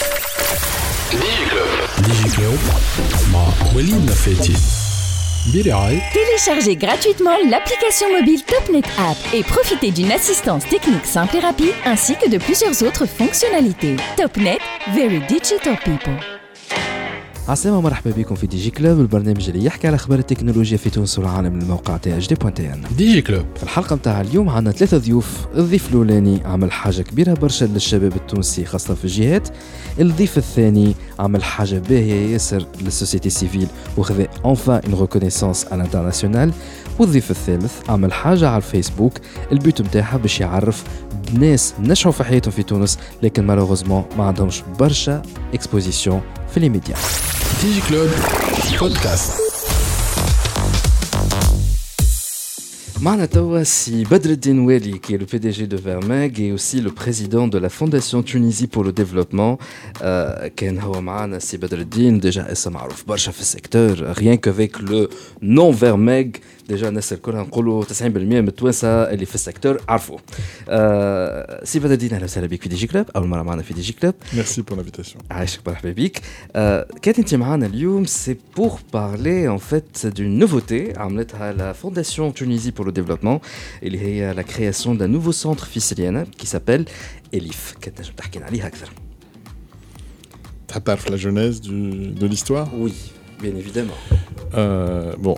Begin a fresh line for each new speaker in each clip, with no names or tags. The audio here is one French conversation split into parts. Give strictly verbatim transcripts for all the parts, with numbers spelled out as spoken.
ديجي كلوب
ديجي كلوب مع وليد نفاتي برعاية.
Téléchargez gratuitement l'application mobile TopNet App et profitez d'une assistance technique simple et rapide ainsi que de plusieurs autres fonctionnalités. TopNet, very digital people.
عسلامة مرحبا بكم في دي جي كلوب، البرنامج اللي يحكي على أخبار التكنولوجيا في تونس والعالم من الموقع تي اش دي بوان تي ان.
ديجي كلوب
في الحلقة متاع اليوم عندنا ثلاثة ضيوف. الضيف الأولاني عمل حاجة كبيرة برشا للشباب التونسي خاصة في الجهات. الضيف الثاني عمل حاجة باهية ياسر للسوسيتي سيفيل وخذا enfin une reconnaissance à l'international. والضيف الثالث عمل حاجة على الفيسبوك البيوت متاعها باش يعرف ناس نجحوا في حياتهم في تونس لكن مالوغوزمون ما عندهمش برشا اكسبوزيسيون في لي ميديا.
ديجي كلوب بودكاست.
معنا توا سي بدر الدين والي qui est le P D G de Vermeg et aussi le président de la Fondation Tunisie pour le développement. euh, كان هو معنا سي بدر الدين déjà اسم معروف برشا في السيكتور rien qu'avec le nom Vermeg déjà الناس الكل نقولوا تسعين بالمئة من التوانسه اللي في السيكتور عرفوا. euh, سي بدر الدين اهلا وسهلا بك في دي جي كلوب، اول مره معنا في دي جي كلوب.
Merci pour l'invitation.
عايشك مرحبا بك. euh, كانت انت معنا اليوم c'est pour parler en fait d'une nouveauté عملتها la Fondation Tunisie pour le développement اللي هي la création d'un nouveau centre في سليانة qui s'appelle ELIF. كنت نجم تحكي لنا عليها أكثر؟
Tu as la genèse du, de l'histoire?
Oui, bien évidemment.
Euh, bon,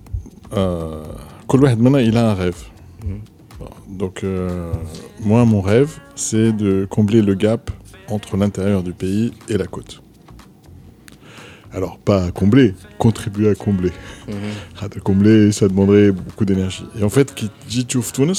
كل واحد منا il a un rêve. Mm. Bon, donc euh, moi mon rêve c'est de combler le gap entre l'intérieur du pays et la côte. Alors, pas à combler, contribuer à combler. Mm-hmm. À combler, ça demanderait beaucoup d'énergie. Et en fait, qui dit Tchouf Tunis,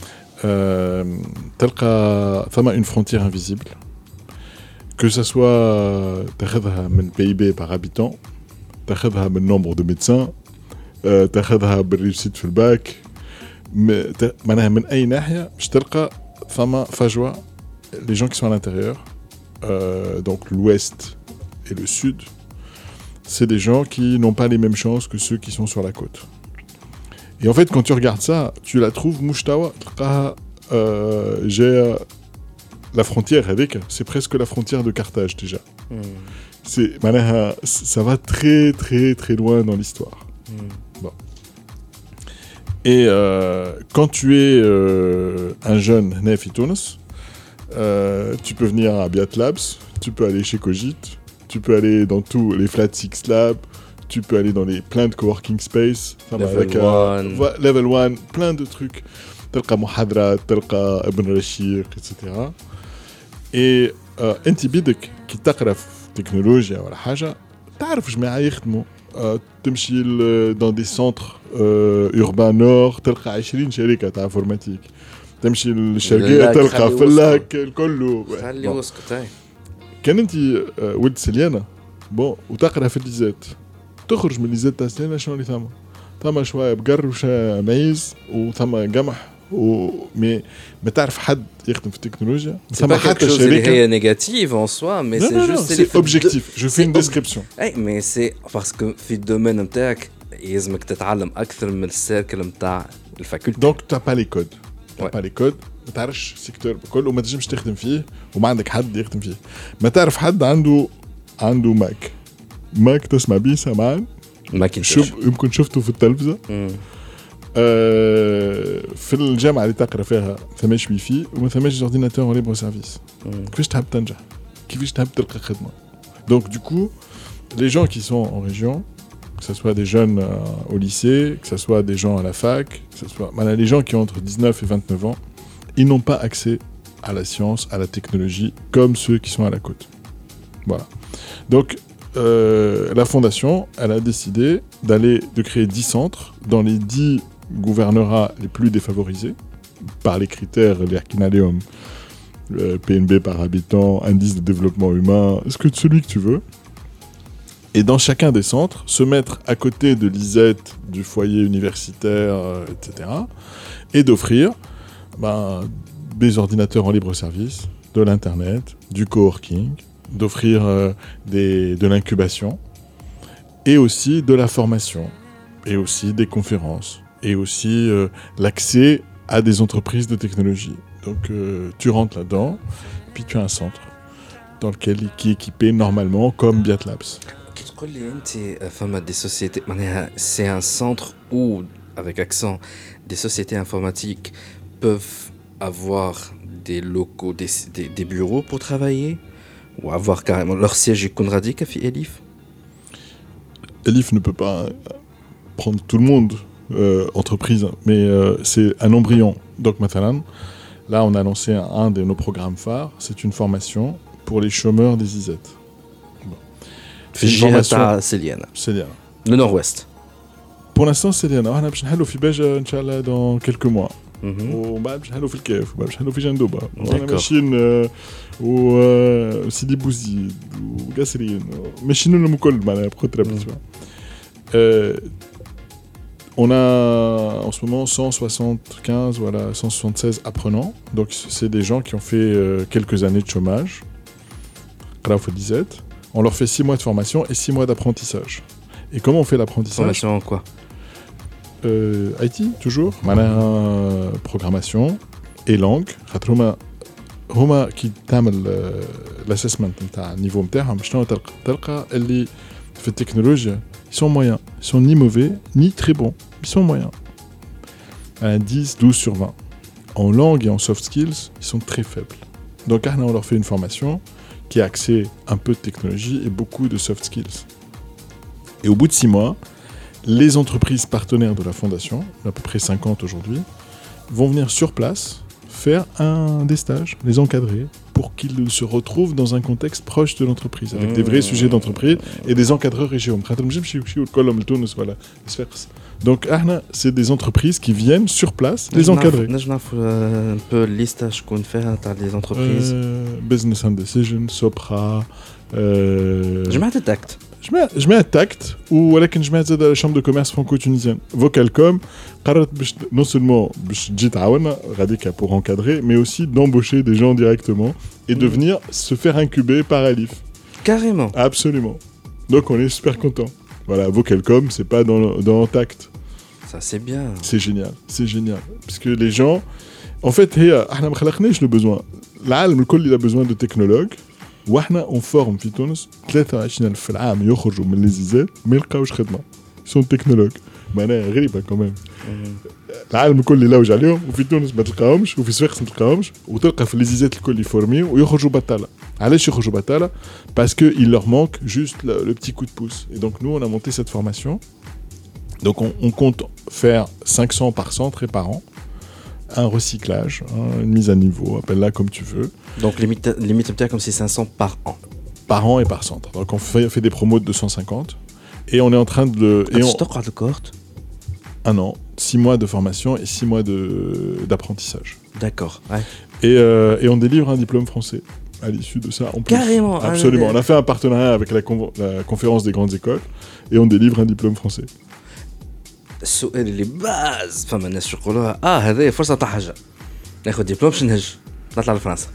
تلقى ثم une frontière invisible. Que ça soit تاخذها من P I B par habitant, تاخذها من nombre de médecins, تاخذها بالريوسيت في الباك، معناها من أي ناحية باش تلقى ثم فجوة. Les gens qui sont à l'intérieur, euh, donc l'ouest et le sud, c'est des gens qui n'ont pas les mêmes chances que ceux qui sont sur la côte. Et en fait, quand tu regardes ça, tu la trouves mouchtawa, euh, j'ai la frontière avec, c'est presque la frontière de Carthage déjà. Mm. C'est, ça va très très très loin dans l'histoire. Mm. Bon. Et euh, quand tu es euh, un jeune Nefi Tunis, euh, tu peux venir à Biat Labs, tu peux aller chez Cogit, tu peux aller dans tous les Flat Six Labs, tu peux aller dans les plein de coworking space,
level one,
euh, level one, plein de trucs. تلقى محاضرات، تلقى ابن رشيق et cetera. Et انت بدك كي تقرا في تكنولوجيا ولا حاجه تعرف جماعه يخدموا. تمشي dans des centres urbains nord تلقى عشرين شركه تاع انفورماتيك. تمشي للشرقيه تلقى في اللاك الكل.
خلي وسكت.
كان انت ولد سليانه بون وتقرا في الليزات تخرج من الليزات تاع سليانه شنو اللي ثم ثم شويه بقر وشا معيز وثم قمح ومي ما تعرف حد يخدم في التكنولوجيا ثم حتى
شركه هي نيجاتيف en soi mais
non,
c'est
non,
juste
non, c'est objectif de... je fais une description
اي mais c'est parce que في الدومين نتاعك لازمك تتعلم اكثر من السيركل نتاع الفاكولتي.
donc tu n'as pas les codes tu n'as pas les codes ما تعرفش سيكتور بكل وما تنجمش تخدم فيه وما عندك حد يخدم فيه. ما تعرف حد عنده عنده ماك ماك تسمع بيه سمعان
ماك
شوف يمكن شفته في التلفزة. آه في الجامعة اللي تقرأ فيها ثماش وي في وما ثماش اورديناتور ليبر سيرفيس. كيفاش تحب تنجح؟ كيفاش تحب تلقى خدمة؟ donc du coup les gens qui sont en région, que ce soit des jeunes euh, au lycée, que ce soit des gens à la fac, que ce soit voilà, les gens qui ont entre dix-neuf et vingt-neuf ans, ils n'ont pas accès à la science, à la technologie, comme ceux qui sont à la côte. Voilà. Donc, euh, la fondation, elle a décidé d'aller, de créer dix centres dans les dix gouvernorats les plus défavorisés, par les critères, les Arkinaleum, le P N B par habitant, indice de développement humain, ce que, celui que tu veux. Et dans chacun des centres, se mettre à côté de l'I S E T, du foyer universitaire, euh, et cetera, et d'offrir ben, des ordinateurs en libre service, de l'internet, du coworking, d'offrir euh, des, de l'incubation, et aussi de la formation, et aussi des conférences, et aussi euh, l'accès à des entreprises de technologie. Donc euh, tu rentres là-dedans, puis tu as un centre dans lequel qui est équipé normalement comme Biat Labs.
تقول لي انت فما des sociétés معناها c'est un centre où avec accent des sociétés informatiques peuvent avoir des locaux des, des, des bureaux pour travailler ou avoir carrément leur siège يكون راديك في Elif.
Elif ne peut pas prendre tout le monde euh, entreprise mais euh, c'est un embryon. Donc مثلا là on a lancé un, un de nos programmes phares, c'est une formation pour les chômeurs des I Z.
في الجهة تاع سليانة.
سليانة.
Le nord-ouest.
Pour l'instant سليانة وإحنا باش نحلو في باجة إن شاء الله dans quelques mois. ومن بعد باش نحلو في الكاف وبعد باش نحلو في جندوبة. وأنا ماشيين وسيدي بوزيد وقاسرين ماشيين لهم الكل معناها بخطرة بالنسبة. On a en ce moment cent soixante-quinze, voilà, cent soixante-seize apprenants. Donc c'est des gens qui ont fait euh, quelques années de chômage. On leur fait six mois de formation et six mois d'apprentissage. Et comment on fait l'apprentissage ?
Formation en quoi ?
euh, I T, toujours. Euh, programmation et langue. هما qui تعمل l'assessment نتاع niveau نتاعهم شنو تلقى تلقى اللي في التكنولوجيا ils sont moyens, ils sont ni mauvais ni très bons, ils sont moyens. Un dix, douze sur vingt. En langue et en soft skills, ils sont très faibles. Donc on leur fait une formation qui a axée un peu de technologie et beaucoup de soft skills. Et au bout de six mois, les entreprises partenaires de la fondation, à peu près cinquante aujourd'hui, vont venir sur place faire un, des stages, les encadrer, pour qu'ils se retrouvent dans un contexte proche de l'entreprise, avec mmh. des vrais sujets d'entreprise et des encadreurs régionaux. Donc, c'est des entreprises qui viennent sur place les encadrer.
Nous avons un peu la liste qu'on fait des entreprises.
Euh, business and Decision, Sopra.
Je mets un tact.
Je mets un tact, ou je mets la chambre de commerce franco-tunisienne. Vocalcom, non seulement pour encadrer, mais aussi d'embaucher des gens directement et de venir se faire incuber par Elif.
Carrément.
Absolument. Donc on est super content. Voilà, Vocalcom, c'est pas dans, dans Tact.
Ça c'est bien.
C'est génial, c'est génial. Parce que les gens, en fait, احنا ما خلقناش le besoin. العالم الكل il a besoin de technologues. واحنا on forme في تونس ثلاثة وعشرين ألف في العام يخرجوا من ليزيزات ما يلقاوش خدمة. Ils sont technologues. معناها غريبة كمان. العالم الكل يلوج عليهم وفي تونس ما تلقاهمش وفي صفاقس ما تلقاهمش وتلقى في ليزيزات الكل يفورميو ويخرجوا بطالة. علاش يخرجوا بطالة؟ Parce que il leur manque juste le, le petit coup de pouce. Et donc nous on a monté cette formation. Donc on, on compte faire cinq cents par centre et par an. Un recyclage, hein, une mise à niveau, appelle-la comme tu veux.
Donc limite, limite comme c'est cinq cents par an.
Par an et par centre. Donc on fait, fait des promos de deux cent cinquante et on est en train de... Et on... Un an, six mois de formation et six mois de, d'apprentissage.
D'accord, ouais.
Et, euh, et on délivre un diplôme français à l'issue de ça. En plus.
Carrément.
Absolument. On a fait un partenariat avec la, con- la conférence des grandes écoles et on délivre un diplôme français.
السؤال اللي باز فما الناس يقولوها اه هذه فرصه تاع حاجه ناخذ دبلوم باش نهج نطلع لفرنسا.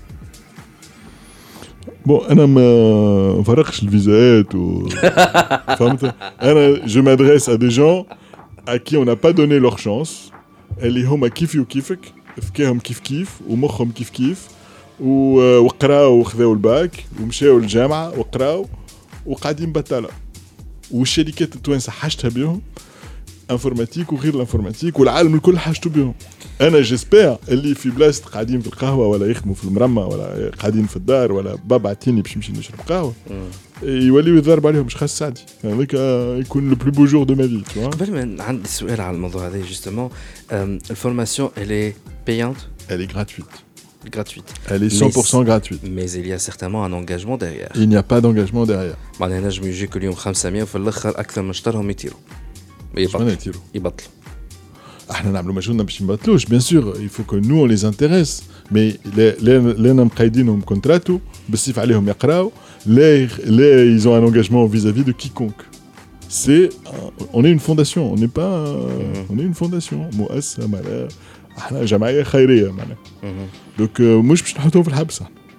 بون انا ما نفرقش الفيزات و فهمت انا جو مادريس ا دي جون à qui on n'a pas donné leur chance اللي هما كيفي وكيفك فكاهم كيف كيف ومخهم كيف كيف وقراو وخذاو الباك ومشاو للجامعه وقراو وقاعدين بطاله والشركات التوانسه حاجتها بهم انفورماتيك وغير الانفورماتيك والعالم الكل حاجته بهم. انا جيسبير اللي في بلاصه قاعدين في القهوه ولا يخدموا في المرمى ولا قاعدين في الدار ولا بابا عطيني باش نمشي نشرب قهوه يوليو يضرب عليهم مش خاص سعدي هذاك يكون لو بلو بو جور دو ما في تو.
قبل ما عندي سؤال على الموضوع هذا جوستومون الفورماسيون elle est payante,
elle est gratuite.
gratuite.
Elle est cent pour cent gratuite.
Mais il y a certainement un engagement derrière.
Il n'y a pas d'engagement derrière.
معناها نجم يجيك اليوم خمسمية وفي الاخر اكثر من اشتراهم يطيروا. يبطلوا. يبطلوا.
احنا نعملوا مجهودنا باش نبطلوش bien sûr il faut que nous on les intéresse mais لينا مقيدينهم كونتراتو بالسيف عليهم يقراو لا لا ils ont un engagement vis-à-vis de quiconque. C'est on est une fondation, on n'est pas on est une fondation مؤسسة معناها احنا جمعية خيرية معناها. donc مش باش نحطوهم في الحبس.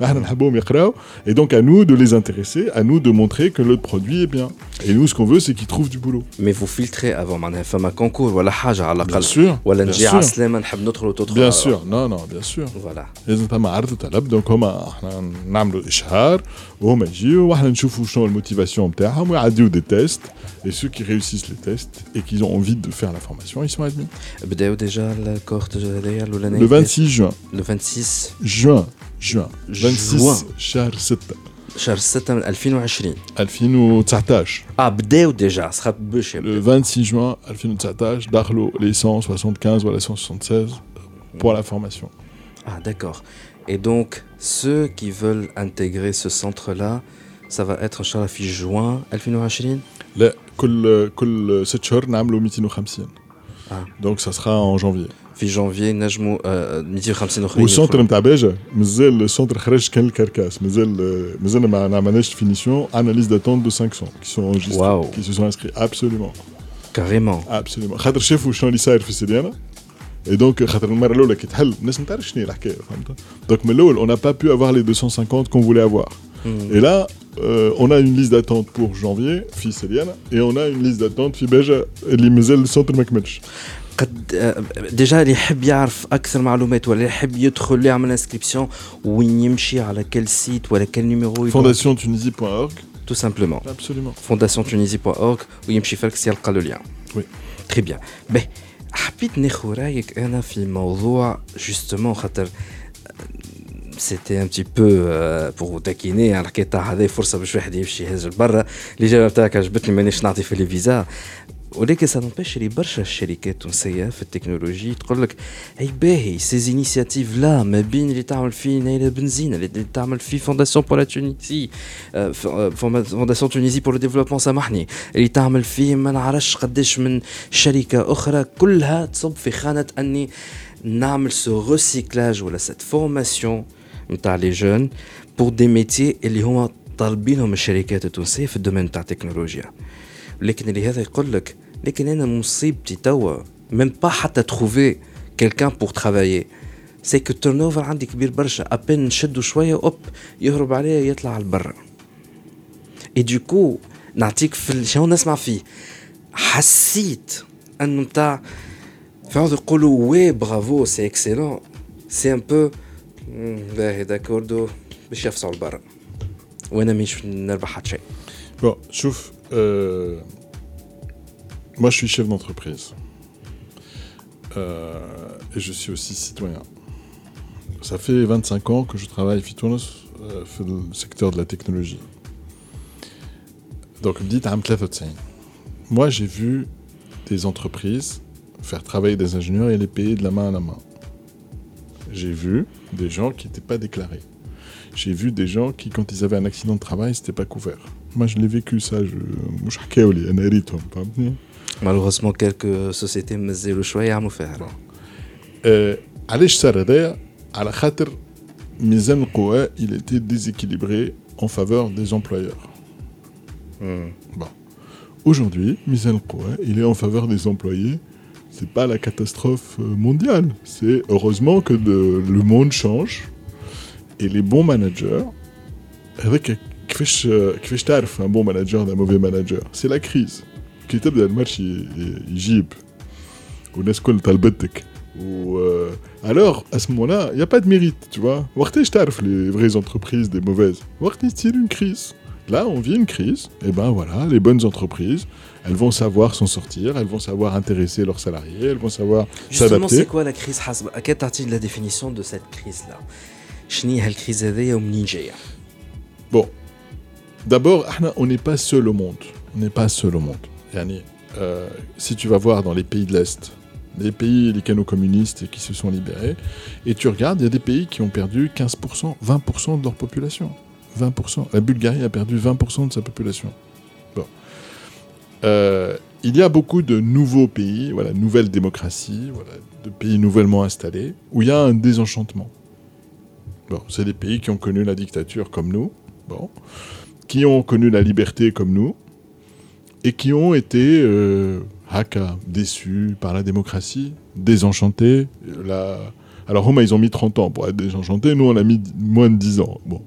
احنا نحبهم يقراو et donc à nous de les intéresser, à nous de montrer que le produit est bien. Et nous ce qu'on veut c'est qu'ils trouvent du boulot.
Mais vous filtrez avant معناها فما كونكور ولا حاجه على الاقل.
Bien sûr.
ولا نجي على السلامه نحب ندخل وتدخل.
Bien sûr. Non non, bien sûr.
Voilà.
لازم تم عرض طلب دونك هما احنا نعملوا اشهار وهما يجيو واحنا نشوفوا شنو الموتيفاسيون نتاعهم ويعديو دي تيست et ceux qui réussissent les tests et qui ont envie de faire la formation ils sont admis.
بداو ديجا الكورت هذايا الاولانيه.
Le vingt-six juin.
Le vingt-six
juin juin vingt-six شهر ستة
شهر ستة من ألفين وعشرين
ألفين وتسعطاش.
اه بداو ديجا سخط باش
Le vingt-six juin ألفين وتسعطاش دخلوا les cent soixante-quinze ولا cent soixante-seize pour la formation.
Ah d'accord. Et donc ceux qui veulent intégrer ce centre là ça va être ان شاء الله في juin ألفين وعشرين.
لا كل كل ست شهور نعملوا مئتين وخمسين.
Ah.
Donc ça sera en janvier.
في جانفي نجموا مئتين وخمسين اخرين.
والسونتر نتاع باجا مازال السونتر خرج كان الكركاس مازال مازال ما عملناش فينيسيون انا ليست داتونت دو خمسمية qui sont enregistrés
wow.
qui se sont inscrits absolument
carrément
absolument خاطر شافوا شنو اللي صاير في السيديانه et donc خاطر المره الاولى كي تحل الناس ما تعرفش شنو الحكايه فهمت دونك من الاول on n'a pas pu avoir les deux cent cinquante qu'on voulait avoir mm. et là euh, on a une liste d'attente pour janvier في سيديانه et on a une liste d'attente في باجا اللي مازال السونتر ما كملش.
قد ديجا اللي يحب يعرف اكثر معلومات ولا يحب يدخل يعمل انسكريبسيون وين يمشي على كل سيت ولا كل نيميرو
fondation tunisie point org
tout simplement
absolument
fondation tunisie point org ويمشي فالكس يلقى له لين.
oui
très bien. باهي حبيت ناخذ رايك انا في موضوع جوستومون خاطر سيتي ان بتي بو بور تاكيني على الحكايه تاع هذه فرصه باش واحد يمشي يهز لبرا. الاجابه تاعك عجبتني مانيش نعطي في لي فيزا ولكن سنبش لي برشا الشركات التونسيه في التكنولوجي تقول لك اي باهي سي انيشيتيف لا ما بين اللي تعمل فيه نايله بنزين اللي تعمل فيه فونداسيون بور لا تونسي فونداسيون تونسي بور لو ديفلوبمون سامحني اللي تعمل فيه ما نعرفش قداش من شركه اخرى كلها تصب في خانه اني نعمل سو ريسيكلاج ولا سيت فورماسيون نتاع لي جون بور دي ميتي اللي هما طالبينهم الشركات التونسيه في الدومين تاع التكنولوجيا. لكن اللي هذا يقول لك لكن انا مصيبتي توا ميم با حتى تروفي كيلكان بور ترافايي سي كو التيرنوفر عندي كبير برشا ابين نشدو شويه اوب يهرب عليه يطلع على البر. اي دوكو نعطيك في شنو نسمع فيه حسيت انه نتاع فعاود يقولوا وي برافو سي اكسيلون سي ان بو باهي داكوردو باش يفصلوا البر وانا مش نربح حتى شيء.
Bon, شوف euh, moi je suis chef d'entreprise euh, et je suis aussi citoyen. Ça fait vingt-cinq ans que je travaille في تونس euh, في le secteur de la technologie. Donc بديت عام ثلاثة وتسعين. Moi j'ai vu des entreprises faire travailler des ingénieurs et les payer de la main à la main. J'ai vu des gens qui n'étaient pas déclarés. J'ai vu des gens qui, quand ils avaient un accident de travail, c'était pas couvert. Moi, je l'ai vécu, ça. Je مش حكاوا لي أنا ريتهم فهمتني.
Malheureusement, quelques sociétés مازالوا شوية يعملوا فيها.
علاش صار هذايا؟ على خاطر ميزان القوى il était déséquilibré en faveur des employeurs. Mm. Bon. Aujourd'hui, ميزان القوى il est en faveur des employés. C'est pas la catastrophe mondiale. C'est heureusement que de, le monde change. Et les bons managers, avec كيفاش كيفاش تعرف un bon manager d'un mauvais manager, c'est la crise. كي تبدا المارشي يجيب والناس كل طلبتك و alors à ce moment-là, il y a pas de mérite, tu vois. وقتاش تعرف les vraies entreprises des mauvaises? وقت يصير une crise. Là, on vit une crise. Et ben voilà, les bonnes entreprises, elles vont savoir s'en sortir, elles vont savoir intéresser leurs salariés, elles vont savoir
Justement,
s'adapter.
Justement, c'est quoi la crise حسب à quelle partie de la définition de cette crise-là? شنو هي الكريز هذيا ومنين جايه؟
Bon, d'abord, on n'est pas seul au monde. On n'est pas seul au monde. Yani, euh, si tu vas voir dans les pays de l'Est, les pays, les canaux communistes qui se sont libérés, et tu regardes, il y a des pays qui ont perdu quinze pour cent, vingt pour cent de leur population. vingt pour cent. La Bulgarie a perdu vingt pour cent de sa population. Bon. Euh, il y a beaucoup de nouveaux pays, voilà, nouvelles démocraties, voilà, de pays nouvellement installés, où il y a un désenchantement. Bon, c'est des pays qui ont connu la dictature comme nous, bon, qui ont connu la liberté comme nous, et qui ont été euh, haka, déçus par la démocratie, désenchantés. La, Alors huma ils ont mis trente ans pour être désenchantés, nous on a mis moins de dix ans. Bon,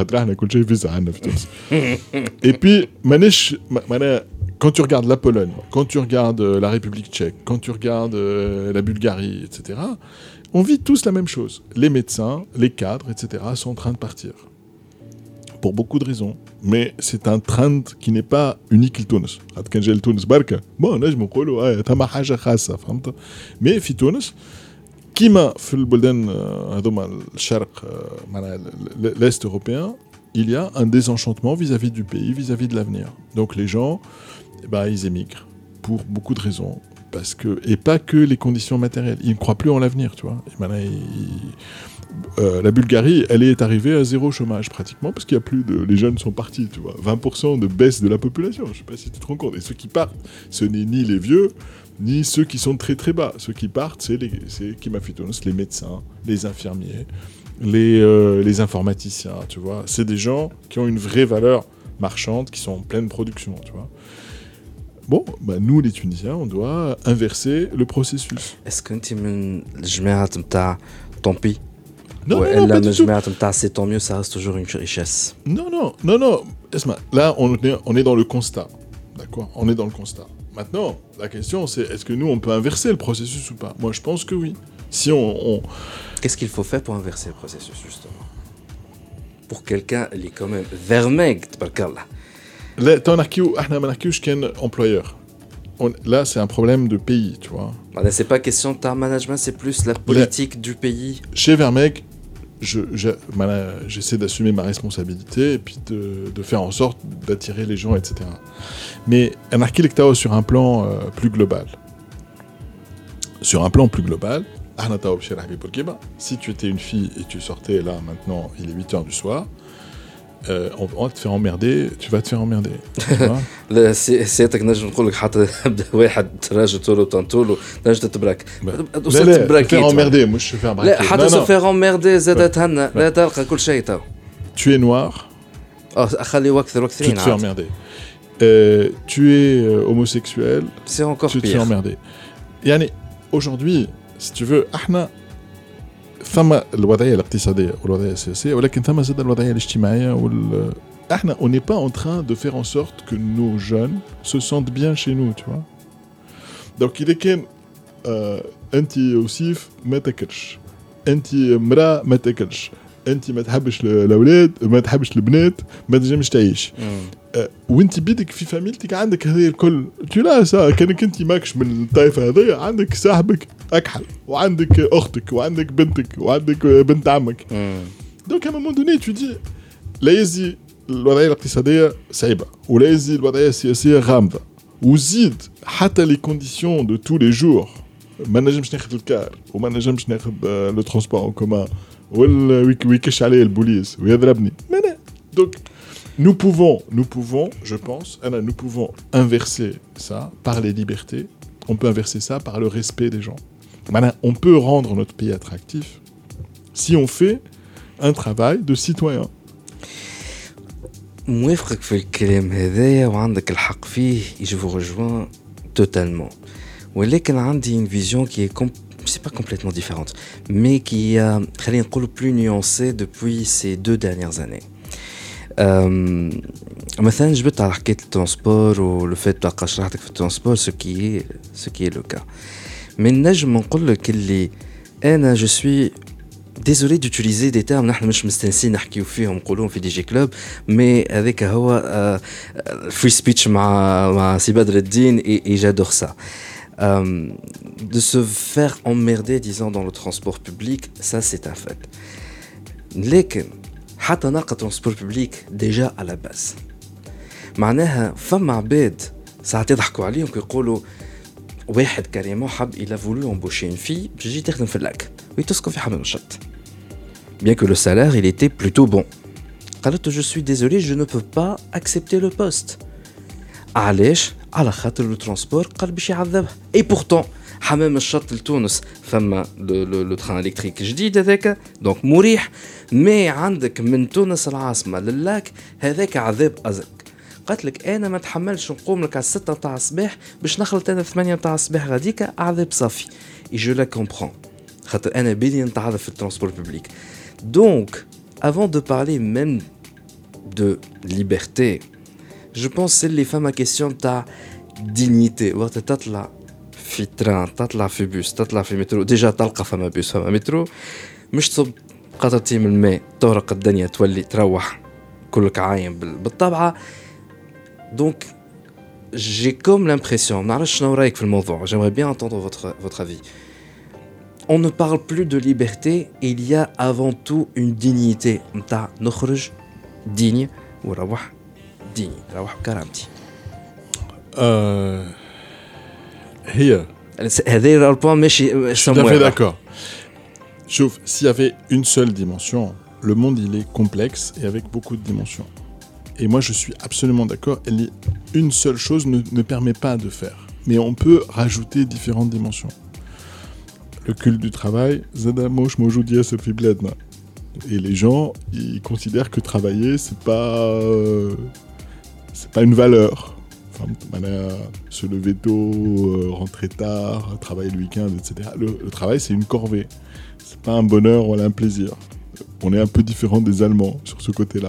et puis manèche, quand tu regardes la Pologne, quand tu regardes la République tchèque, quand tu regardes la Bulgarie, et cetera, on vit tous la même chose. Les médecins, les cadres, et cetera sont en train de partir. Pour beaucoup de raisons. Mais c'est un trend qui n'est pas unique le Tunis. Quand j'ai le Tunis barka, bon, là je me dis, ouais, t'as ma haja khassa, فهمت. Mais في تونس كيما في البلدان هذوما الشرق معناها l'est européen, il y a un désenchantement vis-à-vis du pays, vis-à-vis de l'avenir. Donc les gens, eh ben, ils émigrent pour beaucoup de raisons. Parce que, et pas que les conditions matérielles. Ils ne croient plus en l'avenir, tu vois. Et maintenant, ils, euh, la Bulgarie, elle est arrivée à zéro chômage pratiquement, parce qu'il y a plus de... Les jeunes sont partis, tu vois. vingt pour cent de baisse de la population, je ne sais pas si tu te rends compte. Et ceux qui partent, ce n'est ni les vieux, ni ceux qui sont très très bas. Ceux qui partent, c'est les, c'est Kimafitonos, les médecins, les infirmiers, les, euh, les informaticiens, tu vois. C'est des gens qui ont une vraie valeur marchande, qui sont en pleine production, tu vois. Bon, bah nous les Tunisiens, on doit inverser le processus.
Est-ce que tu es الجماعة نتاع tant pis?
Non, non, non, pas du tout.
الجماعة نتاع c'est tant mieux, ça reste toujours une richesse.
Non, non, non, non. Esma, là, on est, on est dans le constat, d'accord? On est dans le constat. Maintenant, la question, c'est est-ce que nous, on peut inverser le processus ou pas? Moi, je pense que oui. Si on, on...
Qu'est-ce qu'il faut faire pour inverser le processus justement? Pour quelqu'un, il est quand même vermeg, tabarkallah.
Là, t'en as qui ou ahna manakouch qu'un employeur. On, là, c'est un problème de pays, tu vois.
Là, c'est pas question de ta management, c'est plus la politique là, du pays.
Chez Vermeg, je, je, voilà, j'essaie d'assumer ma responsabilité et puis de, de faire en sorte d'attirer les gens, et cetera. Mais un architecte sur un plan euh, plus global. Sur un plan plus global, si tu étais une fille et tu sortais là, maintenant, il est huit heures du soir, Euh, on, on va te faire emmerder, tu vas te faire emmerder.
لا سيادتك نجم نقول لك حتى واحد راجل طولو طنطولو نجم تتبرك.
لا لا faire emmerder مش faire braquer.
لا حتى se faire emmerder زاد تهنى لا تلقى كل شيء تو.
Tu es noir.
اه خلي وكثر وكثرين.
Tu te fais emmerder. Euh, tu es euh, homosexuel.
C'est encore
tu
pire.
Tu te fais emmerder. يعني aujourd'hui, si tu veux, احنا ثم الوضعيه الاقتصاديه والوضعيه السياسيه ولكن ثم زاد الوضعيه الاجتماعيه وال احنا on n'est pas en train de faire en sorte que nos jeunes se sentent bien chez nous, tu vois. Donc il est كان انت وسيف ما تاكلش انت امراه ما تاكلش انت ما تحبش الاولاد ما تحبش البنات ما تنجمش تعيش وانت بيدك في فاميلتك عندك هذه الكل tu لا ça كانك انت ماكش من الطائفه هذه عندك صاحبك اكحل وعندك اختك وعندك بنتك وعندك بنت عمك دونك à un moment donné tu dis لا يزي الوضعيه الاقتصاديه صعيبه ولا يزي الوضعيه السياسيه غامضه وزيد حتى لي كونديسيون دو تو لي جور ما نجمش ناخذ الكار وما نجمش ناخذ لو ترونسبور اون كومان ولا ويكش عليه البوليس ويضربني دونك nous pouvons nous pouvons je pense nous pouvons inverser ça par les libertés, on peut inverser ça par le respect des gens. Maintenant, on peut rendre notre pays attractif si on fait un travail de citoyen.
موافقك في الكلام هذايا وعندك الحق فيه je vous rejoins totalement. ولكن عندي une vision qui est comp- c'est pas complètement différente mais qui est خلينا نقول plus nuancée depuis ces deux dernières années. Euh, مثلا جبت على حكاية الترانسبور ولو فات تلقى شرحتك في الترانسبور ce qui est ce qui est le cas. من نجم نقول لك اللي أنا je suis désolé d'utiliser des termes نحن مش مستنسين نحكيو فيهم نقولوهم في دي جي كلوب mais هذاك هو free speech مع مع سي بدر الدين et, et j'adore ça. Euh, de se faire emmerder disant dans le transport public, ça c'est un fait. لكن حتى ناقة ترانسبور ببليك ديجا على باس معناها فما عباد ساعات يضحكوا عليهم كيقولوا واحد كريمون حب إلا فولو امبوشي une fille باش تجي تخدم في اللاك ويتسكن في حمام الشط bien que le salaire il était plutôt bon. قالت je suis désolé je ne peux pas accepter le poste. علاش؟ على خاطر لو ترانسبور قال باش يعذبها. et pourtant حمام الشط لتونس فما لو تران الكتريك جديد هذاك دونك مريح مي عندك من تونس العاصمه للاك هذاك عذاب ازك. قالت لك انا ما نتحملش نقوم لك على ستة تاع الصباح باش نخلط انا ثمانية تاع الصباح غاديك عذاب صافي. et je la comprends خاطر انا بالي نتعرف في الترانسبور بوبليك. دونك avant de parler même de liberté, je pense que les femmes à question ta dignité. وقت تطلع في تران، تطلع في بوس، تطلع في مترو، ديجا تلقى فما بوس فما مترو، مش تصب قطرتين من الماء تغرق الدنيا تولي تروح كلك عايم بالطبعة. دونك j'ai comme l'impression, نعرفش شنو رايك في الموضوع, j'aimerais bien entendre votre votre avis. On ne parle plus de liberté, il y a avant tout une dignité. نتاع نخرج digne وروح digne, روح بكرامتي.
Euh, هي
هذا البوان ماشي
je suis tout à fait d'accord. Sauf s'il y avait une seule dimension, le monde il est complexe et avec beaucoup de dimensions. Et moi je suis absolument d'accord, une seule chose ne, ne permet pas de faire. Mais on peut rajouter différentes dimensions. Le culte du travail, et les gens ils considèrent que travailler c'est pas euh, c'est pas une valeur. Enfin, se lever tôt, euh, rentrer tard, travailler le week-end, et cetera. Le, le travail c'est une corvée, c'est pas un bonheur ou un plaisir. On est un peu différent des Allemands sur ce côté-là.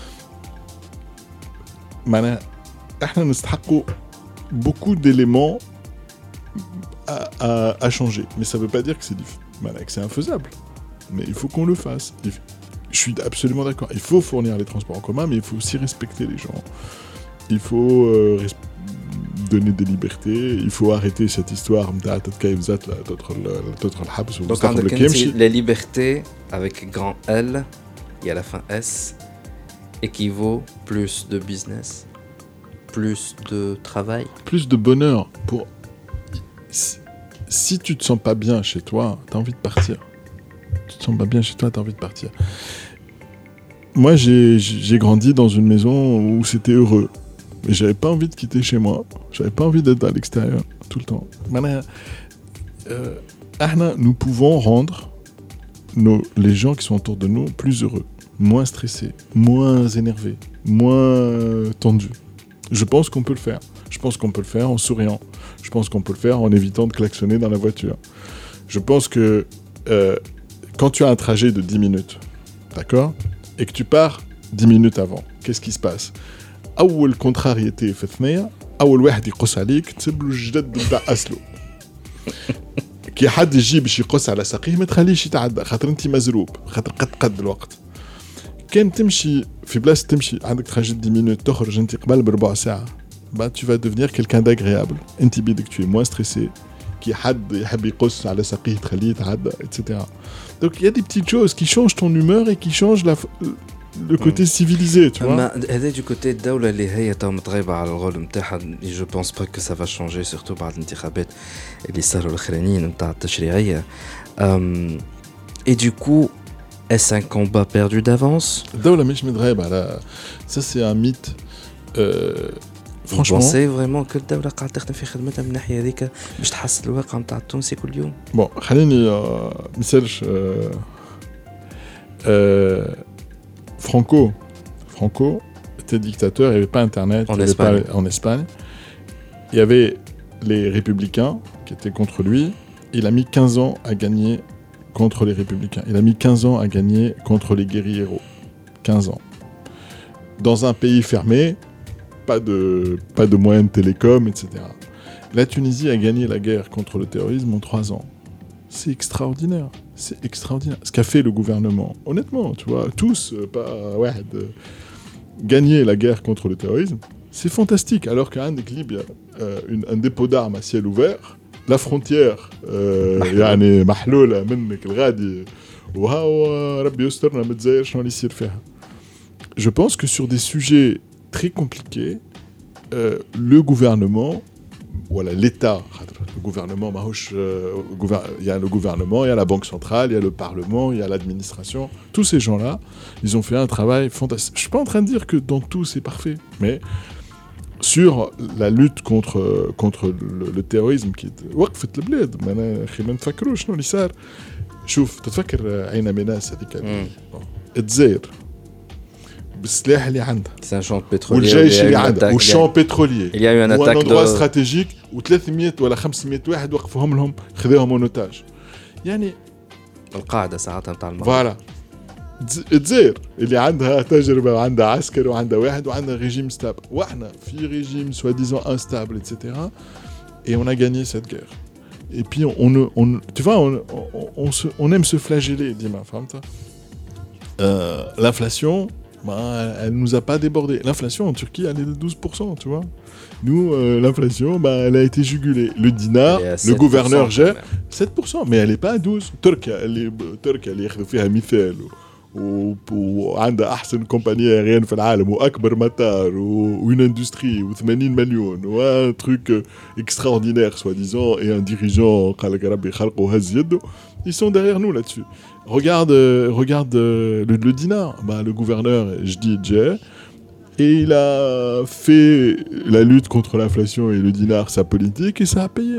معناها احنا نستحقوا beaucoup d'éléments à, à, à changer, mais ça veut pas dire que c'est que c'est infaisable, mais il faut qu'on le fasse. Je suis absolument d'accord, il faut fournir les transports en commun, mais il faut aussi respecter les gens, il faut euh, res- donner des libertés, il faut arrêter cette histoire نتاع تتكيف ذات تدخل تدخل الحبس
وتستقبل الكيمشي. La liberté avec grand L et à la fin S équivaut plus de business, plus de travail,
plus de bonheur. Pour si, si tu te sens pas bien chez toi, t'as envie de partir. Tu te sens pas bien chez toi, t'as envie de partir. Moi, j'ai j'ai grandi dans une maison où c'était heureux, mais j'avais pas envie de quitter chez moi. J'avais pas envie d'être à l'extérieur tout le temps. Euh, nous pouvons rendre nos, les gens qui sont autour de nous plus heureux, moins stressés, moins énervés, moins tendus. Je pense qu'on peut le faire. Je pense qu'on peut le faire en souriant. Je pense qu'on peut le faire en évitant de klaxonner dans la voiture. Je pense que euh, quand tu as un trajet de dix minutes, d'accord, et que tu pars dix minutes avant, qu'est-ce qui se passe ? أول contrariété في الثنية، أول واحد يقص عليك تسبلو الجدد بتاع أسلو. كي حد يجي باش يقص على ساقيه ما تخليش يتعدى، خاطر أنت مزروب، خاطر قد قد الوقت. كان تمشي في بلاصة تمشي عندك تراجي دix minutes تخرج أنت قبل بربع ساعة، bah tu vas devenir quelqu'un d'agréable. أنت بيدك tu es moins stressé. كي حد يحب يقص على ساقيه تخليه يتعدى et cetera. Donc il y a des petites choses qui changent ton humeur et qui changent la le côté civilisé, tu vois.
Mais هذا du côté الدولة اللي هي تو متغيبة على الغول نتاعها، je pense pas que ça va changer surtout بعد الانتخابات اللي صاروا الأخرانيين نتاع التشريعية. Et du coup, est-ce un combat perdu d'avance?
الدولة مش متغيبة على ça c'est un mythe. Euh, franchement.
Vous pensez vraiment que الدولة قاعدة تخدم في خدمتها من الناحية هذيك باش تحسن الواقع نتاع التونسي كل يوم؟
Bon, خليني مثالش Franco, Franco était dictateur, il n'y avait pas Internet.
En Espagne.
Pas, en Espagne. Il y avait les républicains qui étaient contre lui. Il a mis quinze ans à gagner contre les républicains. Il a mis quinze ans à gagner contre les guérilleros. quinze ans. Dans un pays fermé, pas de, pas de moyens de télécom, et cetera. La Tunisie a gagné la guerre contre le terrorisme en trois ans. C'est extraordinaire. C'est extraordinaire. Ce qu'a fait le gouvernement, honnêtement, tu vois, tous, pas ouais, de gagner la guerre contre le terrorisme, c'est fantastique. Alors qu'à Libye, euh, un dépôt d'armes à ciel ouvert, la frontière, يعني محلولة منك الغادي وهاو ربي يسترنا ما تزاير شنو اللي يصير فيها. Je pense que sur des sujets très compliqués, euh, le gouvernement, voilà, l'État, le gouvernement, il y a le gouvernement, il y a la Banque centrale, il y a le Parlement, il y a l'administration. Tous ces gens-là, ils ont fait un travail fantastique. Je ne suis pas en train de dire que dans tout c'est parfait, mais sur la lutte contre, contre le, le terrorisme qui est وقفت البلاد. ما أخي ما نفكروش شنو اللي صار. شوف تتفكر عين مناس هذيك الجزائر بالسلاح اللي عندها.
C'est un champ pétrolier.
والجيش اللي عندها والشامب بتروليي.
Il y a eu un attaque
de. Un endroit stratégique où ثلاثمية ولا خمسمية واحد وقفوهم لهم خذوهم اونوتاج. يعني
القاعده ساعتها نتاع المغرب.
فوالا تزير اللي عندها تجربه وعندها عسكر وعندها واحد وعندها ريجيم ستابل واحنا في ريجيم سوا ديزون انستابل ايتترا et on a gagné cette guerre et puis on on, on tu vois on on, on, se, on aime se flageller Dima فهمت euh, l'inflation bah, elle nous a pas débordé l'inflation en Turquie elle est de douze pour cent tu vois nous euh, l'inflation bah elle a été jugulée le dinar le gouverneur gère sept pour cent mais elle est pas à douze Turquie elle est Turquie elle ياخذوا فيها مثال وعندها احسن كومباني ايريان في العالم واكبر مطار وين اندستري و80 مليون و تروك اكستراوردينير سوا ديزون اي ان ديريجون قال لك ربي خلقه هز يده ils sont derrière nous là-dessus regarde regarde le, le dinar bah le gouverneur je dis Djer et il a fait la lutte contre l'inflation et le dinar sa politique et ça a payé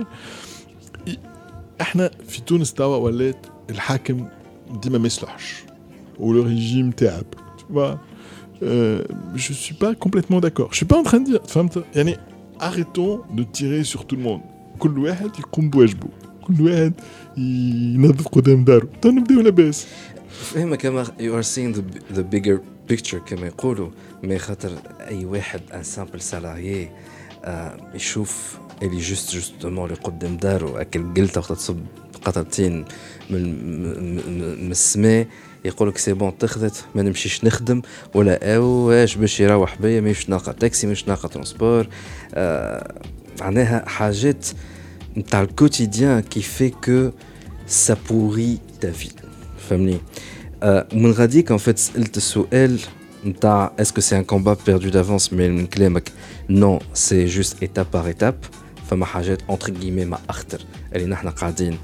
احنا في تونس توا ولات الحاكم ديما ما يصلحش ou le régime تعب tu vois euh, je suis pas complètement d'accord je suis pas en train de dire فهمت يعني arrêtons de tirer sur tout le monde كل واحد يقوم بواجبه كل واحد ينظف قدام داره تو نبداو لاباس
فهمك كما you are seeing the, the bigger picture كما يقولوا ما خاطر اي واحد ان سامبل سالاريي آه يشوف اللي جوست جوستومون اللي قدام داره اكل قلته وقت تصب قطرتين من من السماء يقول لك سي بون تخذت ما نمشيش نخدم ولا واش باش يروح بيا مش ناقه تاكسي مش ناقه ترونسبور آه معناها حاجات نتاع الكوتيديان كي في كو سا بوري تا في فهمني آه من غاديك ان فيت سالت السؤال نتاع اسكو سي ان كومبات بيردو دافونس مي من كلامك نو سي جوست ايتاب بار ايتاب فما حاجات اونتر غيمي ما اخطر اللي نحنا قاعدين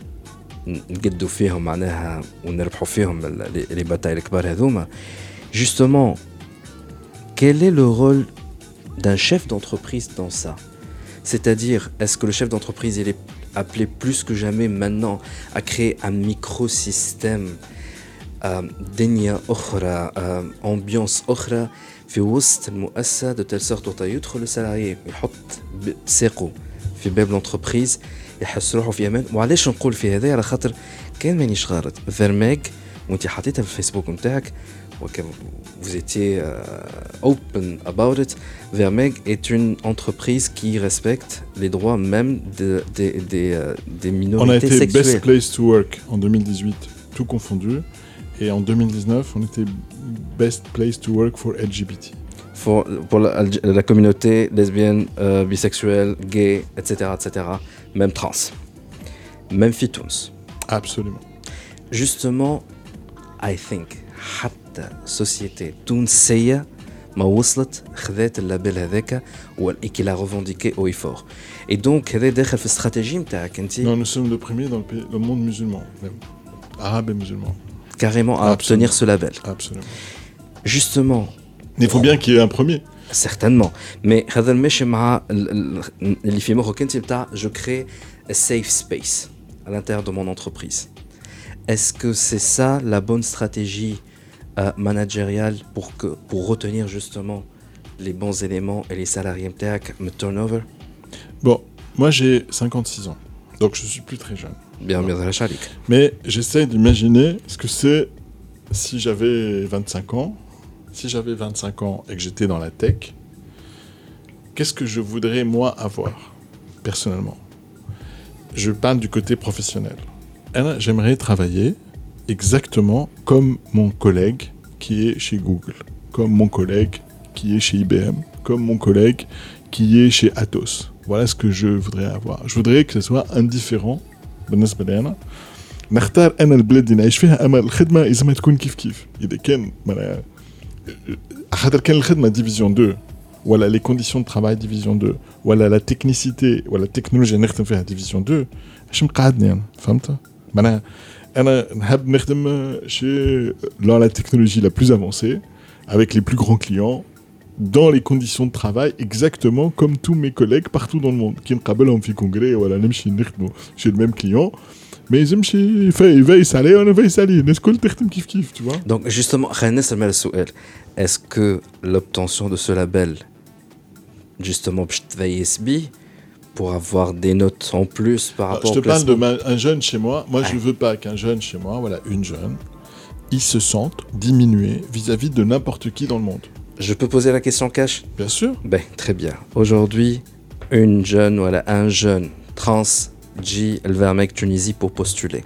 نقدوا فيهم معناها ونربحوا فيهم لي باتاي الكبار هذوما justement quel est le rôle d'un chef d'entreprise dans ça c'est-à-dire est-ce que le chef d'entreprise il est appelé plus que jamais maintenant à créer un microsystème دنيا أخرى ambiance أخرى في وسط المؤسسة de telle sorte où يدخل السالاري يحط ساقه في باب l'entreprise يحس روحه في امان. وعلاش نقول في هذا؟ على خاطر كان مانيش غلط فيرميغ وانت حطيتها في الفيسبوك نتاعك وكان vous étiez uh, open about it. Vermeeg est une entreprise qui respecte les droits même de, de, de, de, des minorités sexuelles.
On a été Best Place to Work en deux mille dix-huit, tout confondu. Et en deux mille dix-neuf, on était Best Place to Work for L G B T.
Pour, pour la, la communauté lesbienne, euh, bisexuelle, gay, et cetera, et cetera. Même trans. Même fitouns.
Absolument.
Justement, I think, حتى société تونسية ما وصلت خذات اللابل هذاك et qui l'a revendiqué haut et fort. Et donc, هذا داخل في الاستراتيجية نتاعك انت.
Non, nous sommes le premier dans le, pays, le monde musulman, même arabe et musulman.
Carrément à obtenir ce label.
Absolument.
Justement.
Mais il faut bien qu'il y ait un premier.
Certainement. Mais هذا الماشي مع اللي في مخك انت بتاع je crée a safe space à l'intérieur de mon entreprise. Est-ce que c'est ça la bonne stratégie euh, managériale pour que pour retenir justement les bons éléments et les salariés نتاعك من turnover?
Bon, moi j'ai cinquante-six ans. Donc je suis plus très jeune.
Bien, bien عليك.
Mais j'essaie d'imaginer ce que c'est si j'avais vingt-cinq ans. Si j'avais vingt-cinq ans et que j'étais dans la tech, qu'est-ce que je voudrais moi avoir personnellement? Je parle du côté professionnel. Alors, j'aimerais travailler exactement comme mon collègue qui est chez Google, comme mon collègue qui est chez I B M, comme mon collègue qui est chez Atos. Voilà ce que je voudrais avoir. Je voudrais que ce soit indifférent. بالنسبة لي أنا نختار أنا البلاد اللي نعيش فيها أما الخدمة إذا ما تكون كيف كيف إذا كان خاطر كان الخدمة ديفيزيون deux ولا لي كونديسيون دو ترافاي ديفيزيون deux ولا لا تكنيسيتي ولا التكنولوجيا نخدم فيها ديفيزيون deux اش مقعدني أنا فهمت معناها أنا نحب نخدم شي dans la technologie la plus avancée avec les plus grands clients dans les conditions de travail exactement comme tous mes collègues partout dans le monde qui نقابلهم في كونغري ولا نمشي نخدموا chez le même client mais يمشي يفايس عليه وانا فايس عليه الناس كل تخدم كيف كيف tu vois.
Donc justement خلينا نسمع السؤال est-ce que l'obtention de ce label justement باش تفايس بيه pour avoir des notes en plus par rapport
au classement. Je te parle d'un jeune chez moi. Moi,
ouais.
je veux pas qu'un jeune chez moi, voilà, une jeune, il se sente diminué vis-à-vis de n'importe qui dans le monde.
Je peux poser la question cash ?
Bien sûr.
Ben, très bien. Aujourd'hui, une jeune, voilà, un jeune trans جي الفيرميك تونيزي pour postuler.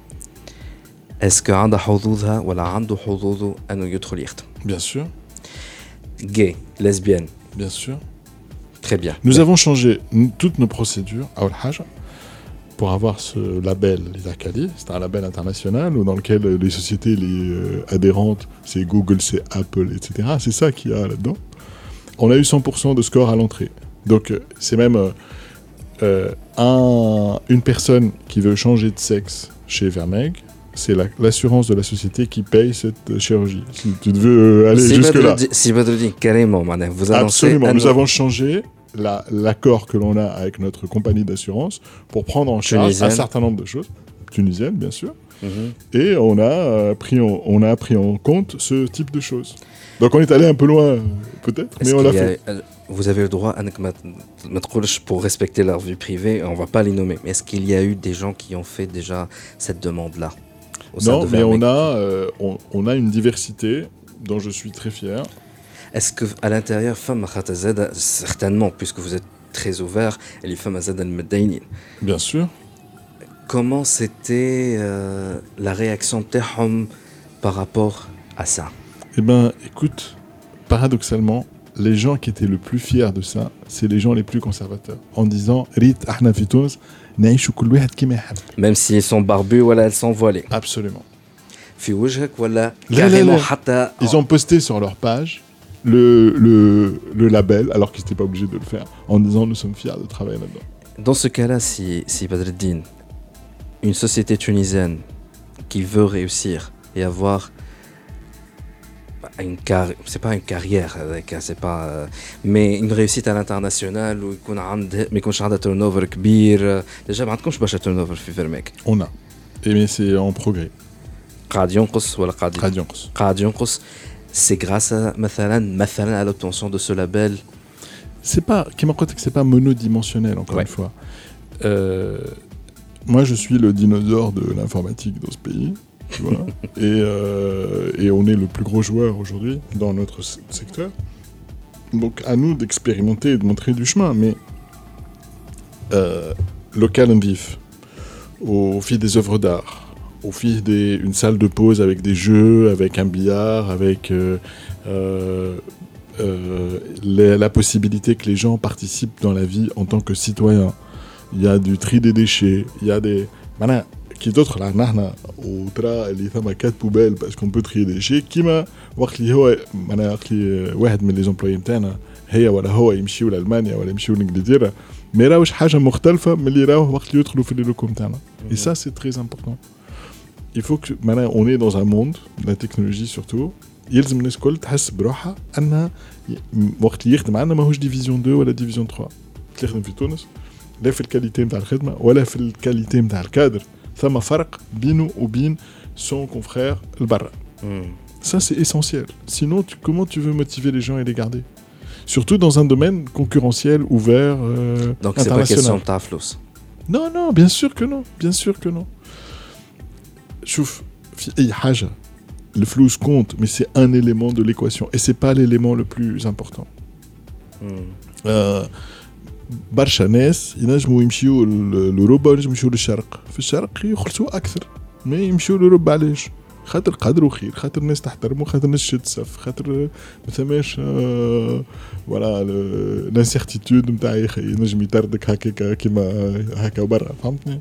Est-ce que عنده حظوظها ولا عنده حظوظه أنه يدخل يخدم؟
Bien sûr.
Gay, lesbienne.
Bien sûr.
Très bien.
Nous avons changé toutes nos procédures à Al-Hajj pour avoir ce label l'Idakali. C'est un label international dans lequel les sociétés les, euh, adhérentes, c'est Google, c'est Apple, et cetera. C'est ça qu'il y a là-dedans. On a eu cent pour cent de score à l'entrée. Donc c'est même euh, un, une personne qui veut changer de sexe chez Vermeeg, c'est la, l'assurance de la société qui paye cette chirurgie. Si tu veux aller
si
jusque-là.
Si Badruddin, carrément, vous annoncez...
Absolument, nous avons changé la, l'accord que l'on a avec notre compagnie d'assurance pour prendre en charge Tunisienne. Un certain nombre de choses. Tunisienne, bien sûr. Mm-hmm. Et on a, euh, pris en, on a pris en compte ce type de choses. Donc on est allé un peu loin, peut-être,
Est-ce
mais on l'a fait.
A, vous avez le droit, pour respecter leur vie privée, on ne va pas les nommer, mais est-ce qu'il y a eu des gens qui ont fait déjà cette demande-là ?
Non, mais on a, euh, on, on a une diversité dont je suis très fier.
Est-ce qu'à l'intérieur, femme certainement, puisque vous êtes très ouvert, et les femmes al-Meddaïnin.
Bien sûr.
Comment c'était euh, la réaction de par rapport à ça ?
Eh bien, écoute, paradoxalement, les gens qui étaient le plus fiers de ça, c'est les gens les plus conservateurs, en disant « Rit, ahna fi Tunis, naïchou kul wahed kima yahab ».
Même si elles sont barbues, voilà, elles sont voilées.
Absolument.
Fi wajhak, voilà, carrément, hatta...
Ils ont posté sur leur page le, le, le label, alors qu'ils n'étaient pas obligés de le faire, en disant « Nous sommes fiers de travailler là-dedans ».
Dans ce cas-là, si, si Badruddin, une société tunisienne qui veut réussir et avoir une carrière, c'est pas une carrière, c'est pas, mais une réussite à l'international où يكون عنده ما يكونش عندها turnover كبير. déjà ما عندكمش برشا turnover في فيرميك.
On a, et mais c'est en progrès.
قاعد ينقص ولا قاعد
قاعد ينقص.
قاعد ينقص. C'est grâce à مثلا مثلا à l'obtention de ce label.
C'est pas, كما قلت لك, c'est pas monodimensionnel encore ouais. une fois. Euh, moi je suis le dinosaure de l'informatique dans ce pays. Tu vois et, euh, et on est le plus gros joueur aujourd'hui dans notre secteur. Donc à nous d'expérimenter et de montrer du chemin. Mais euh, local and vif, au fil des œuvres d'art, au fil d'une salle de pause avec des jeux, avec un billard, avec euh, euh, euh, les, la possibilité que les gens participent dans la vie en tant que citoyens. Il y a du tri des déchets, il y a des... Voilà, qui d'autre là نحن وترى اللي ثم quatre poubelles parce qu'on peut trier des déchets كيما وقت اللي هو انا وقت اللي واحد من لي زومبلوي نتاعنا هي ولا هو يمشيو لالمانيا ولا يمشيو لانجلترا ما يراوش حاجه مختلفه من اللي راوه وقت اللي يدخلوا في لي لوكو نتاعنا. Et ça c'est très important. Il faut que maintenant on est dans un monde la technologie surtout يلزم الناس الكل تحس بروحها انها وقت اللي يخدم عندنا ماهوش ديفيزيون اثنين ولا ديفيزيون ثلاثة تخدم في تونس لا في الكاليتي نتاع الخدمه ولا في الكاليتي نتاع الكادر. ثم فرق بينه وبين son confrère البرا. Mm. Ça c'est essentiel. Sinon tu, comment tu veux motiver les gens et les garder? Surtout dans un domaine concurrentiel ouvert euh,
Donc c'est pas question de taflous.
Non non, bien sûr que non, bien sûr que non. شوف في أي حاجة le flous compte mais c'est un élément de l'équation et c'est pas l'élément le plus important. Mm. Euh, برشا ناس ينجموا يمشيوا لأوروبا وينجموا يمشيوا للشرق. في الشرق يخلصوا أكثر ما يمشيوا لأوروبا. علاش؟ خاطر قدر وخير، خاطر الناس تحترموا، خاطر الناس تشد صف، خاطر ما ثماش ولا الانسيرتيتود نتاع ينجم يطردك هكاك كيما هكا برا. فهمتني؟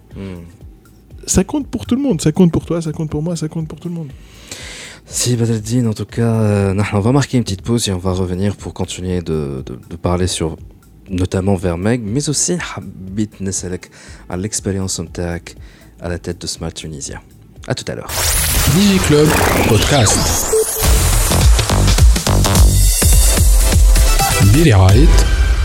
Ça compte pour tout le monde, ça compte pour toi, ça compte pour moi, ça compte pour tout le monde.
Si Badruddin, en tout cas, euh, on va marquer une petite pause et on va revenir pour continuer de, de, de parler sur notamment Vermeeg, mais aussi حبيت نسألك على l'expérience نتاعك à la tête de Smart Tunisia. À tout à l'heure.
DigiClub Podcast برعاية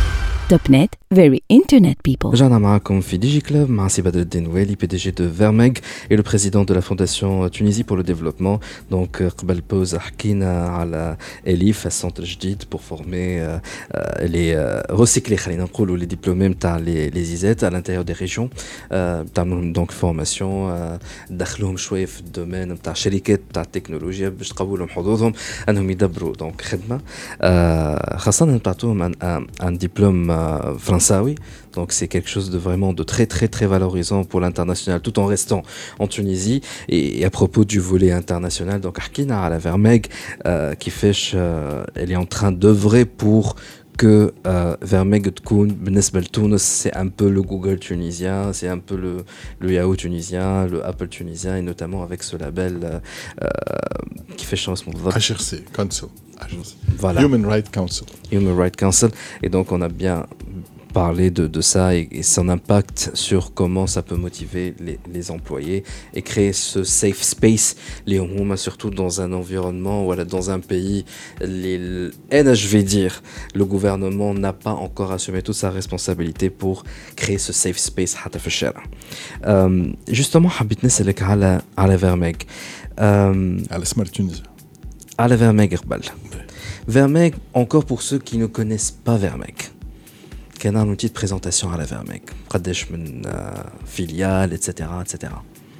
توب نت very internet people.
رجعنا معكم في ديجي كلوب مع سي بدر الدين ويلي بي دي جي دو فيرميغ et le président de la fondation Tunisie pour le développement. Donc قبل بوز حكينا على إليف السنتر جديد pour former les recycler خلينا نقولوا les diplômés نتاع les les إزات à l'intérieur des régions. تعملوا donc formation دخلوهم شويه في الدومين نتاع شركات نتاع التكنولوجيا باش تقووا لهم حظوظهم انهم يدبروا donc خدمه خاصه نعطوهم un un diplôme français. Donc c'est quelque chose de vraiment de très très très valorisant pour l'international tout en restant en Tunisie. Et, et à propos du volet international, donc Arkina à la Vermeg euh, qui fait euh, elle est en train d'œuvrer pour que euh, Vermeg تكون بالنسبة لتونس c'est un peu le Google tunisien, c'est un peu le, le Yahoo tunisien, le Apple tunisien et notamment avec ce label euh, qui fait chance mon
H R C Council.
Voilà.
Human Rights Council.
Human Rights Council. Et donc on a bien parlé de, de ça et, et son impact sur comment ça peut motiver les, les employés et créer ce safe space, les hommes, surtout dans un environnement, voilà, dans un pays, les, et je vais dire, le gouvernement n'a pas encore assumé toute sa responsabilité pour créer ce safe space. Euh, justement, حبيت نسألك على على Vermeg.
على Smart Tunisie.
À la Vermeg قبل. Vermeg, encore pour ceux qui ne connaissent pas Vermeg. Quelle est une petite présentation à la Vermeg. قداش من filiales, et cetera, et cetera.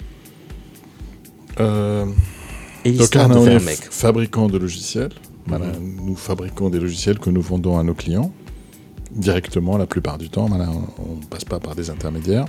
Euh,
Et
donc,
on
est
Vermeg.
fabricant de logiciels. Mm-hmm. Voilà, nous fabriquons des logiciels que nous vendons à nos clients directement la plupart du temps. Voilà, on ne passe pas par des intermédiaires.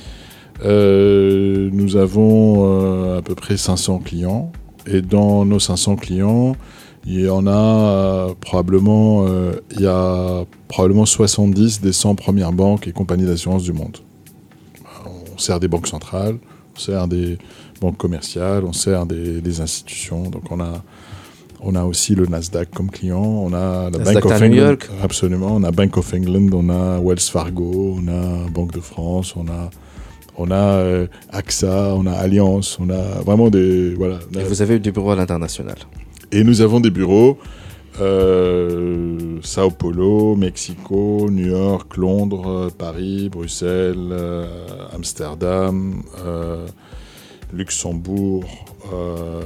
Euh, nous avons euh, à peu près cinq cents clients. Et dans nos cinq cents clients, il y en a euh, probablement, euh, il y a probablement soixante-dix des cent premières banques et compagnies d'assurance du monde. On sert des banques centrales, on sert des banques commerciales, on sert des, des institutions. Donc on a, on a aussi le Nasdaq comme client, on a la
Nasdaq
Bank of
à New
England,
York.
absolument, on a Bank of England, on a Wells Fargo, on a Banque de France, on a On a euh, AXA, on a Alliance, on a vraiment des... Voilà,
Et a... vous avez du bureau à l'international.
Et nous avons des bureaux euh, Sao Paulo, Mexico, New York, Londres, Paris, Bruxelles, euh, Amsterdam, euh, Luxembourg, euh,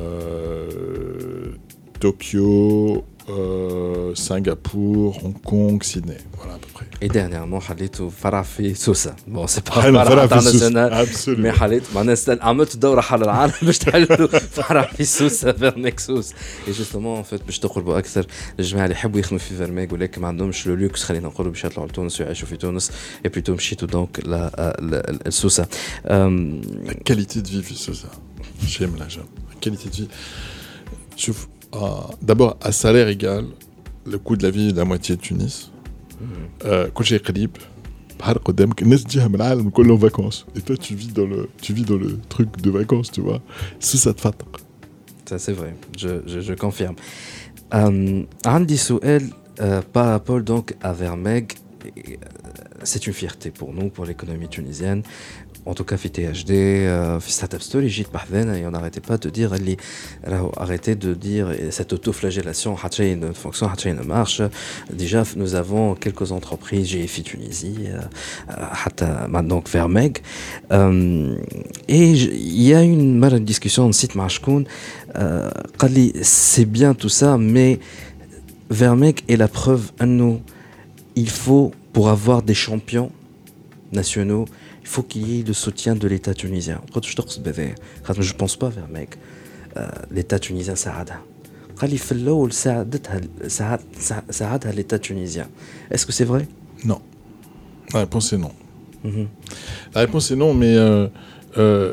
Tokyo, euh, Singapour, Hong Kong, Sydney. Voilà à peu près.
Et dernièrement, حليتو فرع في سوسة. Bon, c'est pas un فرع international, mais حليت مع ناس عملت دورة حول العالم باش تحلوا فرع في سوسة فيرميغ سوس. Et justement, en fait, باش تقربوا أكثر الجماعة اللي يحبوا يخدموا في فيرميغ ولكن ما عندهمش لو لوكس خلينا نقولوا باش يطلعوا لتونس ويعيشوا في تونس. Et plutôt مشيتوا donc la سوسة.
La qualité de vie في سوسة. J'aime la job. La qualité de vie. شوف. Euh, d'abord, à salaire égal, le coût de la vie est la moitié de Tunis. كل شيء قريب بحال قدامك الناس تجيها من العالم كله en vacances et toi tu vis dans le tu vis dans le truc de vacances, tu vois. Ça ça تفتق.
Ça c'est vrai, je je je confirme. Euh, عندي سؤال euh, par rapport donc à Vermeg. C'est une fierté pour nous, pour l'économie tunisienne. En tout cas, في T H D, euh, في Startup Story, جيت بحذنا et on n'arrêtait pas de dire اللي راهو arrêtez de dire cette autoflagellation حتى شيء ne fonctionne, حتى شيء ne marche. Déjà, nous avons quelques entreprises, G F I Tunisie, حتى maintenant Vermeg. Euh, et il y a une mal discussion site مع شكون قال لي c'est bien tout ça, mais Vermeg est la preuve à nous. Il faut, pour avoir des champions nationaux, il faut qu'il y ait le soutien de l'État tunisien. Je ne pense pas vers mec. L'État tunisien ساعدها. قال لي في الأول ساعدتها ساعد ساعدها l'État tunisien. Est-ce que c'est vrai?
Non. La réponse est non. Mm-hmm. La réponse est non, mais euh, euh,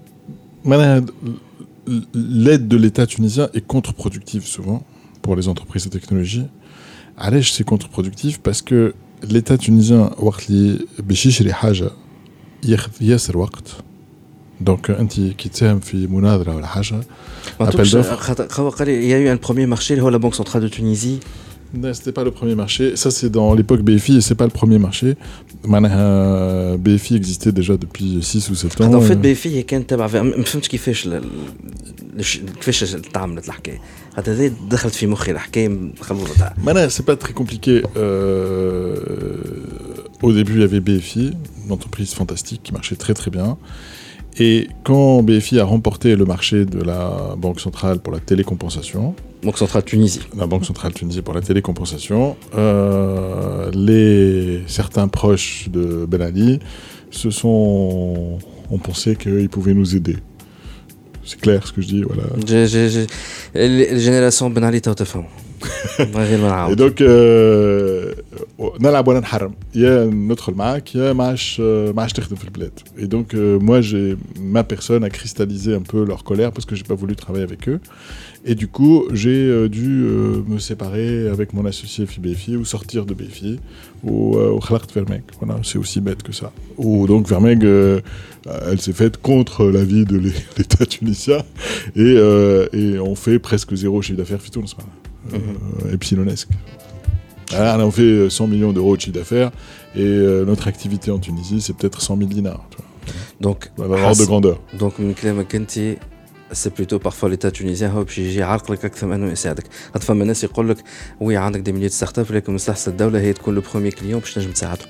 l'aide de l'État tunisien est contre-productive souvent pour les entreprises de technologie. علاش c'est contre-productif parce que l'État tunisien وقت اللي باش يشري حاجة ياخذ ياسر وقت. Donc انت كي تساهم في مناظرة ولا حاجة
appel d'offres. Il y a eu un premier marché, la Banque centrale de Tunisie.
Non, c'était pas le premier marché. Ça, c'est dans l'époque B F I et c'est pas le premier marché. B F I existait déjà depuis six ou sept ans.
En fait, B F I كان تبع ما فهمتش كيفاش كيفاش تعاملت الحكايه. هذا دخلت في مخي الحكايه خلوطه.
معناها c'est pas très compliqué. Euh, au début, il y avait B F I, une entreprise fantastique qui marchait très très bien. Et quand B F I a remporté le marché de la Banque centrale pour la télécompensation,
Banque centrale Tunisie.
La Banque centrale Tunisie pour la télécompensation, euh, les, certains proches de Ben Ali se sont, ont pensé qu'ils pouvaient nous aider. C'est clair ce que je dis, voilà.
J'ai, j'ai, j'ai... Les générations Ben Ali t'as تفهم.
Et donc, euh, نلعب ولا نحرم. يا ندخل معاك يا ما عادش ما عادش تخدم في البلاد. Et donc, euh, moi, j'ai, ma personne a cristallisé un peu leur colère parce que j'ai pas voulu travailler avec eux. Et du coup, j'ai euh, dû euh, me séparer avec mon associé F I B F I ou sortir de B F I ou خلقت Vermeg. Voilà, c'est aussi bête que ça. Ou donc Vermeg, euh, elle s'est faite contre l'avis de l'État tunisien et, euh, et on fait presque zéro chiffre d'affaires في تونس. Euh, epsilonesque. Alors, on fait cent millions d'euros de chiffre d'affaires et euh, notre activité en Tunisie, c'est peut-être cent mille dinars. Tu vois.
Donc,
l'ordre de grandeur.
Donc, من كلامك انت c'est plutôt parfois l'État tunisien هو باش يجي يعرق لك اكثر من انه يساعدك. خاطر فما ناس يقول لك وي عندك دي مليون ستارت اب لكن مصلحه الدوله هي تكون لو بروميير كليون باش تنجم تساعده.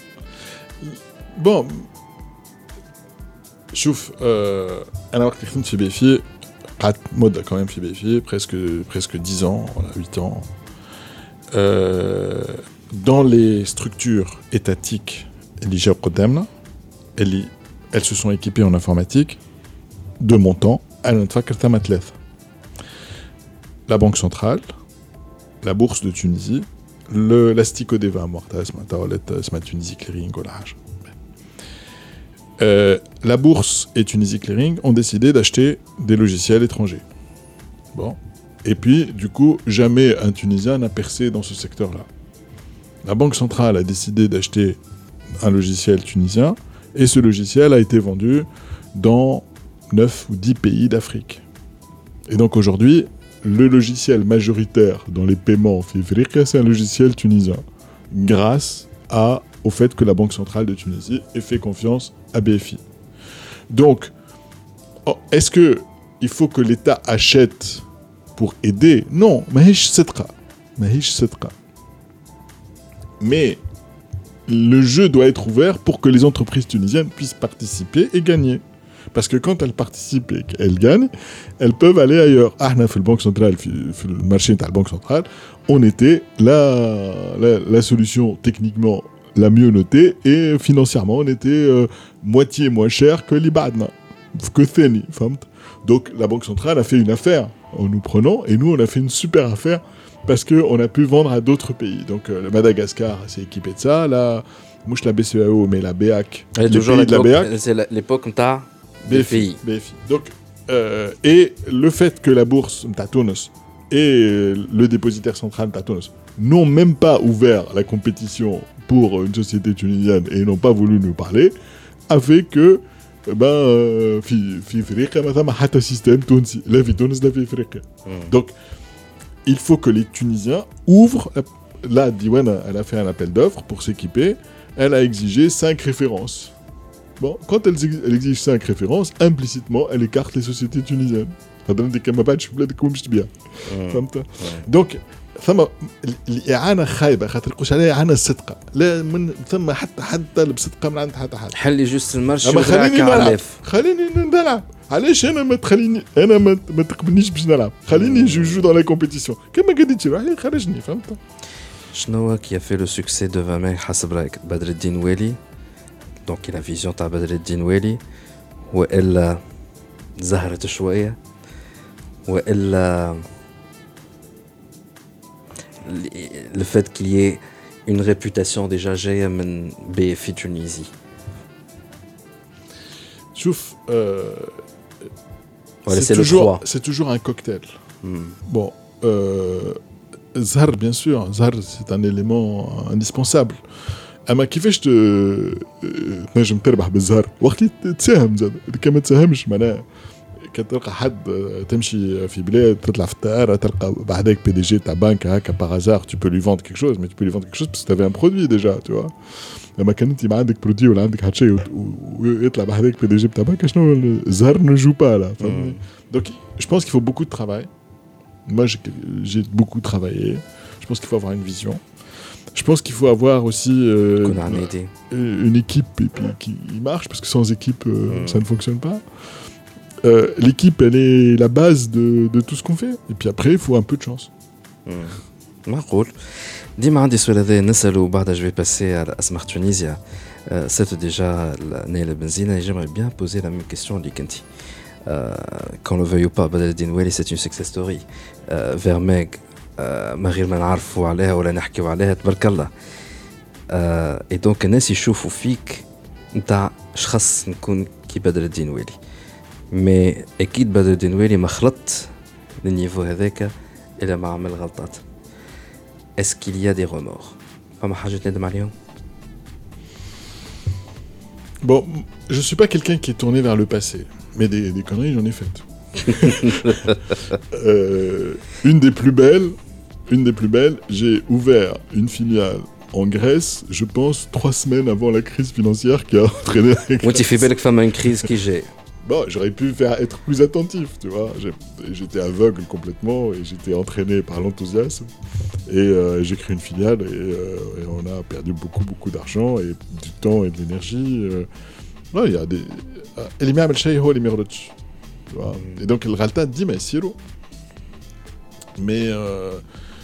Bon, شوف euh, انا وقت اللي خدمت في بي اف اي قعدت مده quand même في بي اف اي presque presque dix ans, voilà, huit ans. Euh, dans les structures étatiques اللي جاو قدامنا اللي elles se sont équipées en informatique de mon temps, انا نتفكر ثما ثلاثه. La Banque centrale, la Bourse de Tunisie, le la Sticodeva morta اسمها تولت اسمها Tunisie Clearing ولا حاجه. Euh, la Bourse et Tunisie Clearing ont décidé d'acheter des logiciels étrangers. Bon. Et puis, du coup, jamais un Tunisien n'a percé dans ce secteur-là. La Banque centrale a décidé d'acheter un logiciel tunisien et ce logiciel a été vendu dans neuf ou dix pays d'Afrique. Et donc aujourd'hui, le logiciel majoritaire dans les paiements en Afrique, c'est un logiciel tunisien. Grâce à au fait que la Banque centrale de Tunisie ait fait confiance à B F I. Donc, oh, est-ce que il faut que l'État achète pour aider? Non, mahish sedqa, mahish sedqa. Mais le jeu doit être ouvert pour que les entreprises tunisiennes puissent participer et gagner. Parce que quand elles participent et qu'elles gagnent, elles peuvent aller ailleurs. Ah, on a fait le banque centrale, fait le marché de la banque centrale, on était la, la, la solution techniquement la mieux notée et financièrement on était euh, moitié moins cher que l'Ibadna, que Theni. Donc la Banque centrale a fait une affaire en nous prenant et nous on a fait une super affaire parce qu'on a pu vendre à d'autres pays. Donc euh, le Madagascar s'est équipé de ça, la, mouche la B C E A O mais la B A C,
les pays de la B A C, c'est l'époque où t'as
B F I. B F I. Donc, euh, et le fait que la bourse Tatonos et le dépositaire central Tatonos n'ont même pas ouvert la compétition pour une société tunisienne et n'ont pas voulu nous parler, a fait que ben في في افريقيا ما ثم حتى سيستم تونسي لا في تونس لا في افريقيا. Donc il faut que les Tunisiens ouvrent. Là, Diwana, elle a fait un appel d'offres pour s'équiper. Elle a exigé cinq références. Bon, quand elle, elle exige cinq références, implicitement, elle écarte les sociétés tunisiennes. Donc, ثم الإعانة خايبة خاطر يقولش عليها إعانة الصدقة لا من ثم حتى حد طالب صدقة من عند حتى حد.
حلي جوست المرشي
خليني نلعب خليني نلعب علاش أنا ما تخليني أنا ما ما تقبلنيش باش نلعب خليني جو جو dans la compétition كما قديتي روحي خرجني فهمت.
شنو qui a fait le succès de Vermeg حسب رأيك بدر الدين والي donc la vision تاع بدر الدين والي وإلا زهرت شوية وإلا le fait qu'il y ait une réputation déjà جاية من B F I Tunisie.
شوف euh,
voilà,
c'est,
c'est
toujours,
le
c'est toujours un cocktail.
Hmm.
Bon, euh, Zahar, bien sûr, Zahar, c'est un élément indispensable. أما كيفاش ت تنجم تربح بالزهر وقت اللي تساهم زاد كما تساهمش معناها كتلقى حد تمشي في بلاد تطلع في الطائرة تلقى بعدك بي دي جي تاع بنك هكا باغ هازار tu peux lui vendre quelque chose mais tu peux lui vendre quelque chose parce que tu avais un produit déjà tu vois. لما كان انت ما عندك برودوي ولا عندك حتى شيء ويطلع بعدك بي دي جي تاع بنك شنو الزهر ne joue pas là. Donc je pense qu'il faut beaucoup de travail. Moi j'ai, j'ai beaucoup travaillé. Je pense qu'il faut avoir une vision. Je pense qu'il faut avoir aussi euh,
qu'on a une idée.
une équipe et puis qui marche, parce que sans équipe, euh,
Mm.
ça ne fonctionne pas. Euh, l'équipe, elle est la base de, de tout ce qu'on fait. Et puis après, il faut un peu de chance.
معقول ديما عندي سؤال هذا نسأله وبعدها جو باسي على أسمر تونيزيا سيت ديجا نايل بنزينة j'aimerais bien poser la même question اللي كنتي qu'on le veuille ou pas بدر الدين والي c'est une success story فيرميغ ما غير ما نعرفوا عليها ولا نحكيوا عليها تبارك الله اي دونك الناس يشوفوا فيك نتاع شخص نكون كي بدر الدين والي مي اكيد بدر الدين والي ما خلط للنيفو هذاك الا ما عمل غلطات. Est-ce qu'il y a des remords? فما حاجة تندم عليهم؟
Bon, je suis pas quelqu'un qui est tourné vers le passé, mais des, des conneries, j'en ai faites. euh, une des plus belles, une des plus belles, j'ai ouvert une filiale en Grèce, je pense, trois semaines avant la crise financière qui a entraîné la Grèce.
وانت في بالك فما une crise qui جاي.
Bon, j'aurais pu faire être plus attentif, tu vois. J'ai, j'étais aveugle complètement et j'étais entraîné par l'enthousiasme. Et euh, j'ai créé une filiale et, euh, et on a perdu beaucoup, beaucoup d'argent et du temps et de l'énergie. Euh. Ouais, il y a des... اللي ما يعمل شيء هو اللي ما يغلطش. Tu vois. Et donc, le Ralta dit, mais siro. Mais euh,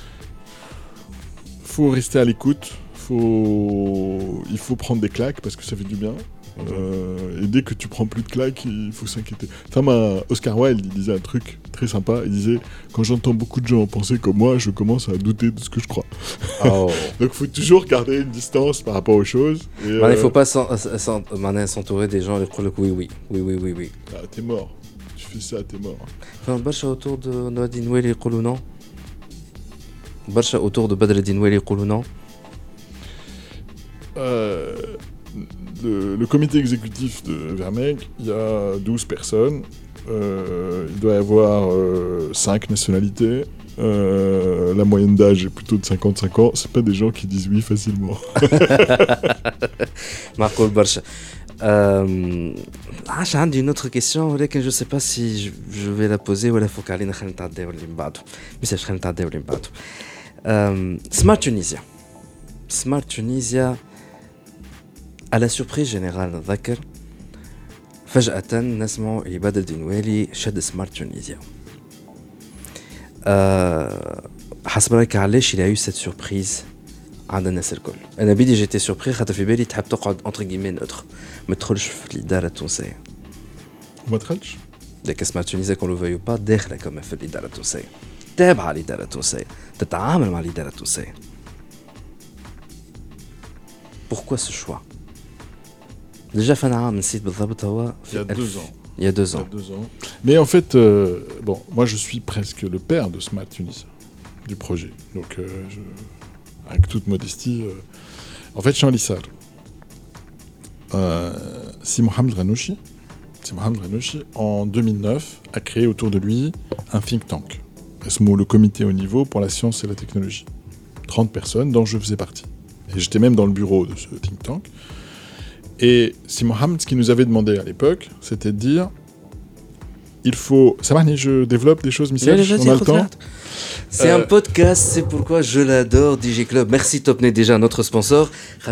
faut rester à l'écoute. Faut... Il faut prendre des claques parce que ça fait du bien. Euh, et dès que tu prends plus de claques, il faut s'inquiéter. Enfin, ma, Oscar Wilde, il disait un truc très sympa. Il disait, quand j'entends beaucoup de gens penser comme moi, je commence à douter de ce que je crois.
Oh.
Donc, il faut toujours garder une distance par rapport aux choses. Et,
Il ne
euh,
faut pas s'en- s'en- maintenant, s'entourer des gens qui disent oui, oui, oui, oui, oui, oui.
ah, t'es mort. Tu fais ça, t'es mort.
Enfin, برشا autour de Noadine Weli يقولوا non. برشا autour de Badr Eddine Weli يقولوا non.
Euh, le, le comité exécutif de Vermeeg, il y a douze personnes. Euh, il doit y avoir euh, cinq nationalités. Euh, la moyenne d'âge est plutôt de cinquante-cinq ans. C'est pas des gens qui disent oui facilement.
معقول برشا. Euh, عاش عندي une autre question ولكن je sais pas si je, je vais la poser ولا فوق علينا خلينا نتعداو اللي من بعده. مش خلينا نتعداو اللي من بعده. Euh, Smart Tunisia. Smart Tunisia à la surprise générale نتذكر فجأة نسمعوا اللي بدر الدين والي شد سمارت تونيزيا. أه حسب رايك علاش il y a eu cette surprise عند الناس الكل؟ انا بدي جيتي سوربري خاطر في بالي تحب تقعد انتر كيمين نوتر ما تدخلش في الاداره التونسيه.
ما دخلش؟
لكن سمارت تونيزيا كون لو فيو با داخله كمان في الاداره التونسيه، تابعه الاداره التونسيه، تتعامل مع الاداره التونسيه. Pourquoi ce choix? Déjà fin عام نسيت بالضبط هو
Il y a deux ans.
Il y a deux ans.
Il y a deux ans. Mais en fait, euh, bon, moi je suis presque le père de Smart Tunisia, du projet. Donc, euh, je, avec toute modestie, euh, en fait, je suis en Lissar. Euh, Si Mohamed Ranouchi, Si Mohamed Ranouchi, en deux mille neuf, a créé autour de lui un think tank, le comité au niveau pour la science et la technologie. trente personnes dont je faisais partie. Et j'étais même dans le bureau de ce think tank. Et Si Mohamed, ce qu'il nous avait demandé à l'époque, c'était de dire il faut. Ça va, je développe des choses, Michel, on a le temps.
C'est
Euh,
un podcast, c'est pourquoi je l'adore, D J Club. Merci Topnet déjà, notre sponsor.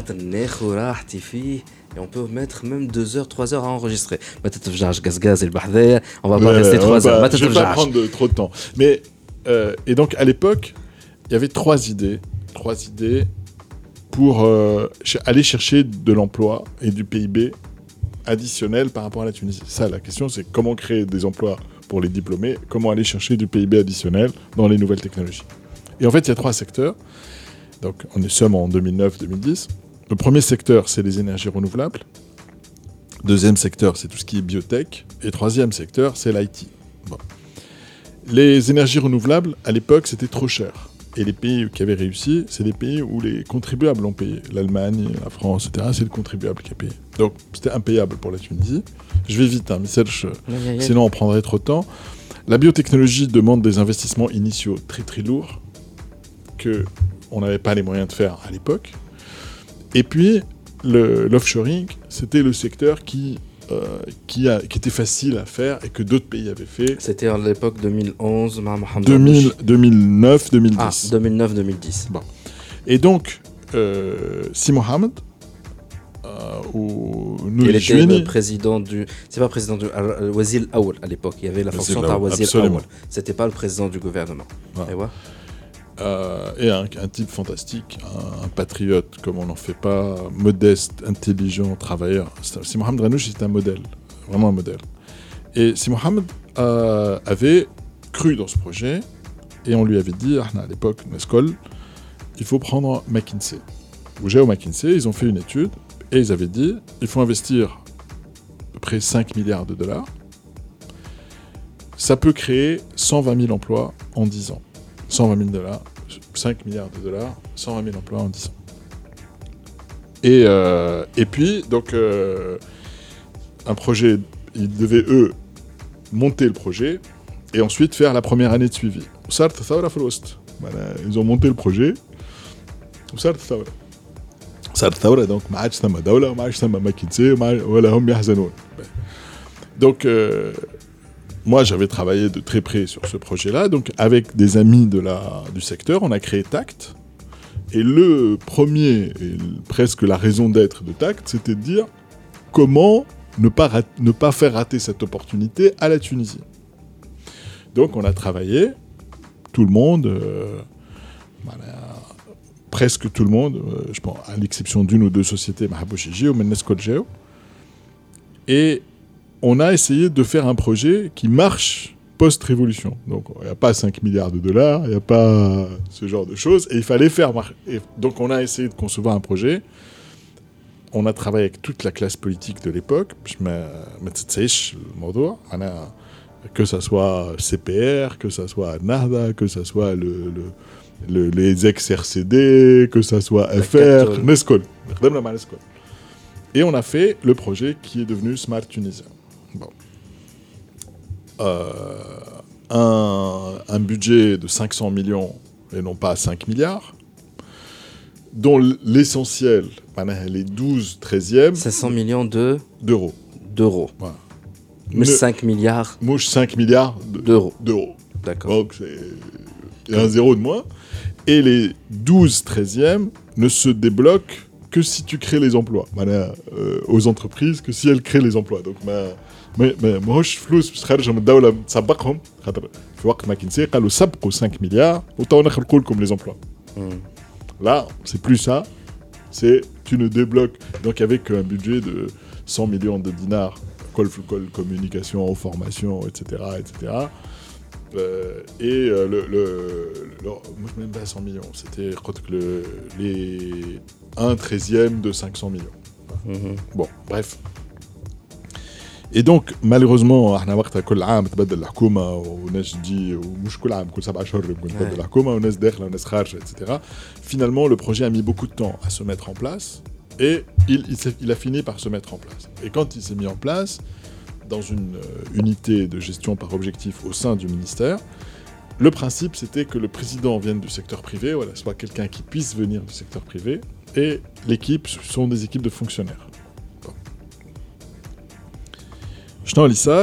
Et on peut mettre même deux heures, trois heures à enregistrer. On va pas
Ouais,
rester trois
bah,
heures.
Je vais pas prendre de, trop de temps. Mais, euh, et donc, à l'époque, il y avait trois idées. Trois idées pour euh, ch- aller chercher de l'emploi et du P I B additionnel par rapport à la Tunisie. Ça, la question, c'est comment créer des emplois pour les diplômés, comment aller chercher du P I B additionnel dans les nouvelles technologies. Et en fait, il y a trois secteurs. Donc, on est sommes en deux mille neuf deux mille dix. Le premier secteur, c'est les énergies renouvelables. Deuxième secteur, c'est tout ce qui est biotech. Et troisième secteur, c'est l'I T. Bon. Les énergies renouvelables, à l'époque, c'était trop cher. Et les pays qui avaient réussi, c'est les pays où les contribuables ont payé. L'Allemagne, la France, et cetera, c'est le contribuable qui a payé. Donc, c'était impayable pour la Tunisie. Je vais vite, hein, mais sinon on prendrait trop de temps. La biotechnologie demande des investissements initiaux très très lourds qu'on n'avait pas les moyens de faire à l'époque. Et puis, le, l'offshoring, c'était le secteur qui, euh, qui, a, qui était facile à faire et que d'autres pays avaient fait.
C'était à l'époque deux mille onze,
deux mille, deux mille neuf deux mille dix.
Ah, deux mille neuf deux mille dix.
Bon. Et donc, euh, Si Mohamed euh, ou
Il était
Nouri
le président du. C'est pas président du. Le Wazir Aoul à l'époque. Il y avait la fonction de Wazir Aoul. C'était pas le président du gouvernement.
Ouais.
Et, ouais.
euh, et un, un type fantastique, un, un patriote comme on n'en fait pas, modeste, intelligent, travailleur. Si Mohamed Ranouch est un modèle, vraiment un modèle. Et Si Mohamed euh, avait cru dans ce projet et on lui avait dit, à l'époque, Nescol, il faut prendre McKinsey. Ou Géo McKinsey, ils ont fait une étude et ils avaient dit, il faut investir à peu près cinq milliards de dollars. Ça peut créer cent vingt mille emplois en dix ans. cent vingt mille dollars, cinq milliards de dollars, cent vingt mille emplois en dix ans. Et, euh, et puis, donc, euh, un projet, ils devaient, eux, monter le projet et ensuite faire la première année de suivi. Ils ont monté le projet. صارت الثورة صارت الثورة دونك ما عادش ثم دولة وما عادش ثم ماكنسي ولا هم يحزنون. Donc euh, moi j'avais travaillé de très près sur ce projet-là, donc avec des amis de la, du secteur, on a créé Tact. Et le premier, et presque la raison d'être de Tact, c'était de dire comment ne pas, rat- ne pas faire rater cette opportunité à la Tunisie. Donc on a travaillé, tout le monde, euh, voilà, presque tout le monde, euh, je pense, à l'exception d'une ou deux sociétés, Mahabouchiji ou Nescol Géo. Et on a essayé de faire un projet qui marche post-révolution. Donc, il n'y a pas cinq milliards de dollars, il n'y a pas ce genre de choses. Et il fallait faire marcher. Donc, on a essayé de concevoir un projet. On a travaillé avec toute la classe politique de l'époque. Je me tsaïch le mot que ça soit C P R, que ça soit Nahda, que ça soit le... le Le, les ex-R C D, que ça soit F R, Nescol. Et on a fait le projet qui est devenu Smart Tunisien. Bon. Euh, un, un budget de cinq cents millions et non pas cinq milliards, dont l'essentiel, les douze treizièmes...
cinq cents millions de...
d'euros.
D'euros.
Voilà.
Mouche cinq milliards...
Mouche cinq milliards de,
d'euros.
d'euros.
D'accord.
Donc c'est... Il y a un zéro de moins. Et les douze treizièmes ne se débloquent que si tu crées les emplois. Euh, aux entreprises, que si elles créent les emplois. Donc, ما هوش فلوس باش تخرجهم من الدولة تسبقهم خاطر في وقت ماكنسي قالوا سبقوا cinq milliards وتوا نخلقوا لكم les emplois. Là, c'est plus ça. C'est tu ne débloques. Donc, avec un budget de cent millions de dinars, col, col, communication, formation, et cetera, et cetera. Euh, et euh, le, le, le, moi je ne même pas cent millions, c'était le, les un treizième de cinq cents millions. Mm-hmm. Bon, bref. Et donc, malheureusement, احنا وقتها كل عام تبدل الحكومة وناس تجي ومش كل عام كل سبع شهور تبدل الحكومة وناس داخلة وناس خارجة, et cetera. Finalement, le projet a mis beaucoup de temps à se mettre en place et il, il, il a fini par se mettre en place. Et quand il s'est mis en place, dans une euh, unité de gestion par objectif au sein du ministère, le principe c'était que le président vienne du secteur privé, voilà, soit quelqu'un qui puisse venir du secteur privé, et l'équipe sont des équipes de fonctionnaires. Bon. Ch'nan Lissar,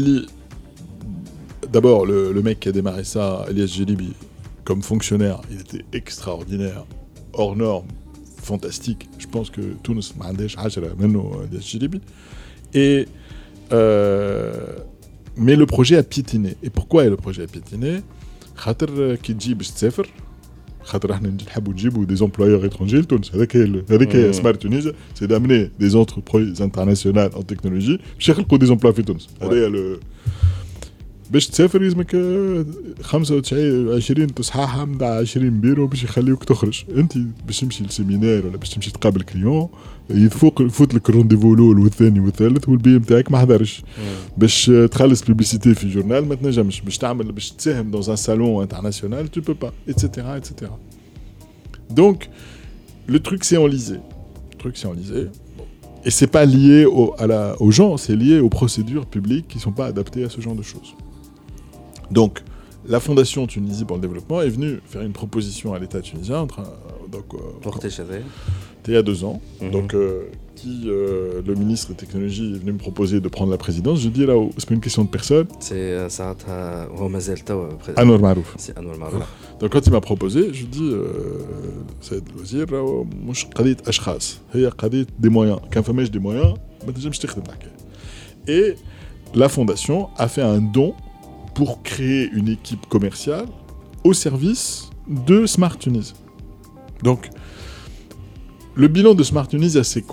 d'abord le, le mec qui a démarré ça, Elias Jelibi, comme fonctionnaire, il était extraordinaire, hors norme, fantastique. Je pense que Tunis ma عندهاش عشرة منه Elias Jelibi. Et Euh, mais le projet a piétiné. Et pourquoi le projet a piétiné? خاطر كي تجي باش تسافر خاطر احنا نحبوا نجيبوا des employeurs étrangers لتونس هذاك هذاك هي سمارت تونس سي d'amener des entreprises internationales en technologie باش يخلقوا des emplois في تونس هذا لو باش تسافر لازمك خمسة وتسعين عشرين تصحاحها من عشرين بيرو باش يخليوك تخرج. انت باش تمشي للسيمينار ولا باش تمشي تقابل كليون يفوق يفوت لك الرونديفو الاول والثاني والثالث والبي نتاعك ما حضرش باش تخلص بيبليسيتي في جورنال ما تنجمش باش تعمل باش تساهم dans un salon international tu peux pas, etc, etc. Donc le truc c'est enlisé le truc c'est enlisé et c'est pas lié au, à la, aux gens, c'est lié aux procédures publiques qui sont pas adaptées à ce genre de choses. Donc la Fondation Tunisie pour le développement est venue faire une proposition à l'État tunisien, donc euh, il y a deux ans, mm-hmm. donc euh, qui euh, le ministre des Technologies est venu me proposer de prendre la présidence. Je dis là, c'est pas une question de personne.
C'est ça, هو مازال توا
Anwar Marouf.
C'est Anwar Marouf.
Donc quand il m'a proposé, je dis سيد الوزير راهو مش قضية أشخاص، هي قضية des moyens. كان فماش des moyens ما تنجمش تخدم الحكاية. Et la Fondation a fait un don pour créer une équipe commerciale au service de Smart Tunisia. Donc, le bilan de Smart Tunisia, c'est quoi ?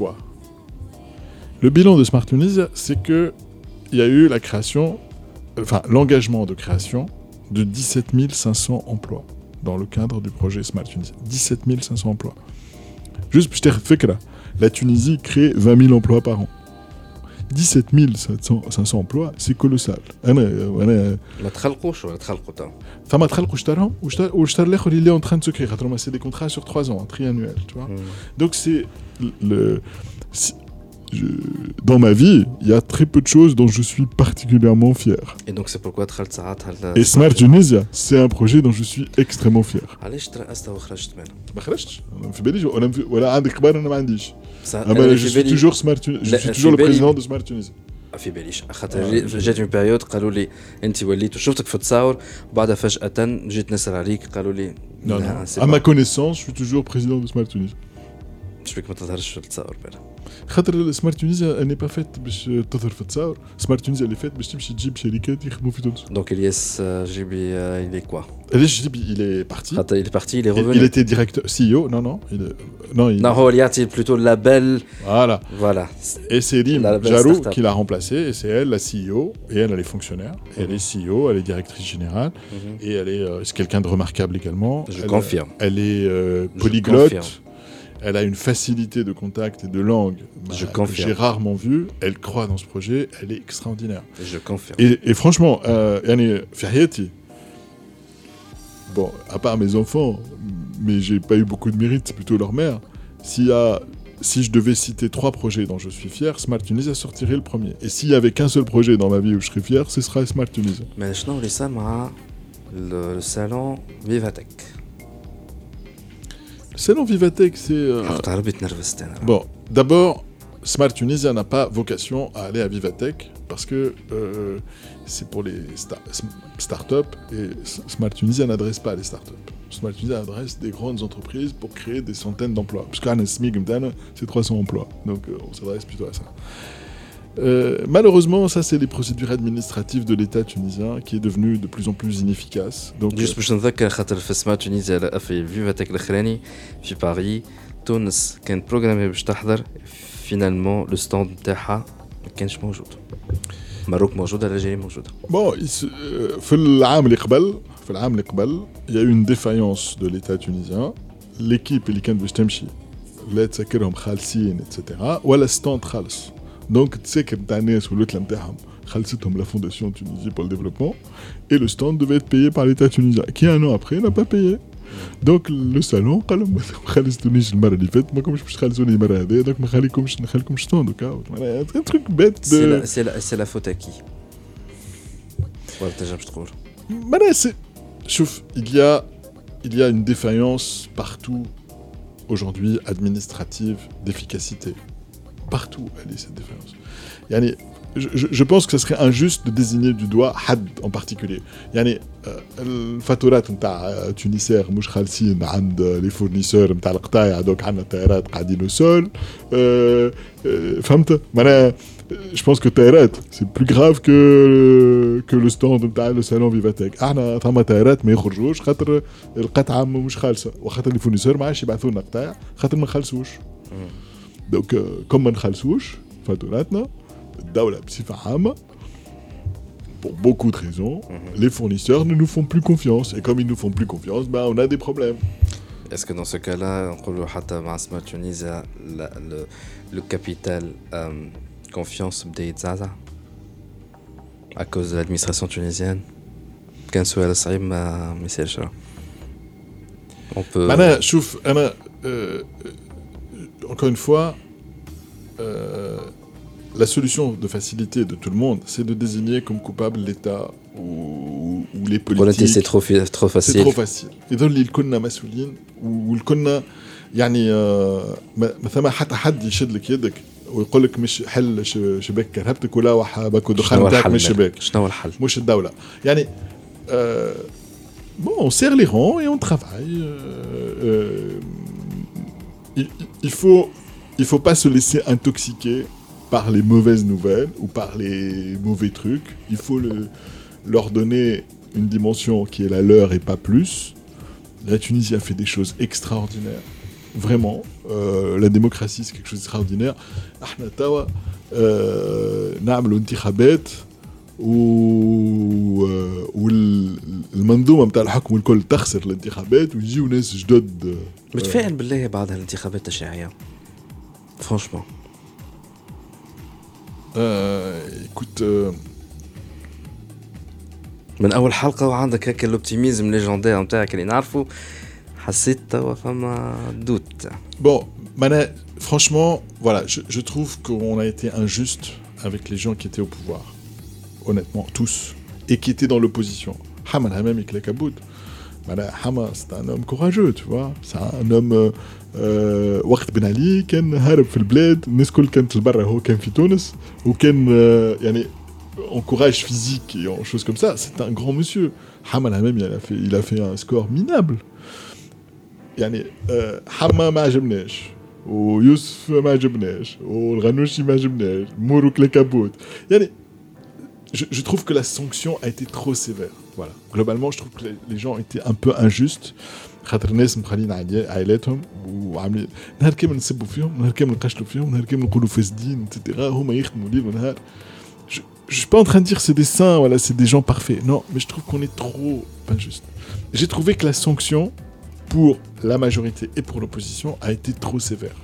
Le bilan de Smart Tunisia, c'est qu'il y a eu la création, enfin l'engagement de création de dix-sept mille cinq cents emplois dans le cadre du projet Smart Tunisia. dix-sept mille cinq cents emplois. Juste pour te faire que la Tunisie crée vingt mille emplois par an. dix-sept mille cinq cents emplois, c'est colossal. انا انا
ما تخلقوش ولا تخلقوا تو
فما تخلقوا اشتراهم واشترى الاخر اللي اون تران سو كري خاطر سي دي كونترا sur trois ans triannuels, tu vois. Mm. Donc c'est le si, je, dans ma vie, il y a très peu de choses dont je suis particulièrement fier.
Et donc c'est pourquoi دخلت ساعتها
Et Smart Tunisia, c'est un projet dont je suis extrêmement fier.
علاش ترأست وخرجت منه؟
ما خرجتش انا في بالي ولا ولا عندك كبار انا ما عنديش.
Ah
bah, je suis toujours Smart Tunisie. Je suis toujours le président de Smart Tunisie.
في باليش خاطر جات اون بيريود قالوا لي انت وليت وشفتك في التصاور وبعدها فجأة جيت نسأل عليك قالوا لي
non non à ma connaissance je suis toujours président de Smart Tunisie.
شبيك ما تظهرش في التصاور بلا
خاطر سمارت تونيزيا اني با فات باش تظهر في التصاور. سمارت تونيزيا اللي فات باش تمشي تجيب شركات يخدموا في تونس.
دونك الياس جيبي il est quoi?
علاش جيبي il est parti.
خاطر il est parti, il est revenu.
Il était directeur C E O. Non non, il est... non il
non هو اللي يعطي plutôt le label.
Voilà.
Voilà.
Et c'est Rim Jarou qui l'a remplacé et c'est elle la C E O et elle elle est fonctionnaire. Mm-hmm. Elle est C E O, elle est directrice générale mm-hmm. et elle est euh, c'est quelqu'un de remarquable également.
Je
elle,
confirme.
Elle est euh, polyglotte. Elle a une facilité de contact et de langue
Je
bah,
confirme.
que j'ai rarement vue. Elle croit dans ce projet. Elle est extraordinaire.
Je confirme.
Et, et franchement, euh, Fiahiyati, bon, à part mes enfants, mais j'ai pas eu beaucoup de mérite, c'est plutôt leur mère. S'il y a, si je devais citer trois projets dont je suis fier, Smart Tunisia sortirait le premier. Et s'il y avait qu'un seul projet dans ma vie où je serais fier, ce serait Smart Tunisia.
Mais je n'ai ça, moi, le salon Vivatech.
Le salon Vivatech, c'est... Euh... Bon, d'abord, Smart Tunisia n'a pas vocation à aller à Vivatech parce que euh, c'est pour les star- start-up et Smart Tunisia n'adresse pas les start-up. Smart Tunisia adresse des grandes entreprises pour créer des centaines d'emplois. Parce qu'un S M I G, c'est trois cents emplois. Donc euh, on s'adresse plutôt à ça. Euh, malheureusement, ça c'est les procédures administratives de l'État tunisien qui est devenu de plus en plus inefficace. Donc
juste باش نذكر خاطر في سمارت تونيزيا في فيفاتك الاخراني في باريس تونس كانت بروغرامي باش تحضر فينالمون لو ستاند نتاعها ما كانش موجود. ماروك موجوده الجزائر موجوده.
Bon, في العام اللي قبل في العام اللي قبل il y a eu une défaillance de l'État tunisien. L'équipe اللي كانت باش تمشي لا تسكرهم خالصين etcétera ولا ستاند خالص. Donc, tu sais que Tanès ou l'autre la Fondation Tunisie pour le développement et le stand devait être payé par l'État tunisien qui un an après n'a pas payé. Donc le salon قال لهم ما خلصتونيش المره اللي فاتت ما كومش باش تخلصوني المره هذه دونك ما خليكمش نخليكم ستاند وكا un truc bête de
c'est la c'est la faute à qui ولا تنجمش تقول
معناها c'est شوف il y a il y a une défaillance partout aujourd'hui administrative d'efficacité. Partout, elle est cette défaillance. Yani, je, je, je pense que ce serait injuste de désigner du doigt Had en particulier. Yani, الفاتورات نتاع تونسير مش خالصين عند لي فورنيسور نتاع القطاع دوك عندنا الطائرات قاعدين سول فهمت معناها je pense que طائرات c'est plus grave que que le stand نتاع le salon Vivatech. احنا ثما طائرات ما يخرجوش خاطر القطعه مش خالصه وخاطر لي فورنيسور ما عادش يبعثوا لنا قطاع خاطر ما خلصوش. Donc, euh, comme ما نخلصوش فاتوراتنا الدولة بصفة عامة pour beaucoup de raisons, mm-hmm. les fournisseurs ne nous font plus confiance. Et comme ils nous font plus confiance, bah, on a des problèmes.
Est-ce que dans ce cas-là, on peut حتى مع Smart Tunisia le le capital euh, confiance بدا يتزعزع à cause de l'administration tunisienne كان سؤال صعيب ما ما يصيرش. On peut.
أنا شوف أنا euh, encore une fois, euh, la solution de facilité de tout le monde, c'est de désigner comme coupable l'État ou, ou les
Voilà,
politiques.
c'est trop fa- trop
C'est
facile.
trop facile. يظل اللي كنا مسؤولين والكنا يعني آه، ما ما ثم حتى حد يشد لك يدك ويقول لك مش حل ش- شباك كهربتك ولا وحبك ودخان
شنو هو
بتاعك
الحل؟
مش شباك
شنو هو الحل؟
مش الدولة يعني euh, bon on serre les rangs et on travaille euh, euh, il, il faut il faut pas se laisser intoxiquer par les mauvaises nouvelles ou par les mauvais trucs. Il faut le, leur donner une dimension qui est la leur et pas plus. La Tunisie a fait des choses extraordinaires. Vraiment. Euh, la démocratie, c'est quelque chose d'extraordinaire. احنا توا نعملوا انتخابات و والمنظومه نتاع الحكم الكل تخسر الانتخابات ويجيو ناس جدد.
متفائل بالله بعد هالانتخابات التشريعية فرانشمون.
écoute euh,
من اول حلقه وعندك هكا الاوبتيميزم ليجوندير نتاعك اللي نعرفه حسيت توا فما دوت.
bon Mana, franchement voilà je, je trouve qu'on a été injuste avec les gens qui étaient au pouvoir honnêtement tous et qui étaient dans l'opposition. Haman Hamam Iklekaboud. Hama, c'est un homme courageux, tu vois. C'est un homme. وقت بن علي كان هارب في البلاد الناس كل كانت لبرا هو كان في تونس وكان يعني en courage physique et en choses comme ça. C'est un grand monsieur. Hama Hamam il a fait il a fait un score minable. يعني حما ما عجبناش ويوسف ما عجبناش والغنوشي ما عجبناش مورو كليكابوت يعني je, je trouve que la sanction a été trop sévère. Voilà. Globalement, je trouve que les, les gens étaient un peu injustes. خاطر الناس مخلين عائلاتهم وعاملين نهار كامل نسبوا فيهم نهار كامل نقشلوا فيهم نهار كامل نقولوا فاسدين اتسيتيرا هما يخدموا ليل ونهار. Je je suis pas en train de dire c'est des saints, voilà, c'est des gens parfaits. Non, mais je trouve qu'on est trop injuste. J'ai trouvé que la sanction pour la majorité et pour l'opposition a été trop sévère.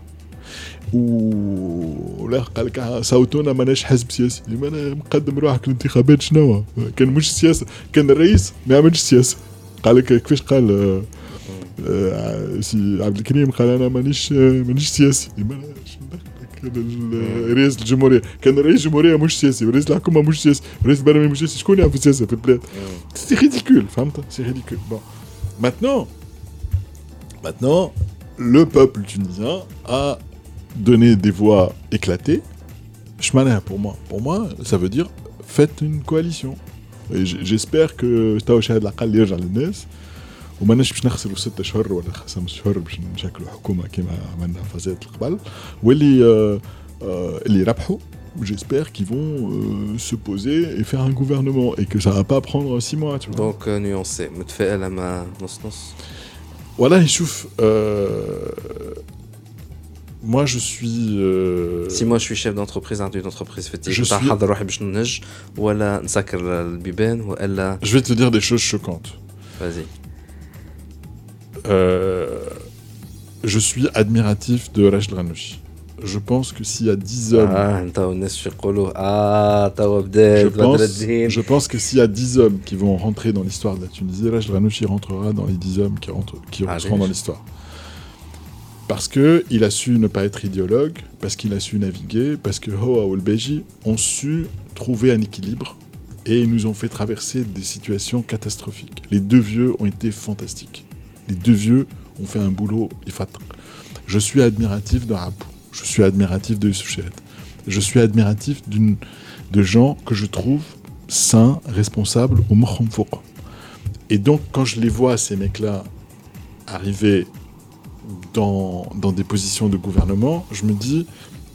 ولا قال لك صوتونا ماناش حزب سياسي لما انا مقدم روحك الانتخابات شنو كان مش سياسه كان الرئيس ما يعملش سياسه قال لك كيفاش قال آه آه سي عبد الكريم قال انا مانيش مانيش سياسي لما كان رئيس الجمهوريه كان رئيس الجمهوريه مش سياسي ورئيس الحكومه مش سياسي ورئيس البرلمان مش سياسي شكون يعرف السياسه في البلاد سي ريديكول فهمت سي ريديكول بون maintenant maintenant le peuple tunisien a donner des voix éclatées. Chemana pour moi, pour moi, ça veut dire faites une coalition. Et j'espère que Taoucha de la Qal يرجع للناس وما نش باش نخسروا ستة اشهر ولا خمسة اشهر باش نشكلوا حكومه كما عملنا فازات القبل واللي اللي يربحوا j'espère qu'ils vont euh, se poser et faire un gouvernement et que ça va pas prendre six mois tu vois.
Donc euh, nuancé متفائل مع نص نص.
والله شوف euh, moi je suis euh...
si moi je suis chef d'entreprise d'une entreprise فتيك
je
نتاع
suis...
حضر روحي باش ننج ولا نسكر البيبان ولا
je vais te dire des choses choquantes.
Vas-y.
Euh, je suis admiratif de Rachid Ghanouchi. Je pense que s'il y a dix hommes
ah نتاو الناس يقولوا اه توا بدات بدر الدين.
Je pense que s'il y a dix hommes qui vont rentrer dans l'histoire de la Tunisie, Rachid Ghanouchi rentrera dans les dix hommes qui rentrent qui
ah,
rentreront dans l'histoire. Parce qu'il a su ne pas être idéologue, parce qu'il a su naviguer, parce que Hoa ou le Beji ont su trouver un équilibre et ils nous ont fait traverser des situations catastrophiques. Les deux vieux ont été fantastiques. Les deux vieux ont fait un boulot ifat. Je suis admiratif de Rabou, je suis admiratif de Youssouf Choued, je suis admiratif d'une, de gens que je trouve sains, responsables au Mokhom Fouq. Et donc quand je les vois, ces mecs-là, arriver dans, dans des positions de gouvernement, je me dis,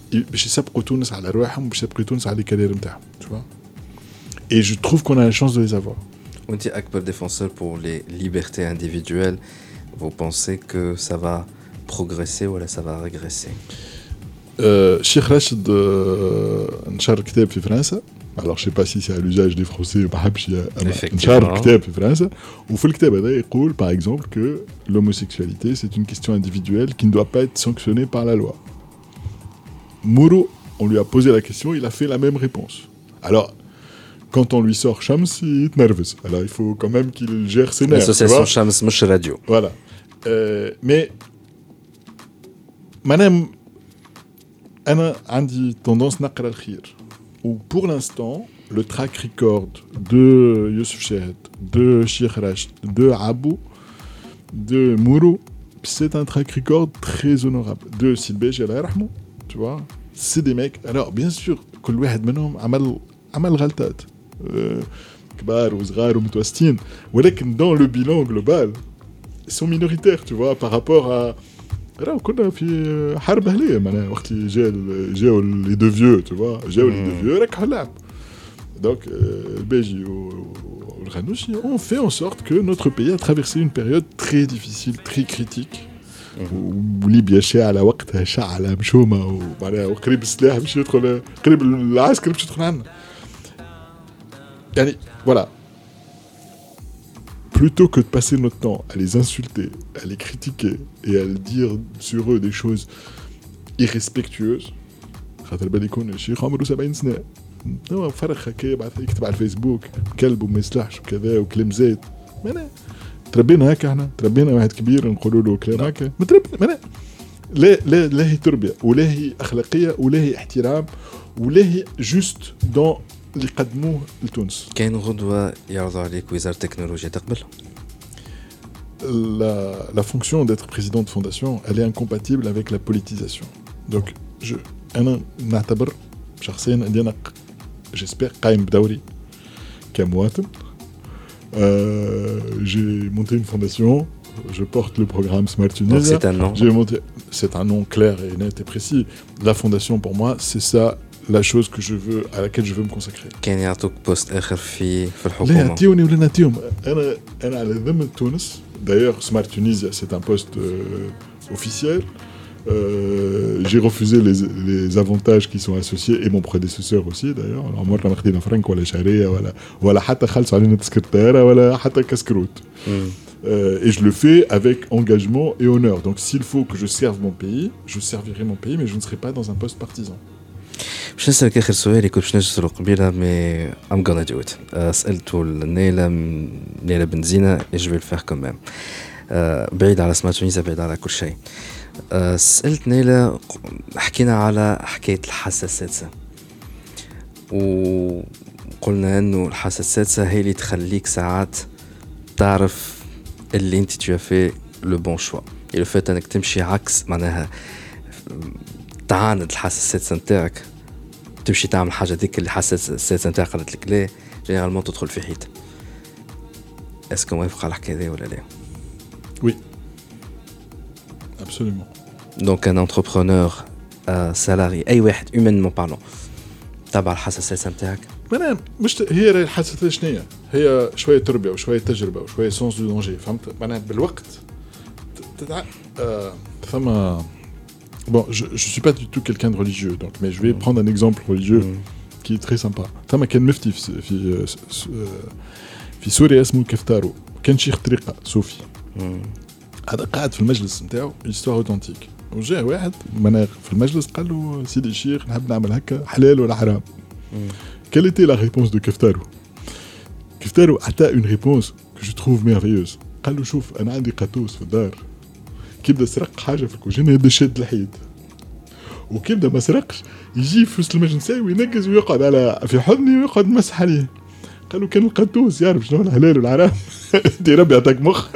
tu vois. Et je trouve qu'on a la chance de les avoir.
On dit akbar défenseur pour les libertés individuelles. Vous pensez que ça va progresser ou ça va régresser?
Cheikh Rachid نشر كتاب في فرنسا. Alors je sais pas si c'est à l'usage des Français ou pas. نشر كتاب في فرنسا وفي الكتاب هذا يقول par exemple que l'homosexualité c'est une question individuelle qui ne doit pas être sanctionnée par la loi. Mouro, on lui a posé la question, il a fait la même réponse. Alors quand on lui sort Shams, il est nerveux. Alors il faut quand même qu'il gère ses nerfs.
L'association Shams مش radio.
Voilà. Euh, mais madame أنا عندي tendance نقرأ الخير. Ou pour l'instant, le track record de Youssef Chahed, de Sheikh Rachid, de Abou, de Mourou, c'est un track record très honorable. De Silbeji, Allah yarhamou, tu vois. C'est des mecs. Alors, bien sûr, كل واحد منهم عمل عمل غلطات. كبار وصغار ومتوسطين. ولكن dans le bilan global, ils sont minoritaires, tu vois, par rapport à راهو كنا في حرب أهلية معناها وقت اللي جا جاو لي دو فيو tu vois, جاو لي دو فيو ركحوا اللعب. Donc, euh, Béji ou le Ghanouchi ont fait en sorte que notre pays a traversé une période très difficile, très critique. وليبيا شاعلة وقتها شعلة مشومة ومعناها وقريب السلاح باش يدخل قريب العسكر باش يدخل عنا. يعني voilà. Plutôt que de passer notre temps à les insulter, à les critiquer et à dire sur eux des choses irrespectueuses. خاطر بالي يكون الشيخ عمره سبعين سنة. هو فرخ هكا يبعث يكتب على الفيسبوك كلب وما يصلحش وكذا وكلام زايد. معناها تربينا هكا احنا تربينا واحد كبير نقولوا له كلام هكا ما تربينا معناها لا لا لا هي تربيه ولا هي اخلاقيه ولا هي احترام ولا هي جوست دون اللي قدموه لتونس.
كاين غدوه يعرضوا عليك وزاره التكنولوجيا تقبل؟
La, la fonction d'être président de fondation, elle est incompatible avec la politisation. Donc, je, أنا نعتبر شخصيا أني أنا j'espère قايم بدوري كمواطن. Euh, j'ai monté une fondation, je porte le programme Smart Tunisia.
C'est un nom.
J'ai monté, c'est un nom clair et net et précis. La fondation, pour moi, c'est ça la chose que je veux, à laquelle je veux me consacrer.
كان يعطوك بوست آخر في في الحكومة.
لا يعطيوني ولا نعطيهم. أنا أنا على ذمة تونس. D'ailleurs, Smart Tunisia, c'est un poste euh, officiel. Euh, j'ai refusé les, les avantages qui sont associés et mon prédécesseur aussi d'ailleurs. Alors moi je n'ai pas franc ولا شهرية ولا ولا حتى خلص علينا تسكرتيرة ولا حتى كسكروت. Euh, et je le fais avec engagement et honneur. Donc s'il faut que je serve mon pays, je servirai mon pays, mais je ne serai pas dans un poste partisan.
باش نسألك آخر سؤال يكون باش نجسروا قبيلة مي I'm gonna do it. سألته لنيلة نيلة بنزينة et je vais le faire quand même. بعيد على سمارت تونيزيا بعيد على كل شيء. سألت نيلة حكينا على حكاية الحاسة السادسة وقلنا أنه الحاسة السادسة هي اللي تخليك ساعات تعرف اللي انت tu as fait le bon choix et le fait أنك تمشي عكس معناها تعاند الحاسة السادسة نتاعك تمشي تعمل حاجة ديك اللي الحاسة السادسة نتاعك قالت لك لا جينيرالمون تدخل في حيط. اسكو موافق على الحكاية ذي ولا لا؟
Oui. Absolument.
Donc un entrepreneur, un salarié, أي واحد humainement parlant تبع الحاسة السادسة نتاعك؟
أنا مش هي الحاسة شنية؟ هي شوية تربية وشوية تجربة وشوية sens du danger. فهمت؟ أنا بالوقت تتع... آه... ثم bon je je suis pas du tout quelqu'un de religieux donc mais je vais mmh. prendre un exemple religieux mmh. qui est très sympa. ثم كان مفتي في في في سوريا اسمه كفتارو كان شيخ طريقة صوفي. هذا قاعد في المجلس نتاعو histoire authentique. وجاء واحد مناغ في المجلس قال له سيدي الشيخ نحب نعمل هكا حلال ولا حرام؟ Quelle était la réponse de Keftaro? Keftaro a une réponse que je trouve merveilleuse. قال له شوف أنا عندي قطوس في الدار كيبدا سرق حاجة في الكوجينة يبدا شاد الحيد وكيبدا ما سرقش يجي في وسط المجلس وينقز ويقعد على في حضني ويقعد مسح عليه. قالوا كان القطوس يعرف شنو الحلال والحرام. دي ربي يعطيك مخ.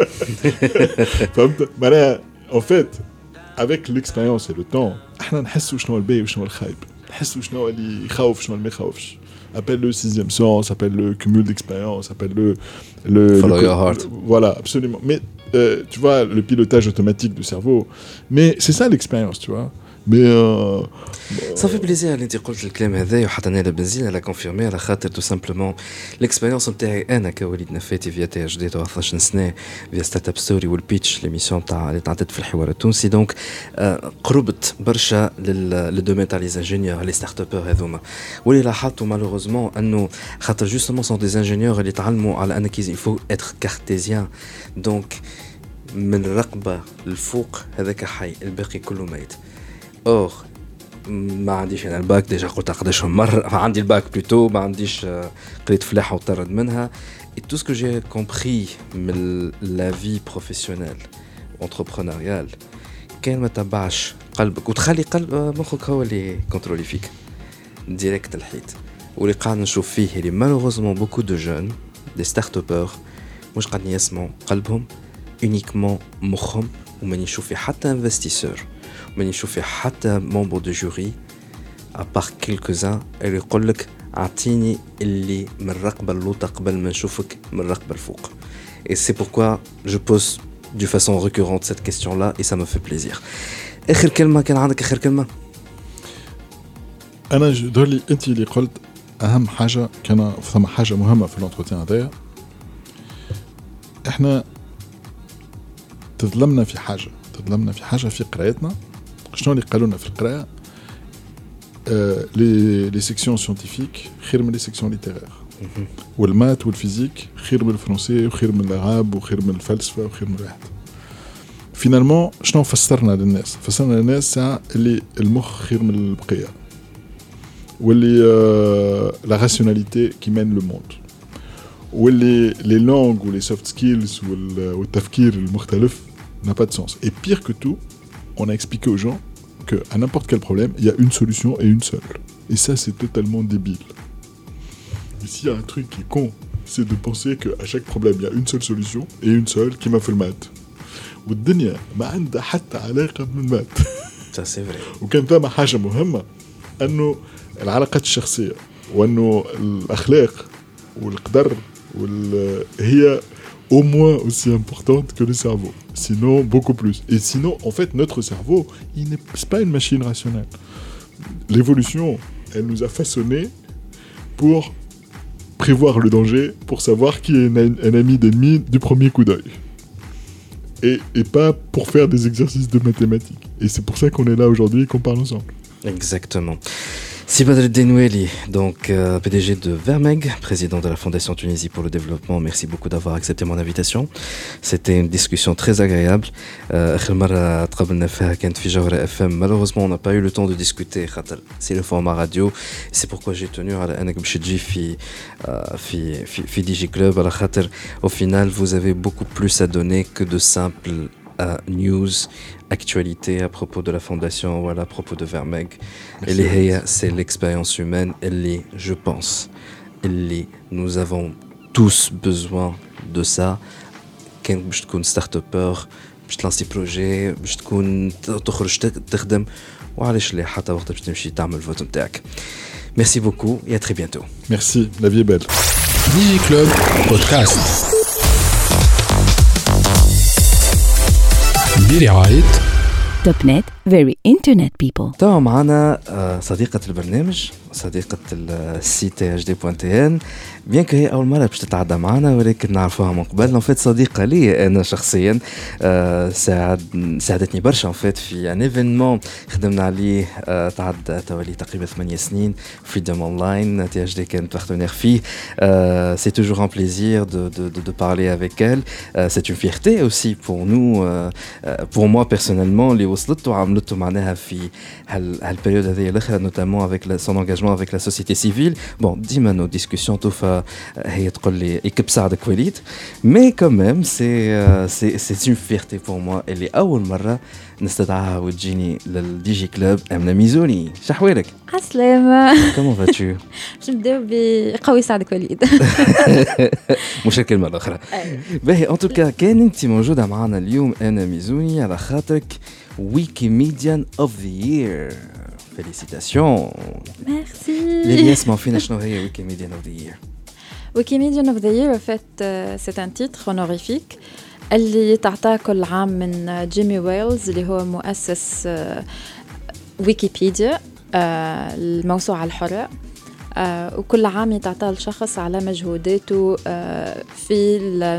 فهمت معناها en fait avec l'expérience et le temps احنا نحسوا شنو الباهي وشنو الخايب نحسوا شنو اللي يخوف شنو اللي ما يخوفش. Appelle le sixième sens, appelle le cumul d'expérience, appelle le le
follow
le,
your heart.
Voilà, absolument. Mais euh, tu vois le pilotage automatique du cerveau. Mais c'est ça l'expérience, tu vois. Mais euh,
ça fait plaisir اللي انت قلت الكلام هذا وحتى نيلة بنزينة لا كونفيرمي على خاطر تو سامبلومون ليكسبيريونس نتاعي انا كوليد نفاتي فيا تي اش دي اثناش سنه فيا ستارت اب ستوري والبيتش ليميسيون تاع اللي تعطيت في الحوار التونسي دونك قربت برشا للدومين تاع لي انجينيور لي ستارت ابور هذوما واللي لاحظتوا مالوغوزمون انه خاطر جوستومون سون دي انجينيور اللي تعلموا على انك يفو اتر كارتيزيان دونك من الرقبه للفوق هذاك حي الباقي كله ميت. اور ما عنديش انا الباك ديجا قلت قداشهم مره عندي الباك بلوتو ما عنديش قريت فلاحه وطرد منها et tout ce que j'ai compris من la vie professionnelle entrepreneuriale كان ما تبعش قلبك وتخلي قلب مخك هو اللي كنترولي فيك ديريكت الحيط واللي قاعد نشوف فيه اللي malheureusement beaucoup de jeunes des start-upers مش قاعدين يسمعوا قلبهم uniquement مخهم وماني نشوف في حتى investisseur وماني نشوف في حتى membre de jury à part quelques-uns اللي يقول لك اعطيني اللي من الرقبه اللوطه قبل ما نشوفك من الرقبه الفوق. Et c'est pourquoi je pose de façon récurrente cette question-là et ça me fait plaisir. آخر كلمة كان عندك آخر كلمة؟
أنا جدولي أنت اللي قلت أهم حاجة كان ثم حاجة مهمة في الانتروتيان هذايا. إحنا تظلمنا في حاجة تظلمنا في حاجة في قراءتنا. شنو اللي قالوا لنا في القراءة؟ آه لي لي سيكسيون سيانتيفيك خير من لي سيكسيون ليتيرير. والمات والفيزيك خير من الفرنسي وخير من العرب وخير من الفلسفة وخير من الواحد. فينالمون شنو فسرنا للناس؟ فسرنا للناس ساعة اللي المخ خير من البقية واللي آه لا راسيوناليتي كي مان لو موند واللي لي لونغ ولي سوفت سكيلز والتفكير المختلف n'a pas de sens. Et pire que tout, on a expliqué aux gens qu'à n'importe quel problème, il y a une solution et une seule. Et ça, c'est totalement débile. Et s'il y a un truc qui est con, c'est de penser qu'à chaque problème, il y a une seule solution et une seule qui m'a fait le maths. والدنيا ما عندها حتى علاقة بالمات.
Ça c'est vrai.
وكان ثم حاجة مهمة أنه العلاقات الشخصية وأنه الأخلاق والقدر وال... هي au moins aussi importante que le cerveau. Sinon, beaucoup plus. Et sinon, en fait, notre cerveau, il n'est c'est pas une machine rationnelle. L'évolution, elle nous a façonnés pour prévoir le danger, pour savoir qui est un, un ami d'ennemi du premier coup d'œil. Et, et pas pour faire des exercices de mathématiques. Et c'est pour ça qu'on est là aujourd'hui et qu'on parle ensemble.
Exactement. Si Badr Denoueli, donc euh, P D G de Vermeg, président de la Fondation Tunisie pour le développement, merci beaucoup d'avoir accepté mon invitation. C'était une discussion très agréable. آخر مرة تقابلنا فيها كانت في جوهرة إف إم. Malheureusement, on n'a pas eu le temps de discuter. C'est le format radio. C'est pourquoi j'ai tenu à أنك باش تجي في في في في دي جي كلوب على خاطر au final vous avez beaucoup plus à donner que de simples euh, news, actualités à propos de la fondation ou à propos de Vermeg. Et les c'est l'expérience humaine. Et je pense, et nous avons tous besoin de ça. Quand je suis un start-upper, je te lance des projets, je te تخرج تخدم وعلاش لا حتى وقت باش تمشي تعمل الفوت نتاعك. Merci beaucoup et à très bientôt.
Merci, la vie est belle.
Digi Club Podcast. برعاية
توب نت very internet people.
تو معنا صديقة البرنامج صديقة السيت اتش دي بوان تي ان بيان كو هي أول مرة باش تتعدى معنا ولكن نعرفوها من قبل. نفيت صديقة لي أنا شخصيا ساعد ساعدتني برشا نفيت في ان ايفينمون خدمنا عليه تعدى تولي تقريبا ثمانية سنين فريدوم أونلاين تي اتش دي كانت بارتنير فيه. سي توجور ان بليزير دو دو دو بارلي افيك elle. C'est une fierté aussi pour nous pour moi personnellement اللي وصلت وعملته معناها في هالبريود هذه الأخرى notamment avec son engagement avec la société civile. Bon, ديما nos discussions توفى هي تقول لي يكب سعدك وليد mais quand même c'est c'est c'est une fierté pour moi اللي أول مرة نستدعاها وتجيني للدي جي كلوب أمنة ميزوني. شحوالك؟
عسلامة.
Comment vas-tu؟
باش نبداو بقوي سعدك وليد.
مش الكلمة الأخرى. باهي en tout cas كان أنت موجودة معنا اليوم أمنة ميزوني على خاطرك Wikimedian of the Year. Félicitations.
Merci.
L'Elias m'en fait شنو هي Wikimedian of the Year.
Wikimedian of the Year en fait euh, c'est un titre honorifique اللي تعطى كل عام من جيمي ويلز اللي هو مؤسس آه ويكيبيديا آه الموسوعة الحرة آه وكل عام يتعطى لشخص على مجهوداته آه في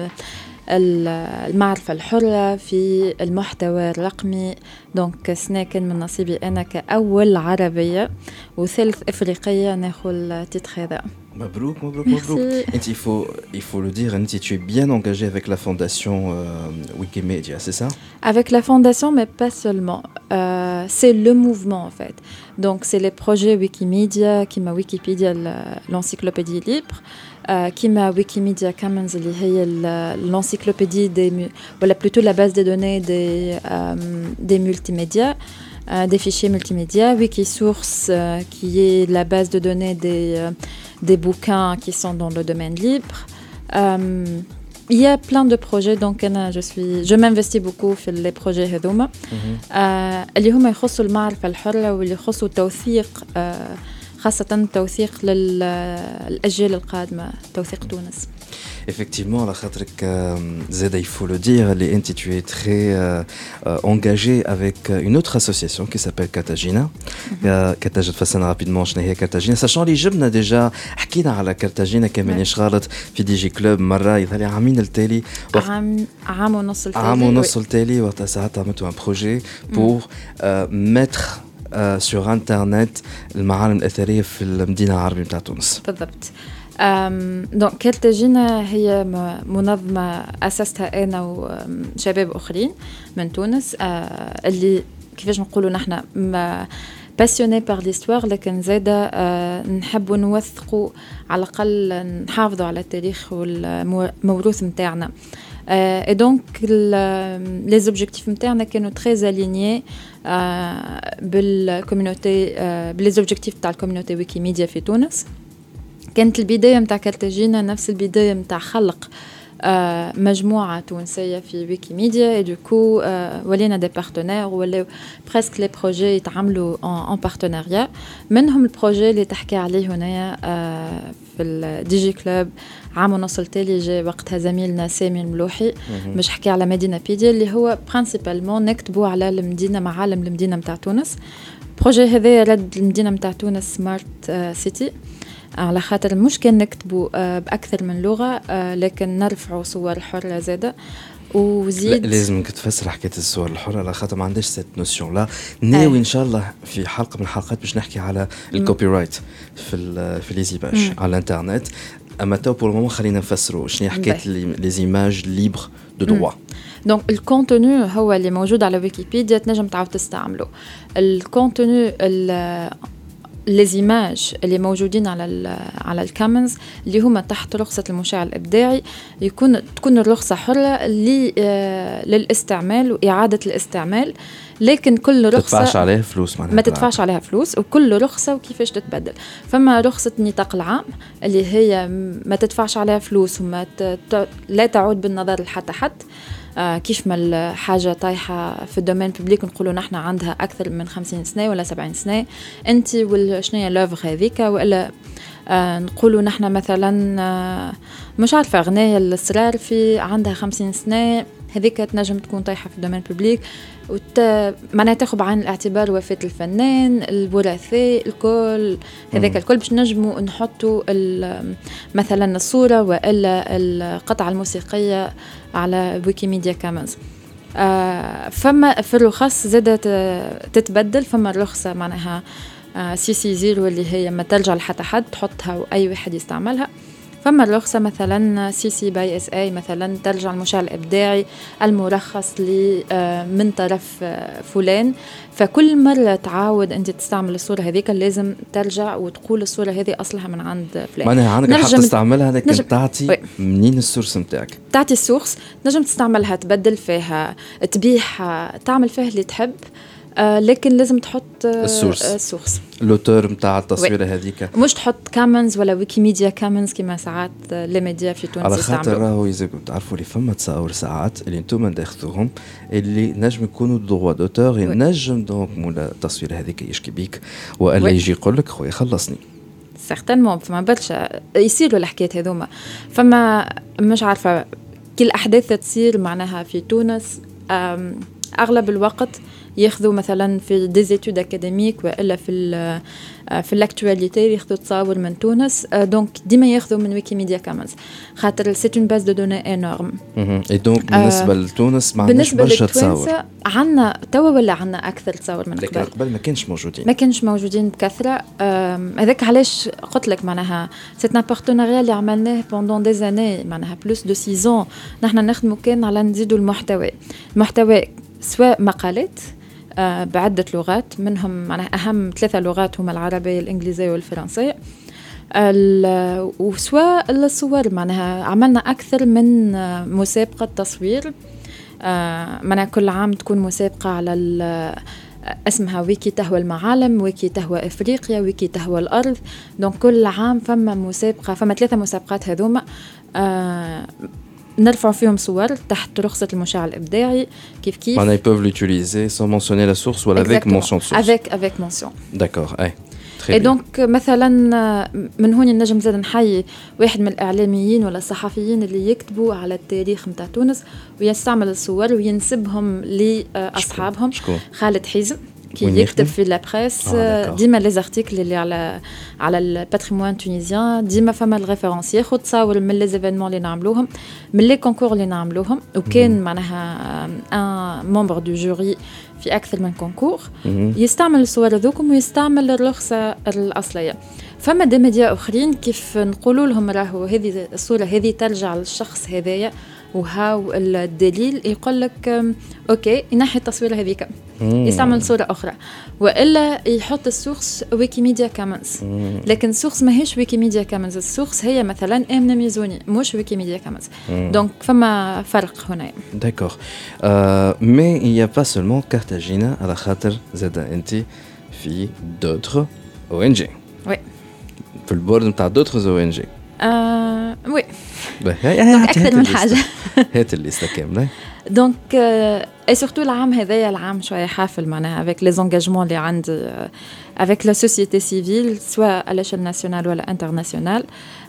المعرفة الحرة في المحتوى الرقمي. دونك سنة كان من نصيبي أنا كأول عربية وثالث إفريقية ناخذ تيتر هذا.
مبروك مبروك مبروك. انت il faut il faut le dire انت tu es bien engagée avec la fondation euh, Wikimedia, c'est ça?
Avec la fondation mais pas seulement. Euh, c'est le mouvement en fait. Donc c'est les projets Wikimedia qui m'a Wikipédia l'encyclopédie libre. Euh, qui m'a Wikimedia Commons اللي هي l'encyclopédie des ou plutôt la base des données des euh, des multimédias euh, des fichiers multimédia, Wikisource euh, qui est la base de données des, euh, des bouquins qui sont dans le domaine libre. Euh, il y a plein de projets, donc je, suis, je m'investis beaucoup في les projets هذوما اللي هما يخصوا المعرفة الحرة واللي يخصوا التوثيق خاصة توثيق للأجيال القادمة توثيق تونس.
Effectivement, la khatrek Zeda, il faut le dire, tu es très euh, euh, engagé avec une autre association qui s'appelle Cartagena. Cartagena, façana rapidement, je n'ai Cartagena. Sachant les jeunes, déjà, حكينا على Cartagena كمان اشغالت في دي جي كلوب مرة يظهر عامين التالي.
عام عام ونص التالي.
عام ونص التالي وقت ساعات عملتوا un projet pour euh, mettre euh, sur internet المعالم الأثرية في المدينة العربية متاع تونس.
بالضبط. دونك كارتاجينا هي منظمة أسستها أنا وشباب آخرين من تونس اللي كيفاش نقولوا نحن باسيوني بار ليستوار لكن زادا نحبوا نوثقوا على الأقل نحافظوا على التاريخ والموروث متاعنا. Et donc les objectifs نتاعنا كانوا très alignés بالكوميونيتي باللي objectifs تاع الكوميونيتي ويكيميديا في تونس. كانت البداية متاع كارتاجينا نفس البداية متاع خلق آه مجموعة تونسية في ويكيميديا et du coup آه ولينا des partenaires ولاو presque les projets يتعاملوا en, en partenariat. منهم البروجي اللي تحكي عليه هنا آه في الدي جي كلوب عام ونص التالي جاء وقتها زميلنا سامي الملوحي باش حكي على مدينة بيديا اللي هو principalement نكتبوا على المدينة معالم المدينة متاع تونس. البروجي هذا رد المدينة متاع تونس سمارت آه سيتي على خاطر مش كان نكتبوا بأكثر من لغة لكن نرفعوا صور حرة زادة وزيد.
لازم تفسر حكاية الصور الحرة على خاطر ما عندش سيت نوسيون لا ناوي إن شاء الله في حلقة من الحلقات باش نحكي على الكوبي رايت في ال في ليزيماج على الانترنت. أما تو بور المومون خلينا نفسروا شنو حكاية ليزيماج ليبر دو دروا.
دونك الكونتوني هو اللي موجود على ويكيبيديا تنجم تعاود تستعمله. الكونتوني les images اللي موجودين على على الكامنز اللي هما تحت رخصة المشاع الإبداعي يكون تكون الرخصة حرة للاستعمال وإعادة الاستعمال لكن كل رخصة
تدفعش عليها فلوس
ما تدفعش عليها فلوس وكل رخصة وكيفاش تتبدل. فما رخصة النطاق العام اللي هي ما تدفعش عليها فلوس وما ت... لا تعود بالنظر لحتى حد آه كيف ما الحاجة طايحة في الدومين ببليك نقولوا نحن عندها أكثر من خمسين سنة ولا سبعين سنة أنت والشنية لوفغ هذيك وإلا آه نقولوا نحن مثلا آه مش عارفة أغنية الأسرار في عندها خمسين سنة هذيك تنجم تكون طايحة في الدومين ببليك وت... معناها تاخذ بعين الاعتبار وفاة الفنان الوراثة الكل هذاك الكل باش نجموا نحطوا مثلا الصورة وإلا القطعة الموسيقية على ويكيميديا كامنز. آه فما في الرخص زادت تتبدل. فما الرخصة معناها آه سي سي زيرو اللي هي ما ترجع لحتى حد تحطها وأي واحد يستعملها. فما الرخصة مثلا سي سي باي اس اي مثلا ترجع المشاع الإبداعي المرخص لي من طرف فلان. فكل مرة تعاود أنت تستعمل الصورة هذيك لازم ترجع وتقول الصورة هذه أصلها من عند فلان.
معناها عندك حق تستعملها لكن نجم... تعطي منين السورس متاعك
تعطي السورس نجم تستعملها تبدل فيها تبيعها تعمل فيها اللي تحب آه لكن لازم تحط آه
السورس
السورس
لوتور متاع التصويره هذيك
مش تحط كامنز ولا ويكيميديا كامنز كما ساعات لي ميديا في تونس
على خاطر راهو يزيكم تعرفوا لي فما تصاور ساعات اللي انتم تاخذوهم اللي نجم يكونوا دغوا دوتور ينجم دونك مولا التصويره هذيك يشكي بيك والا يجي يقول لك خويا خلصني
سيغتانمون فما برشا يصيروا الحكايات هذوما. فما مش عارفه كل احداث تصير معناها في تونس اغلب الوقت ياخذوا مثلا في دي زيتود اكاديميك والا في في الاكtualité ياخذوا تصاور من تونس دونك ديما ياخذوا من ويكيميديا كامنز خاطر سي اون باز دو دوني انورم.
اي دونك بالنسبه لتونس ما عندناش برشا تصاور.
عندنا توا ولا عندنا اكثر تصاور من قبل.
قبل ما كانش موجودين
ما كانش موجودين بكثره. هذاك علاش قلت لك معناها سي ان بارتناريا اللي عملناه بوندون دي زاني معناها بلوس دو سيزون نحن نخدموا كان على نزيدوا المحتوى المحتوى سواء مقالات آه بعدة لغات منهم معناها أهم ثلاثة لغات هما العربية الإنجليزية والفرنسية وسواء الصور معناها عملنا أكثر من آه مسابقة تصوير آه معناها كل عام تكون مسابقة على اسمها ويكي تهوى المعالم، ويكي تهوى افريقيا، ويكي تهوى الارض. دونك كل عام فما مسابقه، فما ثلاثه مسابقات هذوما آه نرفع فيهم صور تحت رخصه المشاع الابداعي. كيف كيف
معناها ils peuvent l'utiliser sans mentionner la source ou avec mention de source.
avec avec mention.
D'accord. اي
Et donc مثلا من هون نجم زاد نحيي واحد من الإعلاميين ولا الصحفيين اللي يكتبوا على التاريخ متاع تونس ويستعمل الصور وينسبهم لأصحابهم. خالد حيزم كي يكتب في لا بريس ديما لي زارتيكل اللي على على الباتريمون تونيزيان، ديما فما الريفيرونس ياخذ تصاور من لي زيفينمون اللي نعملوهم، من لي كونكور اللي نعملوهم، وكان معناها ان ممبر دو جوري في اكثر من كونكور يستعمل الصور هذوكم ويستعمل الرخصه الاصليه. فما دي ميديا اخرين كيف نقولوا لهم راهو هذه الصوره هذه ترجع للشخص هذايا وهاو الدليل، يقول لك اوكي ينحي التصويره هذيك يستعمل صوره اخرى، والا يحط السورس ويكيميديا كامنز. لكن السورس ماهيش ويكيميديا كامنز، السورس هي مثلا امنه ميزوني مش ويكيميديا كامنز. دونك فما فرق هنا. داكور
مي il y a pas seulement Cartagena على خاطر زاد انت في دوتر او ان جي.
وي
في البورد نتاع دوتر او ان جي.
آه وي
دونك
اكثر من حاجه.
هات الليسته كامله.
دونك اي سورتو العام هذايا العام شويه حافل معناها افيك لي زونغاجمون اللي عندي افيك لا سوسيتي سيفيل سواء على l'échelle nationale ولا انترناسيونال.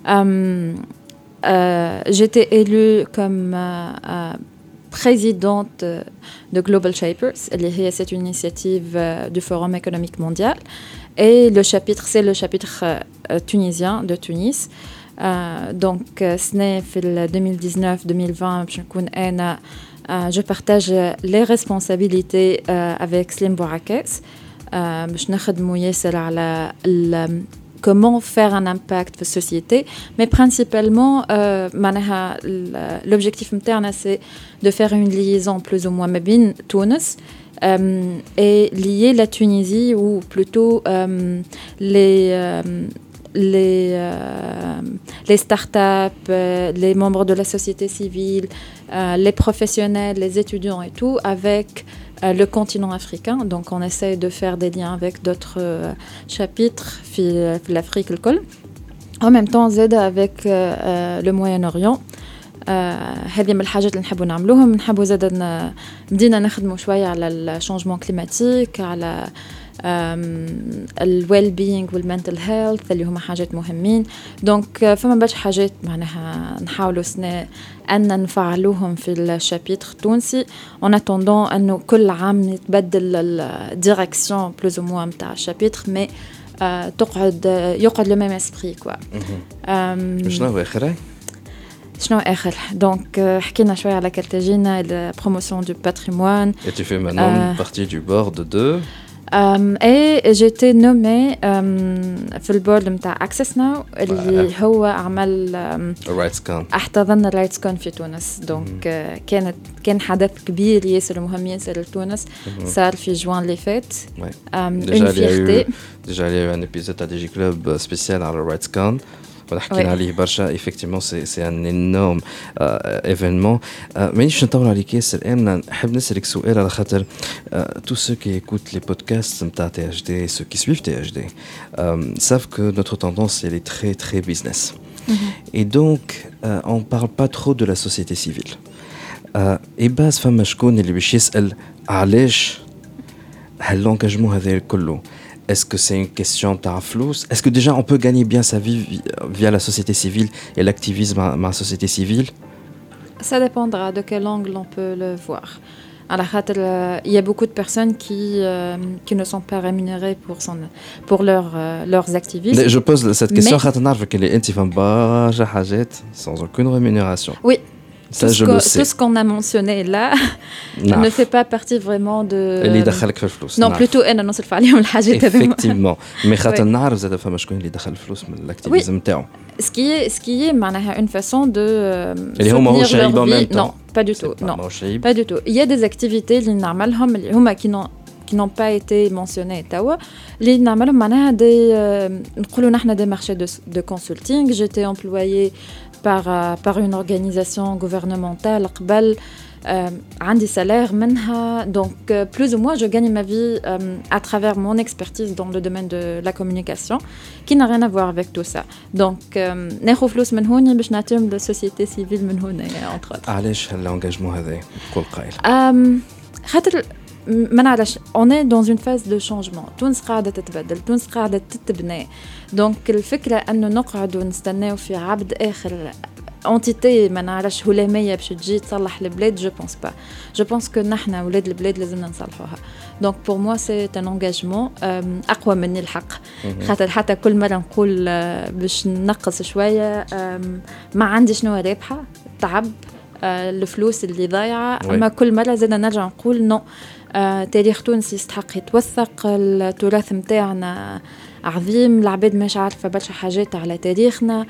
جيتي élue comme présidente de Global Shapers اللي هي c'est une initiative du Forum économique mondial et le chapitre c'est le chapitre tunisien de Tunis. Euh, donc سنة في deux mille dix-neuf deux mille vingt باش نكون أنا euh, je partage les responsabilités euh, avec Slim Bourakes euh, باش نخدموا ياسر على comment faire un impact في السوسيتي. mais principalement euh, معناها l'objectif نتاعنا c'est de faire une liaison plus ou moins ما بين تونس euh, et lier la Tunisie ou plutôt euh, les euh, les, euh, les startups, euh, les membres de la société civile, euh, les professionnels, les étudiants et tout, avec euh, le continent africain. Donc on essaie de faire des liens avec d'autres euh, chapitres في l'Afrique الكل. En même temps زاد avec euh, le Moyen-Orient. هذه من الحاجات اللي نحبوا نعملوهم. نحبوا زاد بدينا نخدموا شوية على الشانجمون كليماتيك، على الويل بينج والمنتل هيلث اللي هما حاجات مهمين. دونك فما باش حاجات معناها نحاولوا سنة أن نفعلوهم في الشابيتر التونسي en attendant أنه كل عام نتبدل الديريكسيون بلوز او موان متاع الشابيتر مي تقعد يقعد لو ميم اسبري كوا.
شنو آخر
شنو آخر دونك حكينا شوية على كارتاجينا البروموسيون دو باتريمون.
Et tu fais maintenant partie du board de
Um, et j'ai été nommée um, في البورد متاع Access Now اللي ouais. هو عمل um, احتضن الرايتس كون في تونس. دونك mm. uh, كانت كان حدث كبير ياسر مهم ياسر لتونس mm-hmm. صار في جوان اللي فات.
ouais. um, déjà il y a eu déjà il y a eu un épisode à Digi Club spécial على الرايتس كون ونحكينا عليه برشا. effectivement c'est c'est un énorme euh, événement. مانيش نطول عليك ياسر امنا، نحب نسالك سؤال على خاطر tous ceux qui écoutent les podcasts نتاع تي اش دي ceux qui suivent تي اش دي savent que notre tendance elle est très très business. mm-hmm. et donc euh, on parle pas trop de la société civile. et base فما شكون اللي باش يسال علاش هاللونجاجمون هذا كله. Est-ce que c'est une question de flou? Est-ce que déjà on peut gagner bien sa vie via la société civile et l'activisme à la société civile?
Ça dépendra de quel angle on peut le voir. Alors, il y a beaucoup de personnes qui, euh, qui ne sont pas rémunérées pour, son, pour leur, euh, leurs activismes.
Je pose cette question Mais... sans aucune rémunération.
Oui.
Ça,
tout,
je
ce
le sais.
tout ce qu'on a mentionné là ne fait pas partie vraiment de...
اللي يدخلك في الفلوس.
Non, plutôt أنا نصرف عليهم الحاجات هذوما.
Effectivement. Mais خاطر نعرف زاد فما شكون اللي دخل الفلوس من الاكتيفيزم نتاعو.
Ce qui est, ce qui est معناها une façon de
اللي هما هو شعيب en même temps.
Non, pas du tout. Non, pas du tout. Il y a des activités اللي نعملهم اللي هما qui n'ont qui n'ont pas été mentionnés توا اللي نعملهم معناها دي نقولوا نحن des marchés de de consulting. J'étais employée par par une organisation gouvernementale قبل عندي salaire منها. Donc plus ou moins je gagne ma vie à travers mon expertise dans le domaine de la communication qui n'a rien à voir avec tout ça. Donc ناخذ فلوس من هون باش نعطيهم للسوسيتي سيفيل من هنا entre autres.
علاش هالانجاجمون هذا كل قائل؟
خاطر ما نعرفش on est dans une phase de changement. تونس قاعدة تتبدل، تونس قاعدة تتبنى. دونك الفكرة أنه نقعد ونستناو في عبد آخر entité ما نعرفش هلامية باش تجي تصلح البلاد. je pense pas. je pense que نحنا ولاد البلاد لازمنا نصلحوها. donc pour moi c'est un engagement أقوى مني الحق. خاطر حتى كل مرة نقول باش ننقص شوية ما عندي شنو رابحة تعب الفلوس اللي ضايعة. أما كل مرة زادنا نرجع نقول نو تاريخ تونس يستحق يتوثق. التراث متاعنا عظيم، العباد مش عارفة برشا حاجات على تاريخنا.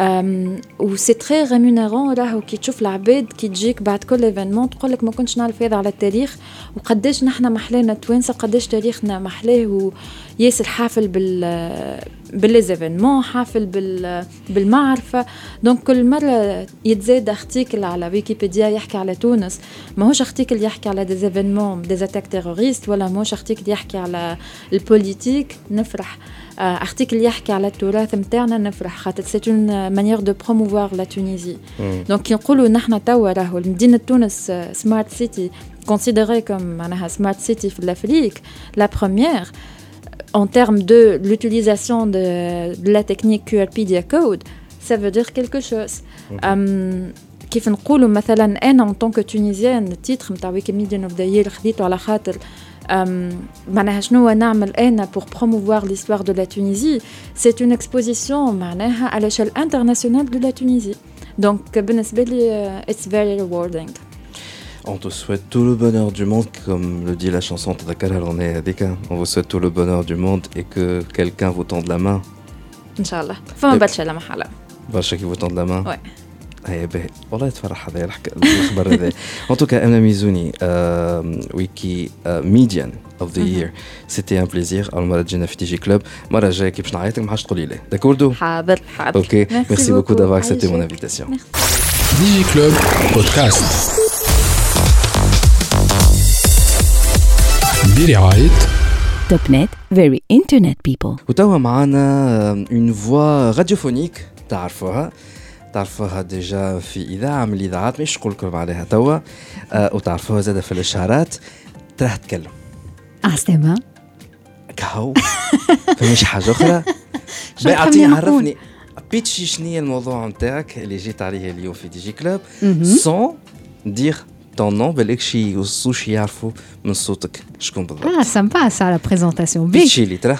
و سي تري ريمونيرون راهو كي تشوف العباد كي تجيك بعد كل ايفينمون تقول لك ما كنتش نعرف هذا على التاريخ وقداش نحنا محلانا توانسه، قداش تاريخنا محلاه وياسر حافل بال بالليزيفينمون، حافل بال بالمعرفه. دونك كل مره يتزاد ارتيكل على ويكيبيديا يحكي على تونس، ماهوش ارتيكل يحكي على دي ايفينمون دي اتاك تيروريست، ولا ماهوش ارتيكل يحكي على البوليتيك نفرح، ارتيكل يحكي على التراث نتاعنا نفرح، خاطر سي اون مانيير دو بروموفوار لا تونيزي. دونك كي نقولوا نحنا توا راهو مدينه تونس سمارت سيتي considérée comme معناها smart city في l'Afrique, la première en termes de l'utilisation de, de la technique Q R P D A code, ça veut dire quelque chose. um, كيف نقولوا مثلا انا en tant que tunisienne التيتر نتاع ويكيميديان اوف ذا يير خديته على خاطر معناها شنو نعمل انا pour promouvoir l'histoire de la Tunisie. c'est une exposition معناها à l'échelle internationale de la Tunisie. donc بالنسبه لي it's very rewarding.
On te souhaite tout le bonheur du monde, comme le dit la chanson de Dakar. On vous souhaite tout le bonheur du monde et que quelqu'un vous tende la main.
Inch'Allah. فما برشا لا محالة.
برشا qui vous tende la main.
Ouais.
هيا باهي والله تفرح هذا الخبر هذا. En tout cas, Amna Mizouni, Wiki Median of the Year. C'était un plaisir. المرة تجينا في تي جي كلوب. مرة جاية كي باش نعيطك ما حاش تقولي لي. D'accord.
حاضر حاضر.
Ok. Merci beaucoup d'avoir accepté mon invitation.
دي جي كلوب بودكاست برعاية
توب نت very internet people.
وتوا معنا une voix radiophonique تعرفوها تعرفوها ديجا في إذاعة من الإذاعات مش نقول لكم عليها توا أه وتعرفوها زادة في الإشعارات تراه تتكلم
عسلامة
كهو فمش حاجة أخرى بيعطيني عرفني بيتشي شنية الموضوع متاعك اللي جيت عليه اليوم في دي جي كلوب sans dire ton nom بالك شي وصوش يعرفوا من صوتك شكون بالضبط.
اه سامبا سا لا بريزونطاسيون
بيتشي لي ترى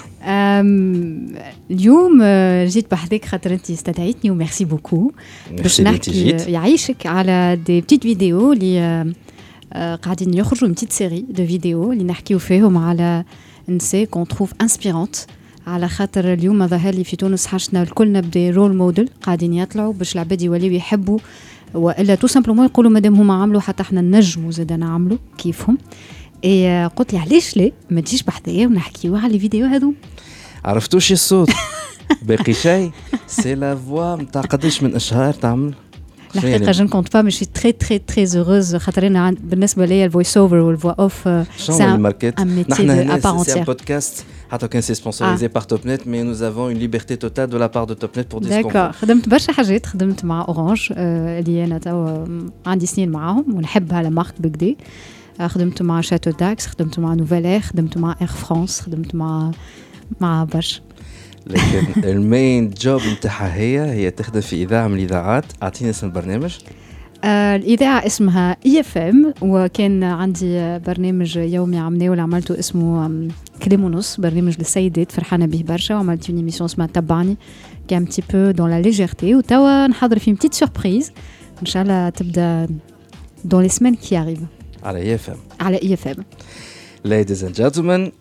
اليوم جيت بحذاك خاطر انت استدعيتني وميرسي بوكو باش نحكي يعيشك على دي بتيت فيديو اللي قاعدين يخرجوا من بتيت سيري دو فيديو اللي نحكيو فيهم على نساء كون تروف انسبيرونت، على خاطر اليوم ظهر لي في تونس حاجنا الكلنا بدي رول موديل قاعدين يطلعوا باش العباد يوليو يحبوا، والا تو سامبلومون يقولوا مادام هما عملوا حتى احنا نجموا زاد نعملوا كيفهم. اي قلت لي علاش لا ما تجيش بحذايا ونحكيو على الفيديو هذو.
عرفتوا شي الصوت باقي شيء سي لا فوا نتاع قداش من اشهار تعمل
الحقيقه جو نكونت با ماشي تري تري تري هوروز خاطر انا بالنسبه ليا الفويس اوفر والفوا اوف
سي ماركت نحن سي بودكاست حتى كان سي سبونسوريزي بار توب نت مي نوز افون اون ليبرتي توتال دو لا بار دو توب نت بور ديسكون.
داكور خدمت برشا حاجات، خدمت مع اورانج اللي انا توا عندي سنين معاهم ونحب على مارك بكدي، خدمت مع شاتو داكس، خدمت مع نوفيل اير، خدمت مع اير فرانس، خدمت مع مع برشا.
لكن المين جوب نتاعها هي هي تخدم في اذاعه من الاذاعات. اعطيني اسم البرنامج.
آه الاذاعه اسمها اي اف ام، وكان عندي برنامج يومي عملناه ولا عملته اسمه كلام ونص، برنامج للسيدات فرحانه به برشا، وعملت اون ايميسيون اسمها تبعني كي ان بتي بو دون لا ليجيرتي، وتوا نحضر في بتيت سوربريز ان شاء الله تبدا دون لي سيمين كي اريف
على اي اف ام.
على اي اف ام.
Ladies and gentlemen,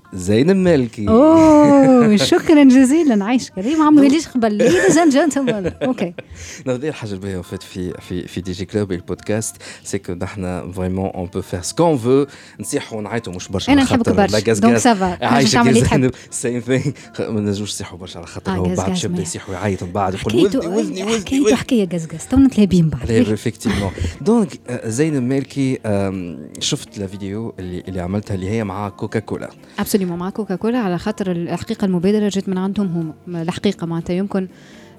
زينب مالكي.
اوه شكرا جزيلا. عايش كريم عم يقوليش قبل ليديز اند جنتلمان. اوكي
نقدر الحاجه الباهيه في في في في دي جي كلوب البودكاست سي كو نحن فريمون اون بو فير سكون فو نصيحوا ونعيطوا مش برشا
انا نحبك برشا دونك سافا
عايشه كي سيم ثينغ ما نجوش نصيحوا برشا على خاطر هو بعد شاب يصيح ويعيط من بعد يقول وزني وزني وزني
حكايه حكايه قزقز تونا تلابين بعد
افكتيفمون. دونك زينب مالكي شفت لا فيديو اللي اللي عملتها اللي هي مع كوكا كولا.
ابسوليومون مع كوكا كولا على خاطر الحقيقه المبادره جت من عندهم هم الحقيقه معناتها يمكن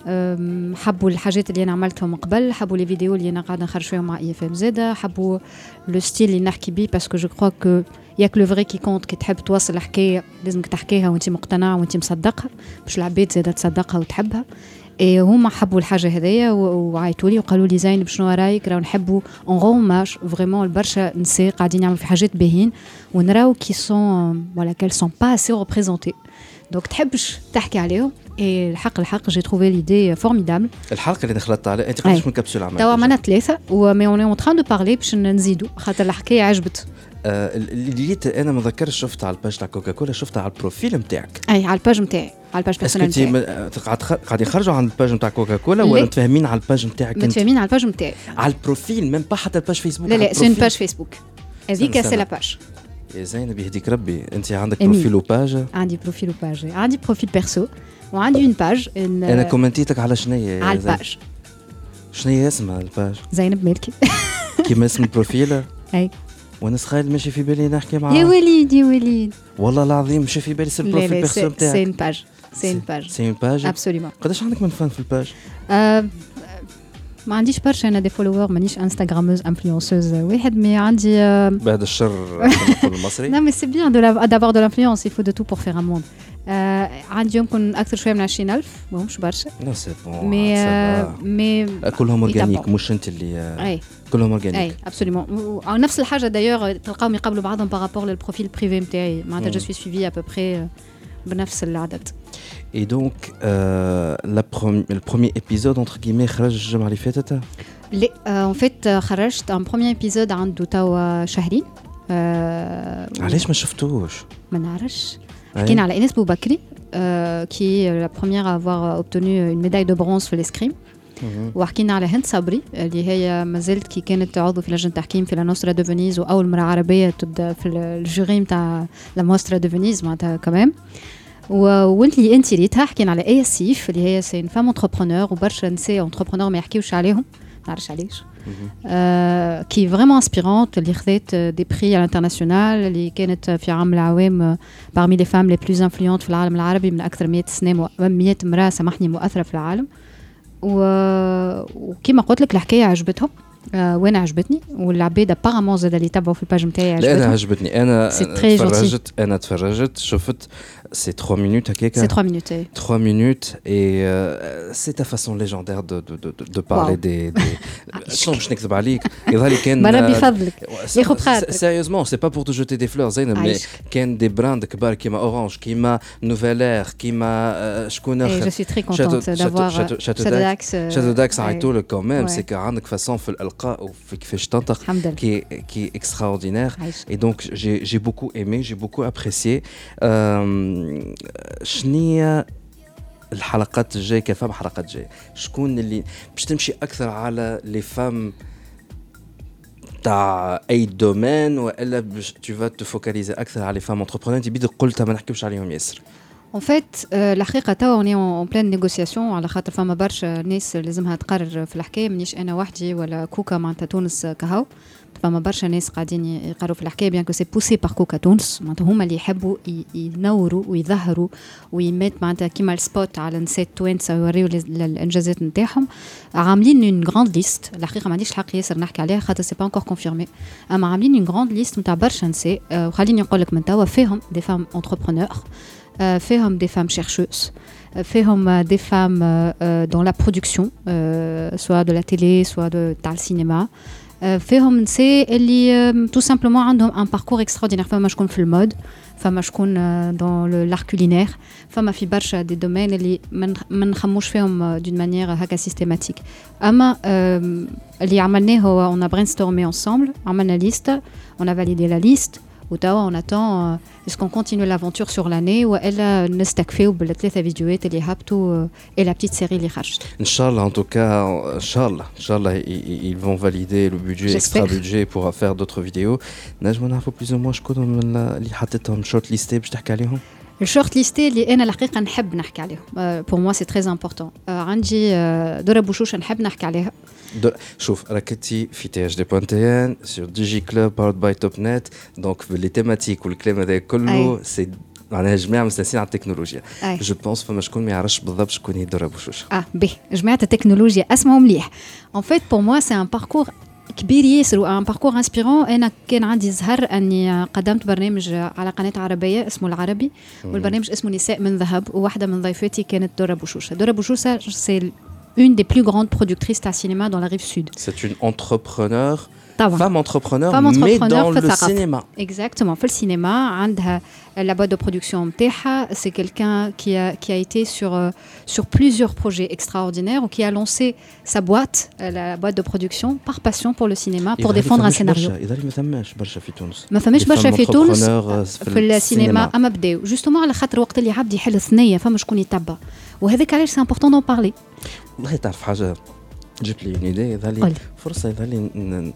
حبوا الحاجات اللي انا عملتهم قبل حبوا لي فيديو اللي انا قاعده نخرج فيهم مع اي اف ام زاده حبوا لو ستيل اللي نحكي بيه باسكو جو كرو كو ياك لو فري كي كونت كي تحب توصل الحكايه لازمك تحكيها وانت مقتنع وانت مصدقها باش العباد زاده تصدقها وتحبها. اي هما حبوا الحاجه هذيا وعيطوا لي وقالوا لي زين شنو رايك راهو نحبوا اون غوماج فريمون البرشا نساء قاعدين يعملوا في حاجات باهين ونراو كي سون ولا كيل سون با اسي ريبريزونتي دونك تحبش تحكي عليهم. اي الحق الحق جي تروفي ليدي فورميدابل.
الحلقه اللي دخلت عليها انت قداش من كبسوله عملت؟
توا عملنا ثلاثه ومي اون اون تران دو بارلي باش نزيدوا خاطر الحكايه عجبت.
آه اللي جيت انا ما ذكرش شفت على الباج تاع كوكا كولا شفتها على البروفيل نتاعك.
اي على الباج نتاعي على الباج بيرسونيل
نتاعي. قاعد يخرجوا عن الباج نتاع كوكا كولا ولا متفاهمين على الباج نتاعك انت؟
متفاهمين على الباج نتاعي على
البروفيل ميم با حتى الباج فيسبوك.
لا لا سي باج فيسبوك هذيك سي لا باج.
يا زينب يهديك ربي انت عندك بروفيل وباج؟
عندي بروفيل وباج عندي بروفيل بيرسو وعندي اون باج.
انا كومنتيتك على شنية
على الباج.
شنية اسمها الباج؟
زينب مالكي
كيما اسم البروفيل.
اي
وانا سخايل ماشي في بالي نحكي معاه.
يا وليد يا وليد
والله العظيم ماشي في بالي سير البروفيل بيرسو نتاعك.
سي اون باج سي اون باج
سي اون باج
ابسوليومون.
قداش عندك من فان في الباج؟
أه ما عنديش برشا انا دي فولوور مانيش انستغراموز انفلونسوز واحد مي عندي
بعد الشر نقول المصري.
لا مي سي بيان دو دافوار دو لانفلونس il faut de tout pour faire un monde. عندي يمكن اكثر شويه من عشرين ألف ماهمش برشا.
لا سي بون
مي مي
كلهم اورجانيك مش انت اللي
اي
كلهم اورجانيك.
اي ابسوليومون نفس الحاجه دايوغ تلقاهم يقابلوا بعضهم بارابور للبروفيل بريفي نتاعي معناتها جو سوي سويفي ا بو بري بنفس العدد.
Et donc, euh, la prom- le premier épisode, entre guillemets, خرج الجمعة اللي فاتت؟
لا en fait خرجت un premier épisode عنده توا شهرين.
علاش ما شفتوش؟
ما نعرفش. حكينا على إنس بوبكري qui est la première à avoir obtenu une médaille de bronze في l'escrime. وحكينا على هند صبري اللي هي مازالت كي كانت عضو في لجنة تحكيم في لا نوسترا دو فينيز وأول مرة عربية تبدا في الجوري نتاع لا نوسترا دو فينيز معناتها كمان. وانت اللي انت ريتها حكينا على اي سيف اللي هي سي فام انتربرونور وبرشا نساء انتربرونور ما يحكيوش عليهم ما نعرفش علاش آه كي فريمون انسبيرونت اللي خذت دي بري على الانترناسيونال اللي كانت في عام العوام بارمي لي فام لي بلوز انفلونت في العالم العربي من اكثر مئة سنه مئة امراه سامحني مؤثره في العالم. وكما قلت لك الحكايه عجبتهم آه وانا عجبتني والعباد ابارامون زاد اللي تبعوا في الباج نتاعي عجبتهم.
لا انا عجبتني انا تفرجت انا تفرجت شفت سي ثلاث minutes هكاكا.
سي ثلاث minutes.
ثلاث minutes et euh, c'est ta façon légendaire de de de de parler wow. des des شنو باش نكذب عليك يظهر لي كان
ربي فضلك ياخذ خاطرك.
سيريوزمون سي با بور تو جوتي دي فلور زينب مي كان دي براند كبار كيما اورانج كيما نوفيل اير كيما شكون اخر.
جو سوي تري كونتونت دافوار شاتو داكس.
شاتو داكس عيطوا لك كوميم سي عندك فاسون في الالقاء وفي كيفاش تنطق qui qui est extraordinaire et donc j'ai j'ai beaucoup aimé, j'ai beaucoup apprécié. شنية الحلقات الجاية كفام حلقات جاية شكون اللي باش تمشي أكثر على لي فام تاع أي دومين وإلا باش tu vas te focaliser أكثر على لي فام entrepreneurs أنت بيدك قلتها ما نحكيوش عليهم ياسر.
En fait, الحقيقة توا on est en pleine négociation على خاطر فما برشا ناس لازمها تقرر في الحكاية مانيش أنا وحدي ولا كوكا معناتها تونس كهو فما برشا ناس قاعدين يقرروا في الحكاية بيان كو سي بوسي بار كوكا تونس معناتها هما اللي يحبوا ينوروا ويظهروا ويمات معناتها كيما السبوت على نساء توانسة ويوريو الإنجازات نتاعهم. عاملين اون غراند ليست الحقيقة ما عنديش الحق ياسر نحكي عليها خاطر سي با انكور كونفيرمي أما عاملين اون غراند ليست نتاع برشا نساء وخليني نقول لك من توا فيهم دي فام انتربرونور فيهم des femmes chercheuses, فيهم des femmes dans la production, soit de la télé, soit de تاع السينما. فيهم نساء اللي tout simplement عندهم un parcours extraordinaire. فما شكون في المود, فما شكون dans l'art culinaire, فما في برشا des domaines اللي ما نخموش فيهم d'une manière هكا systématique. أما اللي عملناه هو on a brainstormé ensemble, عملنا liste, on a validé la liste. وتوا on attend euh, est-ce qu'on continue l'aventure sur l'année ولا نستكفيو بالثلاثه فيديوهات اللي هبطوا et la petite série اللي خرجت.
Inch'Allah, en tout cas, Inch'Allah, Inch'Allah, ils, ils vont valider le budget, extra budget pour faire d'autres vidéos. نجم نعرفوا plus ou moins شكون اللي حطيتهم شورت ليستي باش تحكي عليهم؟
الشورت ليستي اللي انا الحقيقه نحب نحكي عليهم بور موا سي تري امبورطون. عندي دورة بوشوشه نحب نحكي عليها.
شوف راكتي في تي اش دي بوان تي ان سور دي جي كلوب باورد باي توب نت دونك لي تيماتيك والكلام هذا كله سي معناها جماعه مستانسين على التكنولوجيا. جو بونس فما شكون ما يعرفش بالضبط شكون هي دورة بوشوشه. اه
به جماعه التكنولوجيا اسمهم مليح. ان فيت بور موا سي ان باركور كبير ياسر وان باركور انسبيرون. انا كان عندي زهر اني قدمت برنامج على قناه عربيه اسمه العربي والبرنامج اسمه نساء من ذهب وواحده من ضيفاتي كانت دورة بوشوشه. دورة بوشوشه سي une des plus grandes productrices de cinéma dans la rive sud.
C'est une entrepreneur,
طبعا.
femme entrepreneur,
femme
mais
entrepreneur
dans le cinéma.
Exactement, في السينما عندها la boîte de production نتاعها. C'est quelqu'un qui a qui a été sur euh, sur plusieurs projets extraordinaires ou qui a lancé sa boîte, euh, la boîte de production par passion pour le cinéma, pour défendre un scénario.
إذا ما ثماش برشا في تونس.
ما ثماش برشا في تونس في السينما أما بداو جوستومون على خاطر وقت اللي عبد يحل ثنية فما شكون يتبع وهذاك علاش سي امبورطون دون بارلي.
والله تعرف حاجة جبت لي ايدي يظهر لي فرصة يظهر لي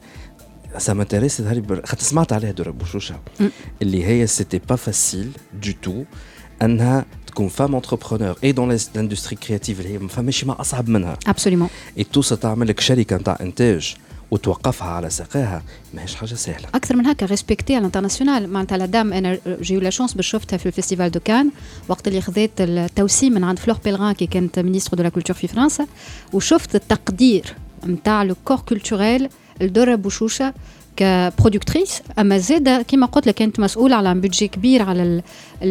ça m'intéresse يظهر لي خاطر سمعت عليها دورة بوشوشة اللي هي سيتي با فاسيل دو تو انها تكون فام انتربرونور اي دون لاندستري كرياتيف اللي هي ما فماش ما اصعب منها.
ابسوليومون.
اي تو تعمل لك شركة نتاع انتاج وتوقفها على ساقها ماهيش حاجه سهله.
اكثر من هكا ريسبكتي على الانترناسيونال معناتها لا دام انا جيو لا شانس باش شفتها في الفيستيفال دو كان وقت اللي خذيت التوسيم من عند فلور بيلغان كي كانت مينيستر دو لا كولتور في فرنسا وشفت التقدير نتاع لو كور كولتوريل لدورة بوشوشه كبرودكتريس. اما زاده كما قلت لك كانت مسؤوله على بودجي كبير على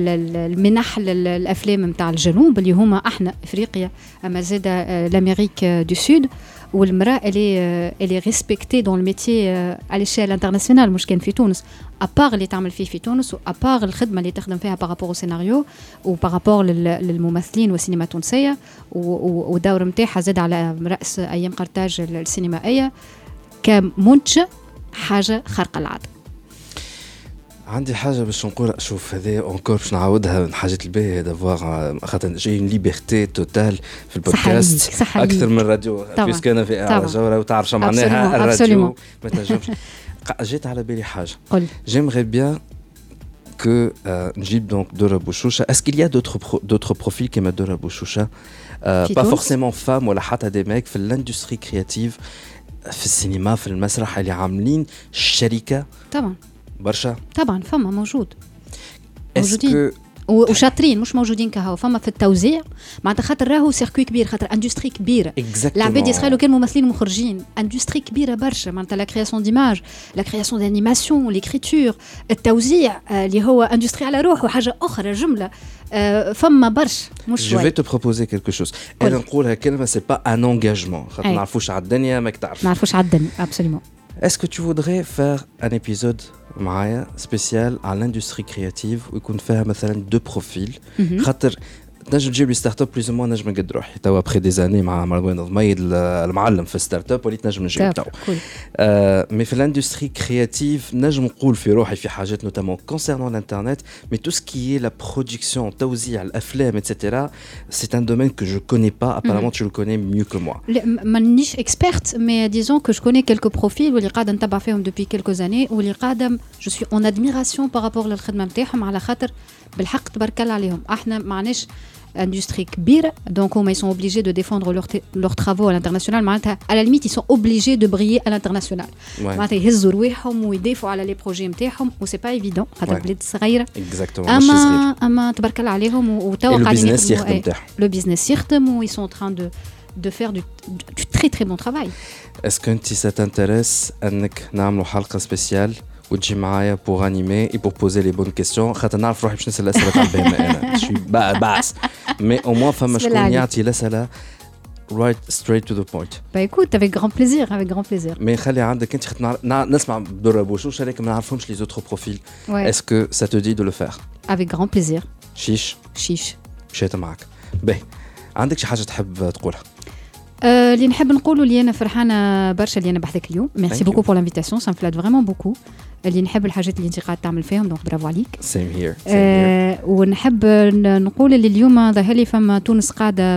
المنح للافلام نتاع الجنوب اللي هما احنا افريقيا اما زاده لامريك دو سود. والمراه اللي اللي ريسبكتي دون الميتي على الشيل انترناسيونال مش كان في تونس ابار اللي تعمل فيه في تونس وابار الخدمه اللي تخدم فيها بارابور او سيناريو وبارابور للممثلين والسينما التونسيه والدور نتاعها زاد على راس ايام قرطاج السينمائيه كمنتج حاجه خارقه العاده.
عندي حاجه باش نقول شوف هذا اونكور باش نعاودها من حاجات الباهيه دافوار خاطر جاي ليبرتي توتال في البودكاست اكثر من الراديو بيسك انا في على جوره وتعرف شو معناها الراديو ما تنجمش. جيت على بالي حاجه جيمري بيان كو نجيب دونك دورة بوشوشه. est-ce qu'il y a d'autres d'autres profils كيما دورة بوشوشه pas forcément femmes ولا حتى دي ميك في الاندستري كرياتيف في السينما في المسرح اللي عاملين شركه؟
طبعا
برشا
طبعا فما موجود موجودين وشاطرين مش موجودين كهو فما في التوزيع معناتها خاطر راهو سيركوي كبير خاطر اندستري كبيره العباد يسخلوا كان ممثلين مخرجين اندستري كبيره برشا معناتها لا كرياسيون ديماج لا كرياسيون دانيماسيون ليكريتور التوزيع اللي هو اندستري على روحه حاجه اخرى جمله فما برشا مش
شويه. جو في تو بروبوزي كيلكو شوز انا نقولها كلمه سي با ان انغاجمون خاطر ما نعرفوش على الدنيا ماك تعرف
ما نعرفوش على الدنيا ابسوليومون.
Est-ce que tu voudrais faire un épisode معايا spécial à l'industrie créative ويكون فيها مثلا دو بروفيل خاطر تنجم تجيب لي ستارت اب بلوز مو نجم نقد روحي توا ابخي دي زاني مع مروان ضميد المعلم في ستارت اب وليت نجم نجيب توا آه مي في الاندستري كرياتيف نجم نقول في روحي في حاجات نوتامون كونسيرنون الانترنت مي تو سكي لا برودكسيون توزيع الافلام ايتترا سي ان دومين كو جو كوني با ابارامون تو لو كوني ميو كو موا.
مانيش اكسبيرت مي ديزون كو جو كوني كيلكو بروفيل واللي قاعده نتبع فيهم دوبي كيلكو زاني واللي قاعده جو سوي اون ادميراسيون بارابور للخدمه نتاعهم على خاطر بالحق تبارك الله عليهم. احنا معناش industrie كبيرة donc ils sont obligés de défendre leurs leurs travaux à l'international معناتها à la limite ils sont obligés de briller à l'international معناتها يهزوا رواحهم ويدافعوا على لي بروجي نتاعهم و سي با ايفيدون خاطر بلاد صغيره اما اما تبارك الله عليهم وتوا قاعدين يخدموا لو بيزنس يخدم و ils sont en train de de faire du, du très très bon travail.
Est-ce que انت ça t'intéresse انك نعملوا حلقه سبيسيال وتجي معايا بور انيمي اي بور بوزي لي بون كيستيون خاطر نعرف روحي باش نسال الاسئله تاع البهم انا شوي باس مي او موان فما شكون يعطي الاسئله right straight to the point.
Bah écoute avec grand plaisir avec grand plaisir.
مي خلي عندك انت خاطر نسمع دورة بوشوشه لكن ما نعرفهمش لي زوتر بروفيل. Est-ce que ça te dit de le faire?
Avec grand plaisir.
شيش
شيش
مشيت معك. باهي عندك شي حاجه تحب تقولها؟
اللي نحب نقوله اللي انا فرحانه برشا اللي انا بحثك اليوم. ميرسي بوكو بور لانفيتاسيون، سا مفلات فريمون بوكو. اللي نحب الحاجات اللي انت قاعد تعمل فيهم، دونك برافو عليك.
سيم هير.
آه ونحب نقول اللي اليوم ظهر لي فما تونس قاعده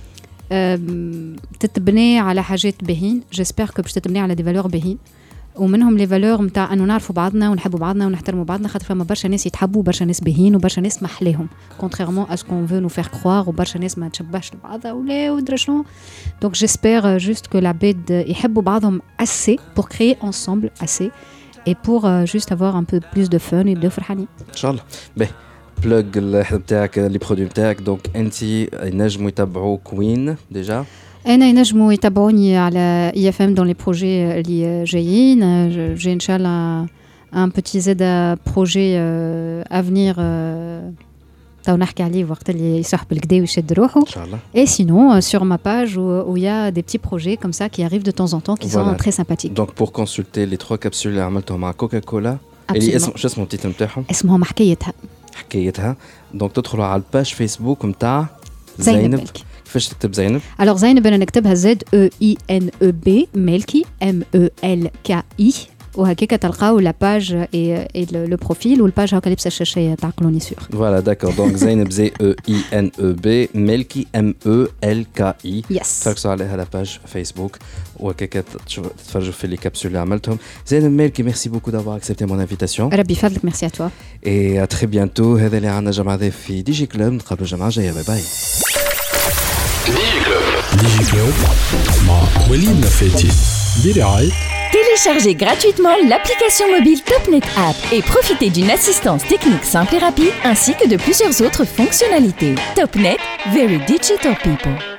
تتبني على حاجات باهين. جيسبر كو باش تتبني على دي فالور باهين، ومنهم لي فالور نتاع انه نعرفوا بعضنا ونحبوا بعضنا ونحترموا بعضنا، خاطر فما برشا ناس يتحبوا وبرشا ناس باهين وبرشا ناس محلاهم كونتريرمون ا سكون فو نو فير كروار، وبرشا ناس ما تشبهش لبعضها ولا ودرا شنو. دونك جيسبر جوست كو العباد يحبوا بعضهم assez pour créer ensemble assez et pour euh, juste avoir un peu plus de fun et de فرحانين
ان شاء الله. باهي بلوغ الحد نتاعك لي برودوي نتاعك، دونك انت ينجموا يتبعوا كوين ديجا.
انا ينجموا يتابعوني على اي اف ام دون لي بروجي اللي جايين. جي ان شاء الله ان بوتي زاد بروجي افنير تو نحكي عليه وقت اللي يصاحب الكدا ويشد روحه ان شاء الله. اي سينون sur ma page où il y a des petits projets comme ça qui arrivent de temps en temps qui voilà. sont très sympathiques.
Donc pour consulter les trois capsules اللي عملتهم مع كوكاكولا اللي اسم شو اسمه التيتر نتاعهم؟
اسمهم حكايتها.
حكايتها. دونك تدخلوا على الباج فيسبوك نتاع زينب. كيفاش تكتب زينب؟
alors زينب انا نكتبها زد او اي ان او بي مالكي ام او ال كي اي، وهكاك تلقاو لا باج اي لو بروفيل والباج هاكا لابسه الشاشه تعقلوني سور.
فوالا داكور. دونك زينب زي او اي ان او بي مالكي ام او ال كي اي.
يس
تركزوا عليها لا باج فيسبوك وهكاك تتفرجوا في لي كابسول اللي عملتهم. زينب مالكي ميرسي بوكو دافوار اكسبتي مون انفيتاسيون.
ربي يفضلك. ميرسي ا توا
اي ا تري بيانتو. هذا اللي عندنا جمعه ذا في دي جي كلوب. نتقابلوا الجمعه الجايه. باي باي.
ديجي كلوب مع وليد نفاتي برعاية.
Téléchargez gratuitement l'application mobile TopNet App et profitez d'une assistance technique simple et rapide ainsi que de plusieurs autres fonctionnalités. TopNet, very digital people.